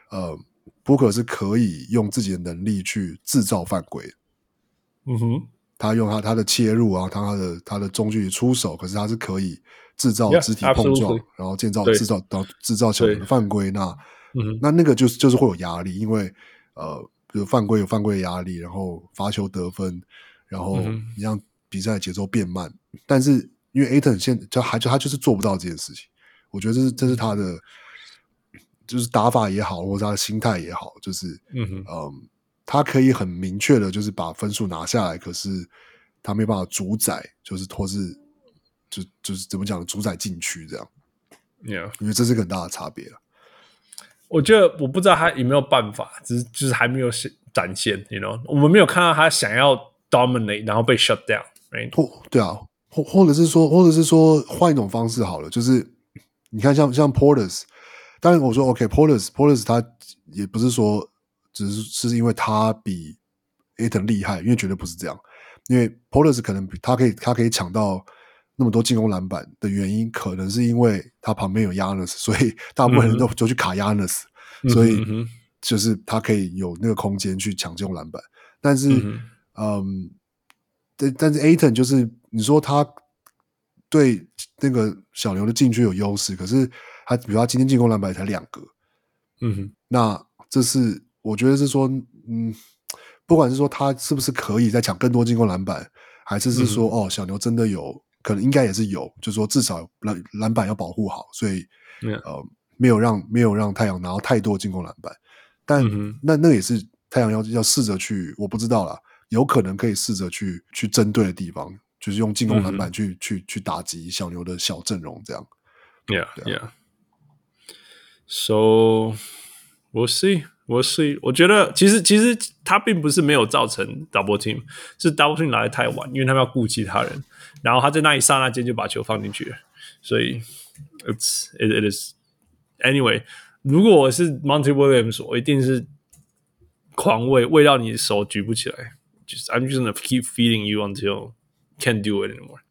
Booker 是可以用自己的能力去制造犯規，他用他的切入啊，他的中距離出手，可是他是可以制造肢體碰撞，然後制造小的犯規。那個就是会有压力，因为比如犯规有犯規的压力，然後罰球得分，然後你讓比賽節奏變慢。但是因為 Ayton 他就是做不到這件事情，我覺得這是他的就是打法也好，或者他的心態也好，就是他可以很明確的，就是把分數拿下來，可是他沒辦法主宰，就是或是就是怎麼講，主宰禁區這樣。
Yeah，
因為這是個很大的差別。
我覺得我不知道他有沒有辦法，就是還沒有展現 ，you know， 我們沒有看到他想要 dominate， 然後被 shut down，right？
對啊，或者是說換一種方式好了，就是你看像 Portis， 當然我說 OK，Portis 他也不是說只是因為他比 Ayton 厲害，因為絕對不是這樣，因為 Portis 可能他可以搶到那麼多進攻籃板的原因，可能是因為他旁邊有 Giannis， 所以大部分人都就去卡 Giannis，所以就是他可以有那個空間去搶进攻籃板。但是但是 Ayton 就是你說他對那個小牛的禁區有優勢，可是他比如他今天進攻籃板才2個，那這是我覺得是說不管是說他是不是可以再搶更多進攻籃板，還是說小牛真的有可能，應該也是有，就是說至少籃板要保護好，所以沒有讓太陽拿到太多進攻籃板。但那也是太陽要試着去，我不知道啦，有可能可以試着去針對的地方，就是用進攻籃板去打擊小牛的小陣容這樣。
Yeah. So we'll see. 我覺得其實他並不是沒有造成 double team， 是 double team 來得太晚，因為他們要顧其他人，然後他在那一剎那間就把球放進去了，所以 it is anyway。如果我是 Monty Williams， 我一定是狂餵到你手舉不起來，就是 I'm just gonna keep feeding you until can't do it anymore.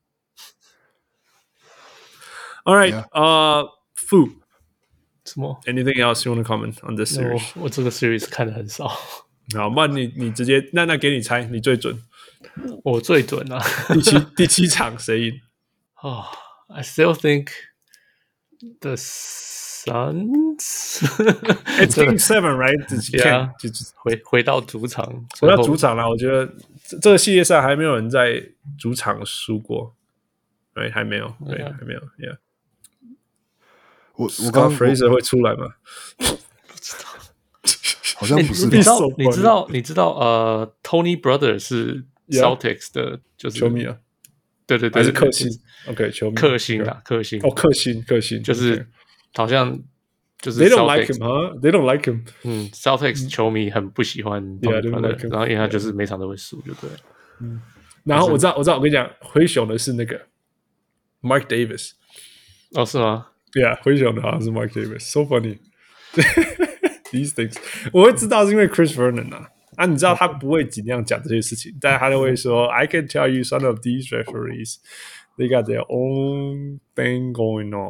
All right, Fu。
什麼
？Anything else you want to comment on this series？
我這個 series 看得很少。
好，不然你直接那給你猜，你最準。
我最準啊！
第七場誰贏
？I still think the Suns.
It's Game 7, right?
Yeah. 回到主場，
回到主場了。我覺得這個系列賽還沒有人在主場輸過，對，還沒有，對，還沒有 ，Yeah。我剛 Fraser 會出來嗎？
不知道，
好像不是。
你知道Tony Brother 是 Celtics 的，就是
球迷啊。對，還是克星 ，OK， 球迷，克星，克星，
就是好像就是
They don't like him， huh? They don't like him。
Celtics 球迷很不喜歡 Tony Brother， 然後因為他就是每場都會輸，就對了。
然后我知道，我跟你講，灰熊的是那個 Mark Davis。
哦，是嗎
？Yeah， 灰熊的好像是 Mark Davis，so funny 。These things 我會知道是因為 Chris Vernon 啊，你知道他不會盡量講這些事情，但他就會說 I can tell you some of these referees they got their own thing going on 。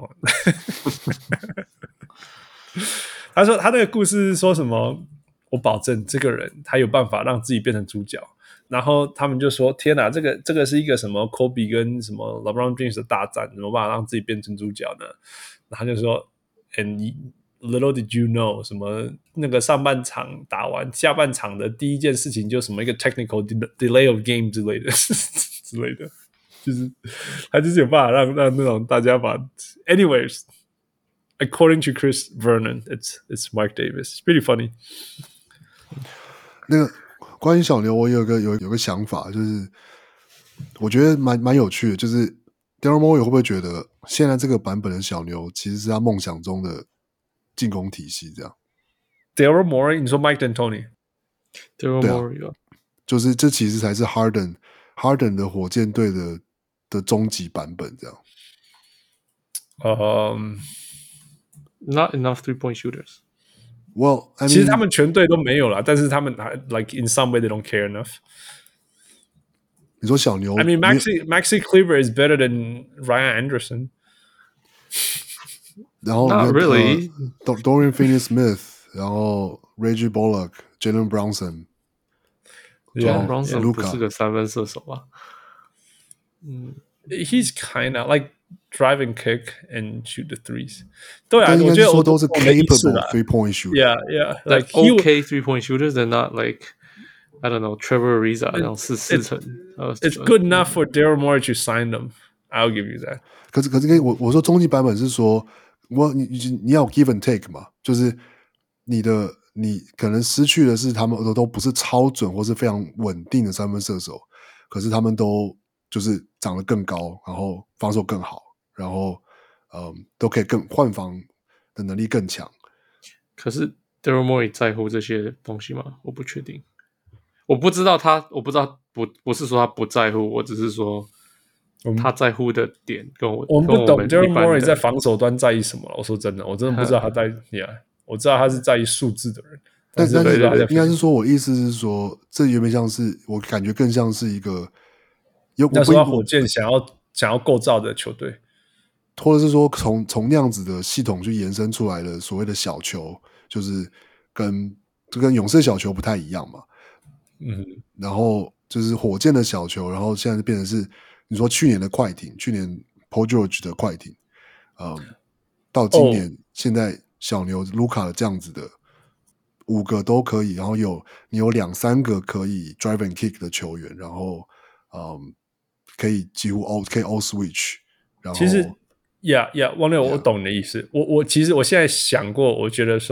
他說他那個故事是說什麼？我保證這個人他有辦法讓自己變成主角。然後他們就說：“天哪，這個是一個什麼 Kobe 跟什麼 LeBron James 的大戰，怎麼辦法讓自己變成主角呢？”然後他就說 ：“And little did you know， 什麼那個上半場打完，下半場的第一件事情就什麼一個 technical delay of game 之類的之類的。” 就是他就是有辦法讓那種大家把 anyways。According to Chris Vernon, it's Mike Davis. It's pretty funny.
那個關於小牛，我有個想法，就是我覺得蠻有趣的，就是 Daryl Morey 會不會覺得現在這個版本的小牛其實是他夢想中的進攻體系？這樣
Daryl Morey， 你說 Mike D'Antoni？Daryl
Morey
就是這其實才是 Harden 的火箭隊的終極版本，這
樣。
Not enough 3-point shooters.
Well, I mean,
其實他們全隊都沒有啦，但是他們 like in some way they don't care enough.
你說小牛
I mean, Maxi Kleber is better than Ryan Anderson.
然後
Not really.
Dorian Finney-Smith, 然後 Reggie Bullock, Jalen
Brunson。Jalen Brunson 不是個三分射手吧
？He's kind of like drive and kick and shoot the threes. 对啊，
我
觉得
说都是 capable 3-point shooter.
Yeah,
like okay 3-point shooters. They're not like I don't know Trevor Ariza 那種4成。
It's good enough for Daryl Morey to sign them. I'll give you that.
可是我說終極版本是說，你要 give and take 嘛，就是你可能失去的是他們都不是超準或是非常穩定的三分射手，可是他們都就是長得更高，然後防守更好，然後都可以换防的能力更強。
可是 Daryl Morey 在乎這些東西嗎？我不確定，我不知道不是說他不在乎，我只是說他在乎的點跟我
們不懂 Daryl Morey 在防守端在意什麼了。我說真的，我真的不知道他在我知道他是在意數字的人，
但是應該是說，我意思是說，這有點像是我感覺更像是一個。
那時候火箭想要構造的球隊，
或者是說從那樣子的系統去延伸出來的所謂的小球，就是跟勇士小球不太一樣嘛。然後就是火箭的小球，然後現在变成是你說去年的快艇，去年 Paul George 的快艇，到今年現在小牛盧卡的這樣子的5個都可以，然後你有2-3個可以 drive and kick 的球員，然後可以幾乎可以 all switch， 然後
其實王六，我懂你的意思。我其實我現在想過，我覺得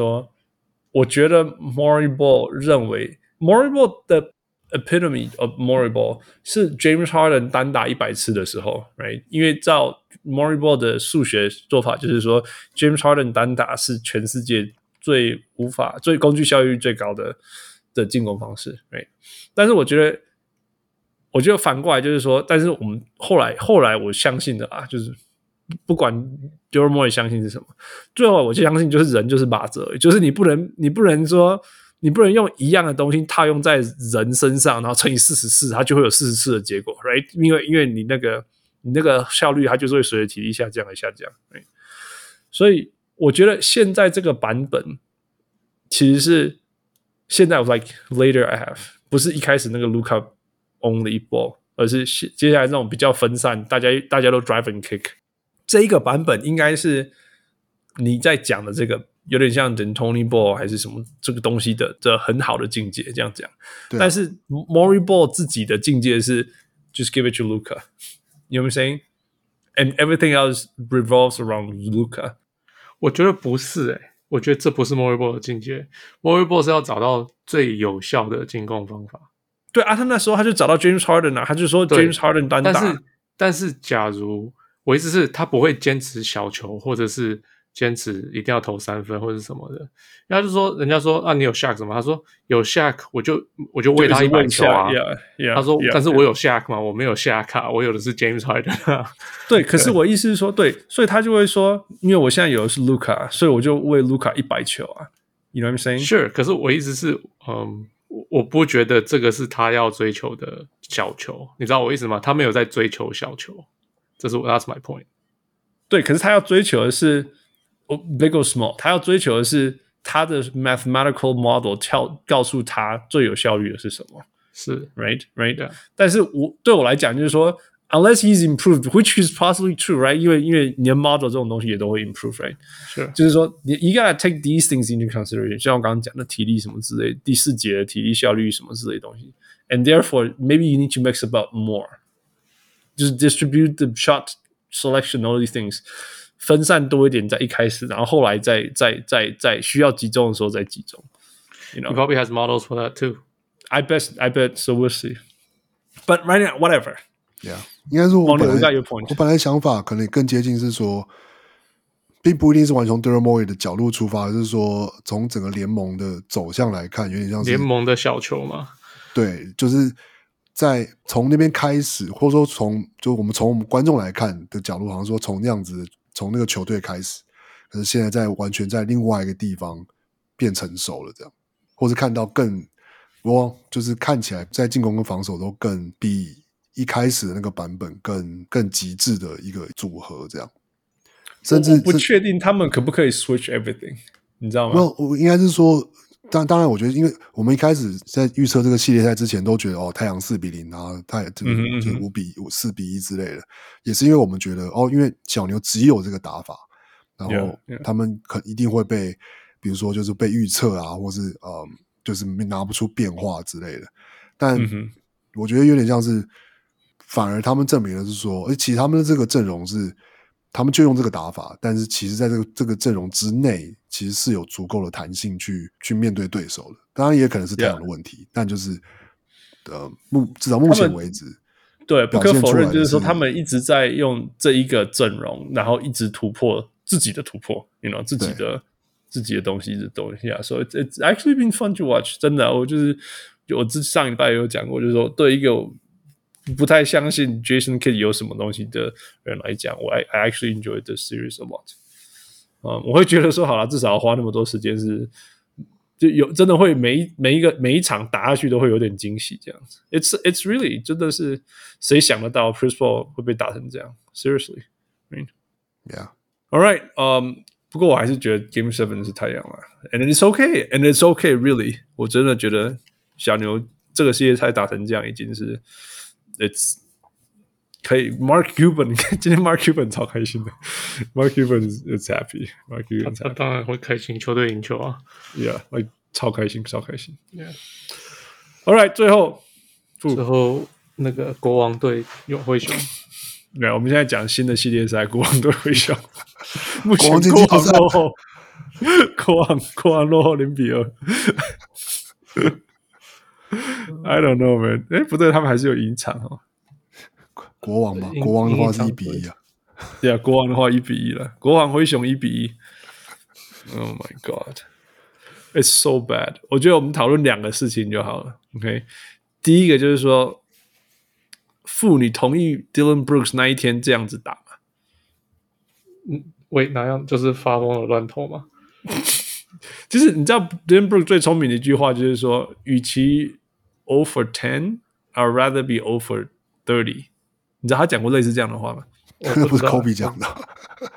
Morey Ball 認為 Morey Ball 的 epitome of Morey Ball 是 James Harden 單打100次的時候 ，right？ 因為照 Morey Ball 的數學做法，就是說 James Harden 單打是全世界最工具效率最高的進攻方式 ，right？ 但是我覺得反過來就是說，但是我們後來我相信的啊，就是不管 Daryl Morey 相信是什麼，最後我就相信就是人就是靶子而已，就是你不能說你不能用一樣的東西套用在人身上，然後乘以44，它就會有44的結果 ，right？ 因為你那個效率它就是會隨着體力下降而下降 ，right？ 所以我覺得現在這個版本其實是現在 like later I have 不是一開始那個 Luka only ball， 而是接下來這種比較分散，大家都 drive and kick。這一個版本應該是你在講的這個有點像 D'Antoni Ball 還是什麼這個東西的很好的境界，這樣講。但是 Morey Ball 自己的境界是 just give it to Luka， you know what I'm saying? And everything else revolves around Luka。
我覺得不是我覺得這不是 Morey Ball 的境界。Morey Ball 是要找到最有效的進攻方法。
對啊，他那時候他就找到 James Harden 他就說 James Harden 單打。
但是假如我意思是他不會堅持小球，或者是堅持一定要投3分或者什麼的。然後就說人家說啊，你有 Shaq 什麼？他說有 Shaq 我就餵他100球啊。他說但是我有 Shaq 嘛，我沒有 Shaq 啊，我有的是 James Harden
對，可是我意思是說，對，所以他就會說，因為我現在有的是 Luka， 所以我就餵 Luka 100球啊。You know what I'm saying?
Sure， 可是我意思是，我不覺得這個是他要追求的小球，你知道我意思嗎？他沒有在追求小球，這是 That's my point。
對，可是他要追求的是 big or small， 他要追求的是他的 mathematical model 告訴他最有效率的是什麼，
是
right？ 但是對我來講就是說 ，unless he's improved, which is possibly true, right？ 因為你的 model 這種東西也都會 improve, right？
是，
就是說you gotta take these things into consideration， 像我剛剛講的體力什麼之類，第4節的體力效率什麼之類的東西 ，and therefore maybe you need to mix about more。 就是 distribute the shot selection all these things 分散多一點在一開始，然後後來在需要集中的時候再集中。You know,
he probably has models for that too.
I bet. So we'll see. But right now, whatever.
Yeah， 應該說我本來想法可能更接近是說，並不一定是完全從 Daryl Morey 的角度出發，就是說從整個聯盟的走向來看，有點像是
聯盟的小球嘛。
對，就是在從那邊開始，或者說我們從觀眾來看的角度，好像說從那樣子，從那個球隊開始，可是現在完全在另外一個地方變成熟了，這樣，或是看到就是看起來在進攻跟防守都更比一開始的那個版本更極致的一個組合，這樣。甚至
我不確定他們可不可以 switch everything， 你知道嗎？
我應該是說，當然，我覺得，因為我們一開始在預測這個系列賽之前，都覺得太陽4-0，然後太這個就4-1之類的，也是因為我們覺得因為小牛只有這個打法，然後他們一定會被，比如說就是被預測啊，或是就是拿不出變化之類的。但我覺得有點像是，反而他們證明的是說，其實他們的這個陣容是，他們就用這個打法，但是其實在這個陣容之內，其實是有足夠的彈性去面對對手的。當然也可能是太陽的問題，但就是至少目前為止，
对，不可否認就是说他们一直在用這一個陣容，然後一直突破自己的突破 ，you know 自己的東西的東西啊，所以 it's actually been fun to watch。真的，我上禮拜也有講過，就是說對一個不太相信 Jason Kidd 有什麼東西的人來講，I actually enjoyed the series a lot。我會覺得說，好了，至少要花那麼多時間就有真的會每一場打下去都會有點驚喜這樣子。It's really 真的是誰想得到 Chris Paul 會被打成這樣 ？Seriously， right?
Yeah.
All right. 不過我還是覺得 Game 7是太陽了 ，and it's okay, and it's okay, really。我真的覺得小牛這個系列賽打成這樣已經是 ，it's 可以。Mark Cuban， 今天 Mark Cuban 超開心的 ，Mark Cuban is happy。Mark Cuban
他當然會開心，球隊贏球啊
，Yeah， 超開心，超開心。
Yeah.
All right，最後
那個國王隊有灰熊。
對，我們現在講新的系列賽，國王對灰熊。目前國王落後，國王落後0-2。I don't know, man。不對，他們還是有贏場哦。
國王吧，國王的話是1-1啊。
對啊，國王的話1-1了。國王灰熊1-1。Oh my god, it's so bad。我覺得我們討論兩個事情就好了。OK， 第一個就是說。你同意 Dylan Brooks 那一天這樣子打嗎？
喂，哪樣？就是發瘋了亂投嗎？
就是你知道 Dylan Brooks 最聰明的一句話就是說，與其 0 for 10 I'd rather be 0 for 30。你知道他講過類似這樣的話嗎？
那不是 Kobe 講的。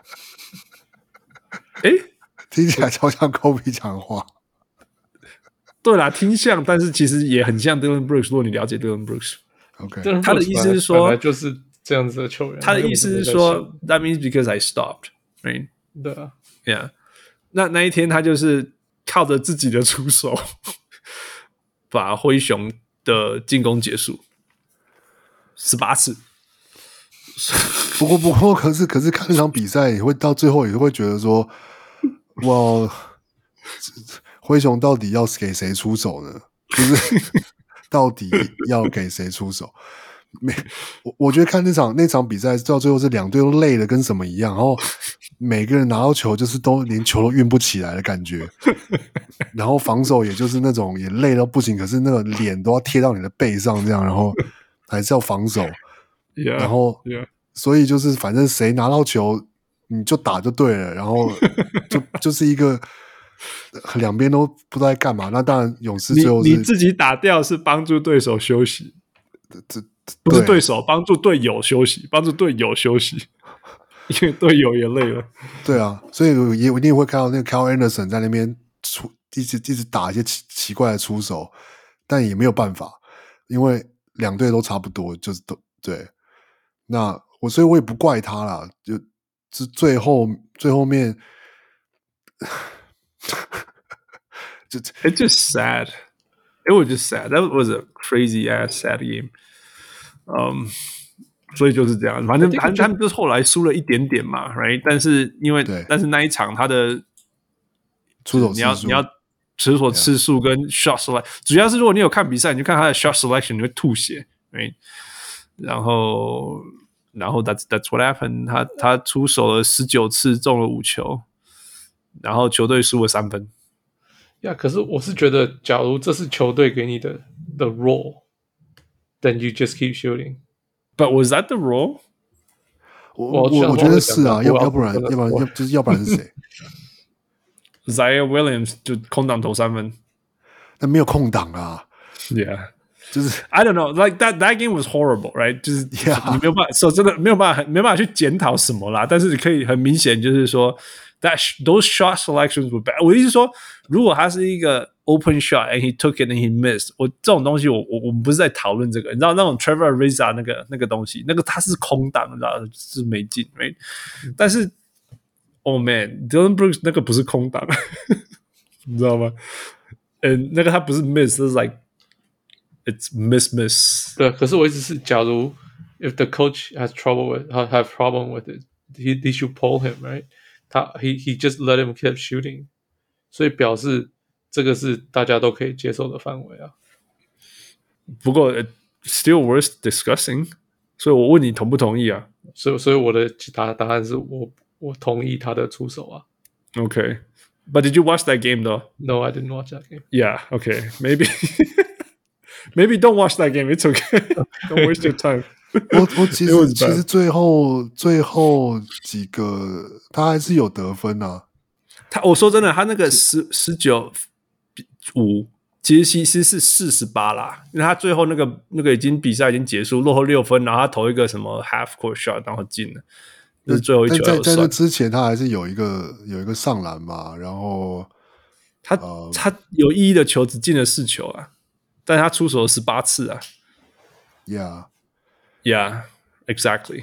聽起來超像 Kobe 講的話。
對啦，聽像，但是其實也很像 Dylan Brooks。如果你了解 Dylan Brooks。Okay. 他的意思是說，
本來就是這樣子的球員。
他的意思是說 ，That means because I stopped, right?
對啊
，Yeah。那一天他就是靠着自己的出手，把灰熊的進攻結束18次。
不過，可是看那場比賽，也會到最後也會覺得說，哇，灰熊到底要給誰出手呢？就是到底要給誰出手？我覺得看那場比賽到最後是兩隊都累的跟什麼一樣，然後每個人拿到球就是都連球都運不起來的感覺，然後防守也就是那種也累到不行，可是那個臉都要貼到你的背上這樣，然後還是要防守，然後所以就是反正誰拿到球你就打就對了，然後就是一個。兩邊都不知道在幹嘛，那當然勇士最後是
你自己打掉是幫助對手休息，不是對手幫助隊友休息，幫助隊友休息，因為隊友也累了。
對啊，所以我一定會看到那個 Kyle Anderson 在那邊一直打一些奇怪的出手，但也沒有辦法，因為兩隊都差不多，就是都對。所以我也不怪他啦，就是最後面。
It's just sad. It was just sad. That was a crazy ass sad game. 所以就是這樣，反正他們就是後來輸了一點點嘛 ，right？ 但是但是那一场他的
出手次数
你要出手次数跟 shot selection， 主要是如果你有看比赛，你就看他的 shot selection， 你會吐血 ，right？ 然後 that's what happened， 他出手了19次，中了5球，然後球隊輸了3分。
可是我是覺得，假如這是球隊給你的 the role，then you just keep shooting。But
was that the role？
我覺得是啊，要不然是誰
？Zion Williams 就空檔投3分，
那沒有空檔啊。
Yeah，
就是
I don't know，like that game was horrible，right？ 就是你沒有辦法說真的沒辦法去檢討什麼啦，但是可以很明顯就是說。Those shot selections were bad。我意思是說，如果他是一個 open shot and he took it and he missed， 我這種東西我們不是在討論這個，你知道那種 Trevor Ariza 那個東西，那個他是空檔，你知道是沒進 ，right？ 但是 ，Oh man，Dylan Brooks 那個不是空檔，你知道嗎？那個他不是 miss， 是 like it's miss。
對，可是我一直是，假如 if the coach has problem with it，he should pull him，right？He just let him keep shooting， 所以表示這個是大家都可以接受的範圍啊。
不過 still worth discussing， 所以我問你同不同意啊？
所以我的答案是我同意他的出手啊。
Okay, but did you watch that game though?
No, I didn't watch that game.
Yeah, okay, maybe don't watch that game. It's okay. Don't waste your time.
我其實最後幾個他還是有得分啊。
我說真的，他那個19-5其實是48啦，因為他最後那個比賽已經結束，落後6分，然後他投一個什麼 half court shot， 然後進了，那是最後一球。
在那之前他還是有一個上籃嘛，然後
他有意義的球只進了4球啊，但他出手了18次啊。
Yeah,
exactly.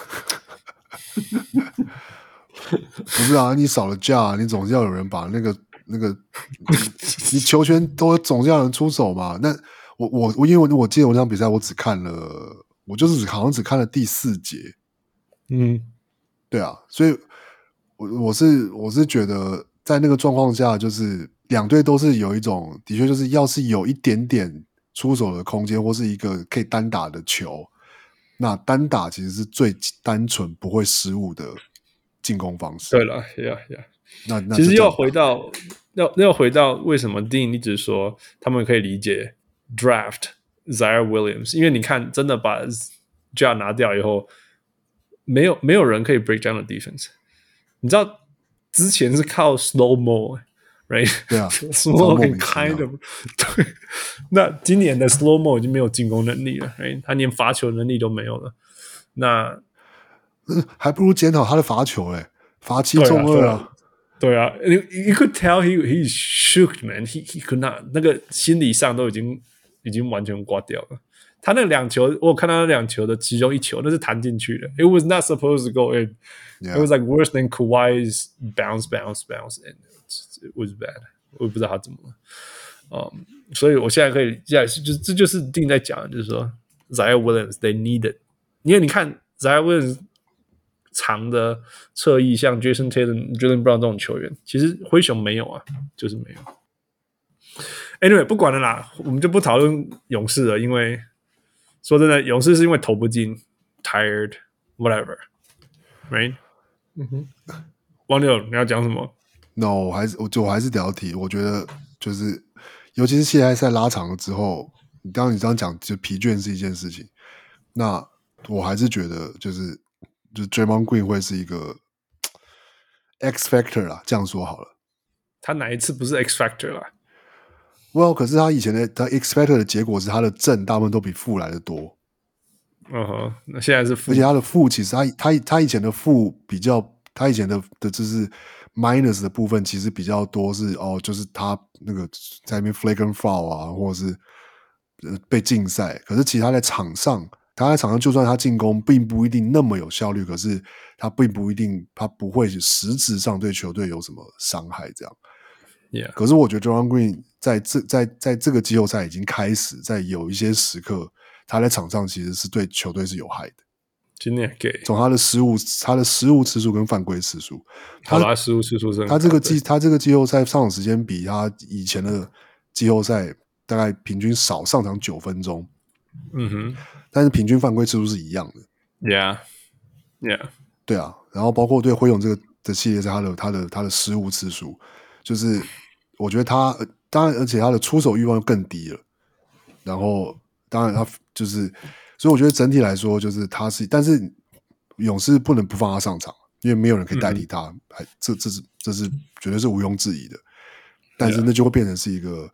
不是啊，你少了架，你总是要有人把那個，你球權都總是要有人出手嘛。那因為我記得我那場比賽，我就是好像只看了第4節。對啊，所以我是覺得在那個狀況下，就是兩隊都是有一種，的確就是要是有一點點出手的空間，或是一個可以單打的球。那單打其實是最單純不會失誤的進攻方式。
對了 ，Yeah。那其實要回到為什麼 Dean 一直說他們可以理解 draft Zion Williams， 因為你看真的把 Ja 拿掉以後，沒有人可以 break down the defense。你知道之前是靠 slow mo。Right，
對啊
，slow mo kind of 對。那今年的 slow mo 已經沒有進攻能力了 ，right？ 他連罰球能力都沒有了。那
還不如檢討他的罰球嘞，罰7中2啊。
對啊 ，you could tell he shook man， he could not， 那個心理上都已經完全掛掉了。他那2球，我有看到那2球的其中1球，那是彈進去的。It was not supposed to go in。It was like worse than Kawhi's bounce in。It was bad， 我也不知道他怎麼了。所以我現在可以，这就是定在講的，就是說 Zion Williams they need it， 因為你看 Zion Williams 長的側翼，像 Jason Tatum、Jaylen Brown 這種球員，其實灰熊沒有啊，就是沒有。Anyway， 不管了啦，我們就不討論勇士了，因為說真的，勇士是因為投不進 ，tired whatever，right？ 王六，你要講什麼？
No， 我還是得要提，我覺得就是，尤其是系列賽拉長了之後，你這樣講，就疲倦是一件事情。那我還是覺得，就是 Draymond Green 會是一個 X Factor 啦，這樣說好了。
他哪一次不是 X Factor 啦
？Well， 可是他以前的X Factor 的結果是他的正大部分都比負來的多。
那現在是負，
而且他的負其實他以前的負比較，他以前的就是。minus 的部分其實比較多是就是他那個在那邊 flagrant foul 啊，或者是被禁賽。可是其實他在場上就算他進攻並不一定那麼有效率，可是他並不一定，他不會實質上對球隊有什麼傷害這樣。
Yeah.
可是我覺得 Draymond Green 在這個季後賽已經開始，在有一些時刻他在場上其實是對球隊是有害的。
今年給
從他的失誤次数跟犯規次数，
他失誤次数是很高，
他这個季後賽上場時間比他以前的季後賽大概平均少上場9分鐘，
嗯哼，
但是平均犯規次數是一樣的
，Yeah，
对啊，然後包括对灰熊這個的系列赛，他的失誤次數，就是我覺得他當然，而且他的出手慾望更低了，然後當然他就是。所以我覺得整體來說，就是他是，但是勇士不能不放他上場，因為沒有人可以代替他，這是絕對是毋庸置疑的。但是那就會變成是一個，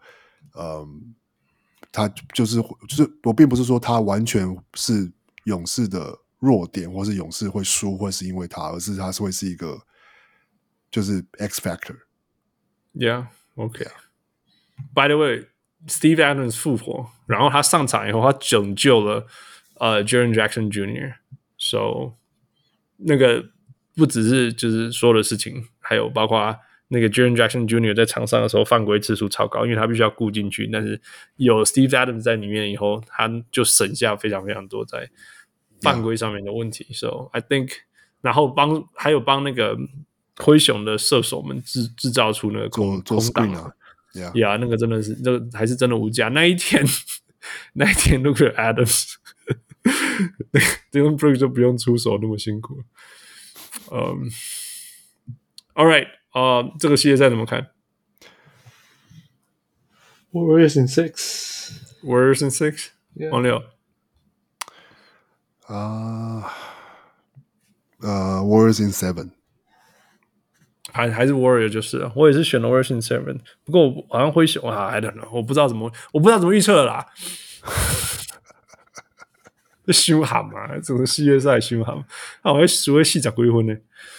他就是我並不是說他完全是勇士的弱點，或是勇士會輸，或是因為他，而是他是會是一個就是 X factor。Yeah,
OK. By the way.Steve Adams 復活，然後他上場以後，他拯救了Jaren Jackson Jr.，so 那個不只是就是所有的事情，還有包括那個 Jaren Jackson Jr. 在場上的時候犯規次數超高，因為他必須要顧進去，但是有 Steve Adams 在裡面以後，他就省下非常非常多在犯規上面的問題。So I think， 然後還有幫那個灰熊的射手們製造出那個空檔啊。Yeah, 那個真的是，那個還是真的無價。那一天如果有 Adams， Dylan Brooks 就不用出手那麼辛苦。All right， 這個系列賽怎麼看
？Warriors in 6，Warriors
in 6， 王六。
Warriors in 7。
還是 Warrior 就是了，我也是選了 Warriors in 7， 不過我好像會選I don't know， 我不知道怎麼預測了啦。這傷喊嘛，這個系列賽傷喊，我還輸了40幾分呢。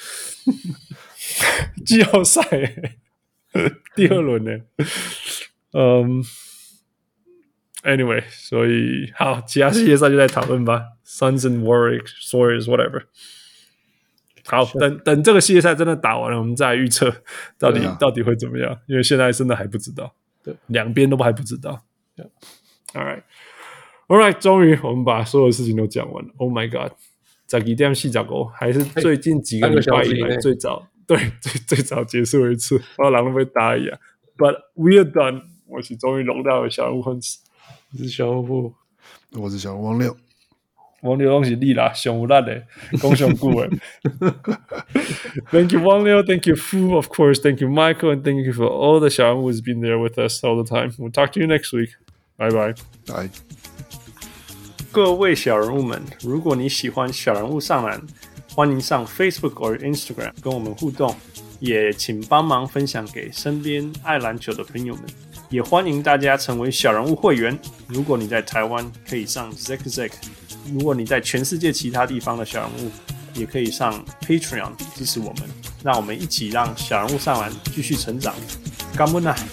季後賽第2輪呢。Anyway， 所以好，其他系列賽就再討論吧。Suns and Warriors whatever。好，等這個系列賽真的打完了，我們再來預測到底會怎麼樣，因為現在真的還不知道，對，兩邊都還不知道。All right， 終於我們把所有事情都講完了。Oh my god， 12點45還是最近幾個禮拜以來最早，對，最早結束一次，然後人都被打一樣。But we are done， 我是終於龍到了小人物粉絲，
你是小人物，
我是小人王六。
王六攏是你啦，上有力的，講上久的。Thank you, Wang Liu. Thank you, Fu, of course. Thank you, Michael, and thank you for all the 小人物 who's been there with us all the time. We'll talk to you next week. Bye bye.
Bye.
各位小人物們，如果你喜歡小人物上籃，歡迎上 Facebook 或 Instagram 跟我們互動，也請幫忙分享給身邊愛籃球的朋友們。也歡迎大家成為小人物會員。如果你在台灣，可以上 Zack。如果你在全世界其他地方的小人物，也可以上 Patreon 支持我們，讓我們一起讓小人物上籃繼續成長。感恩啊！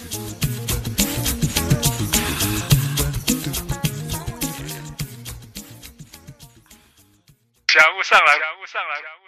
小人物上籃。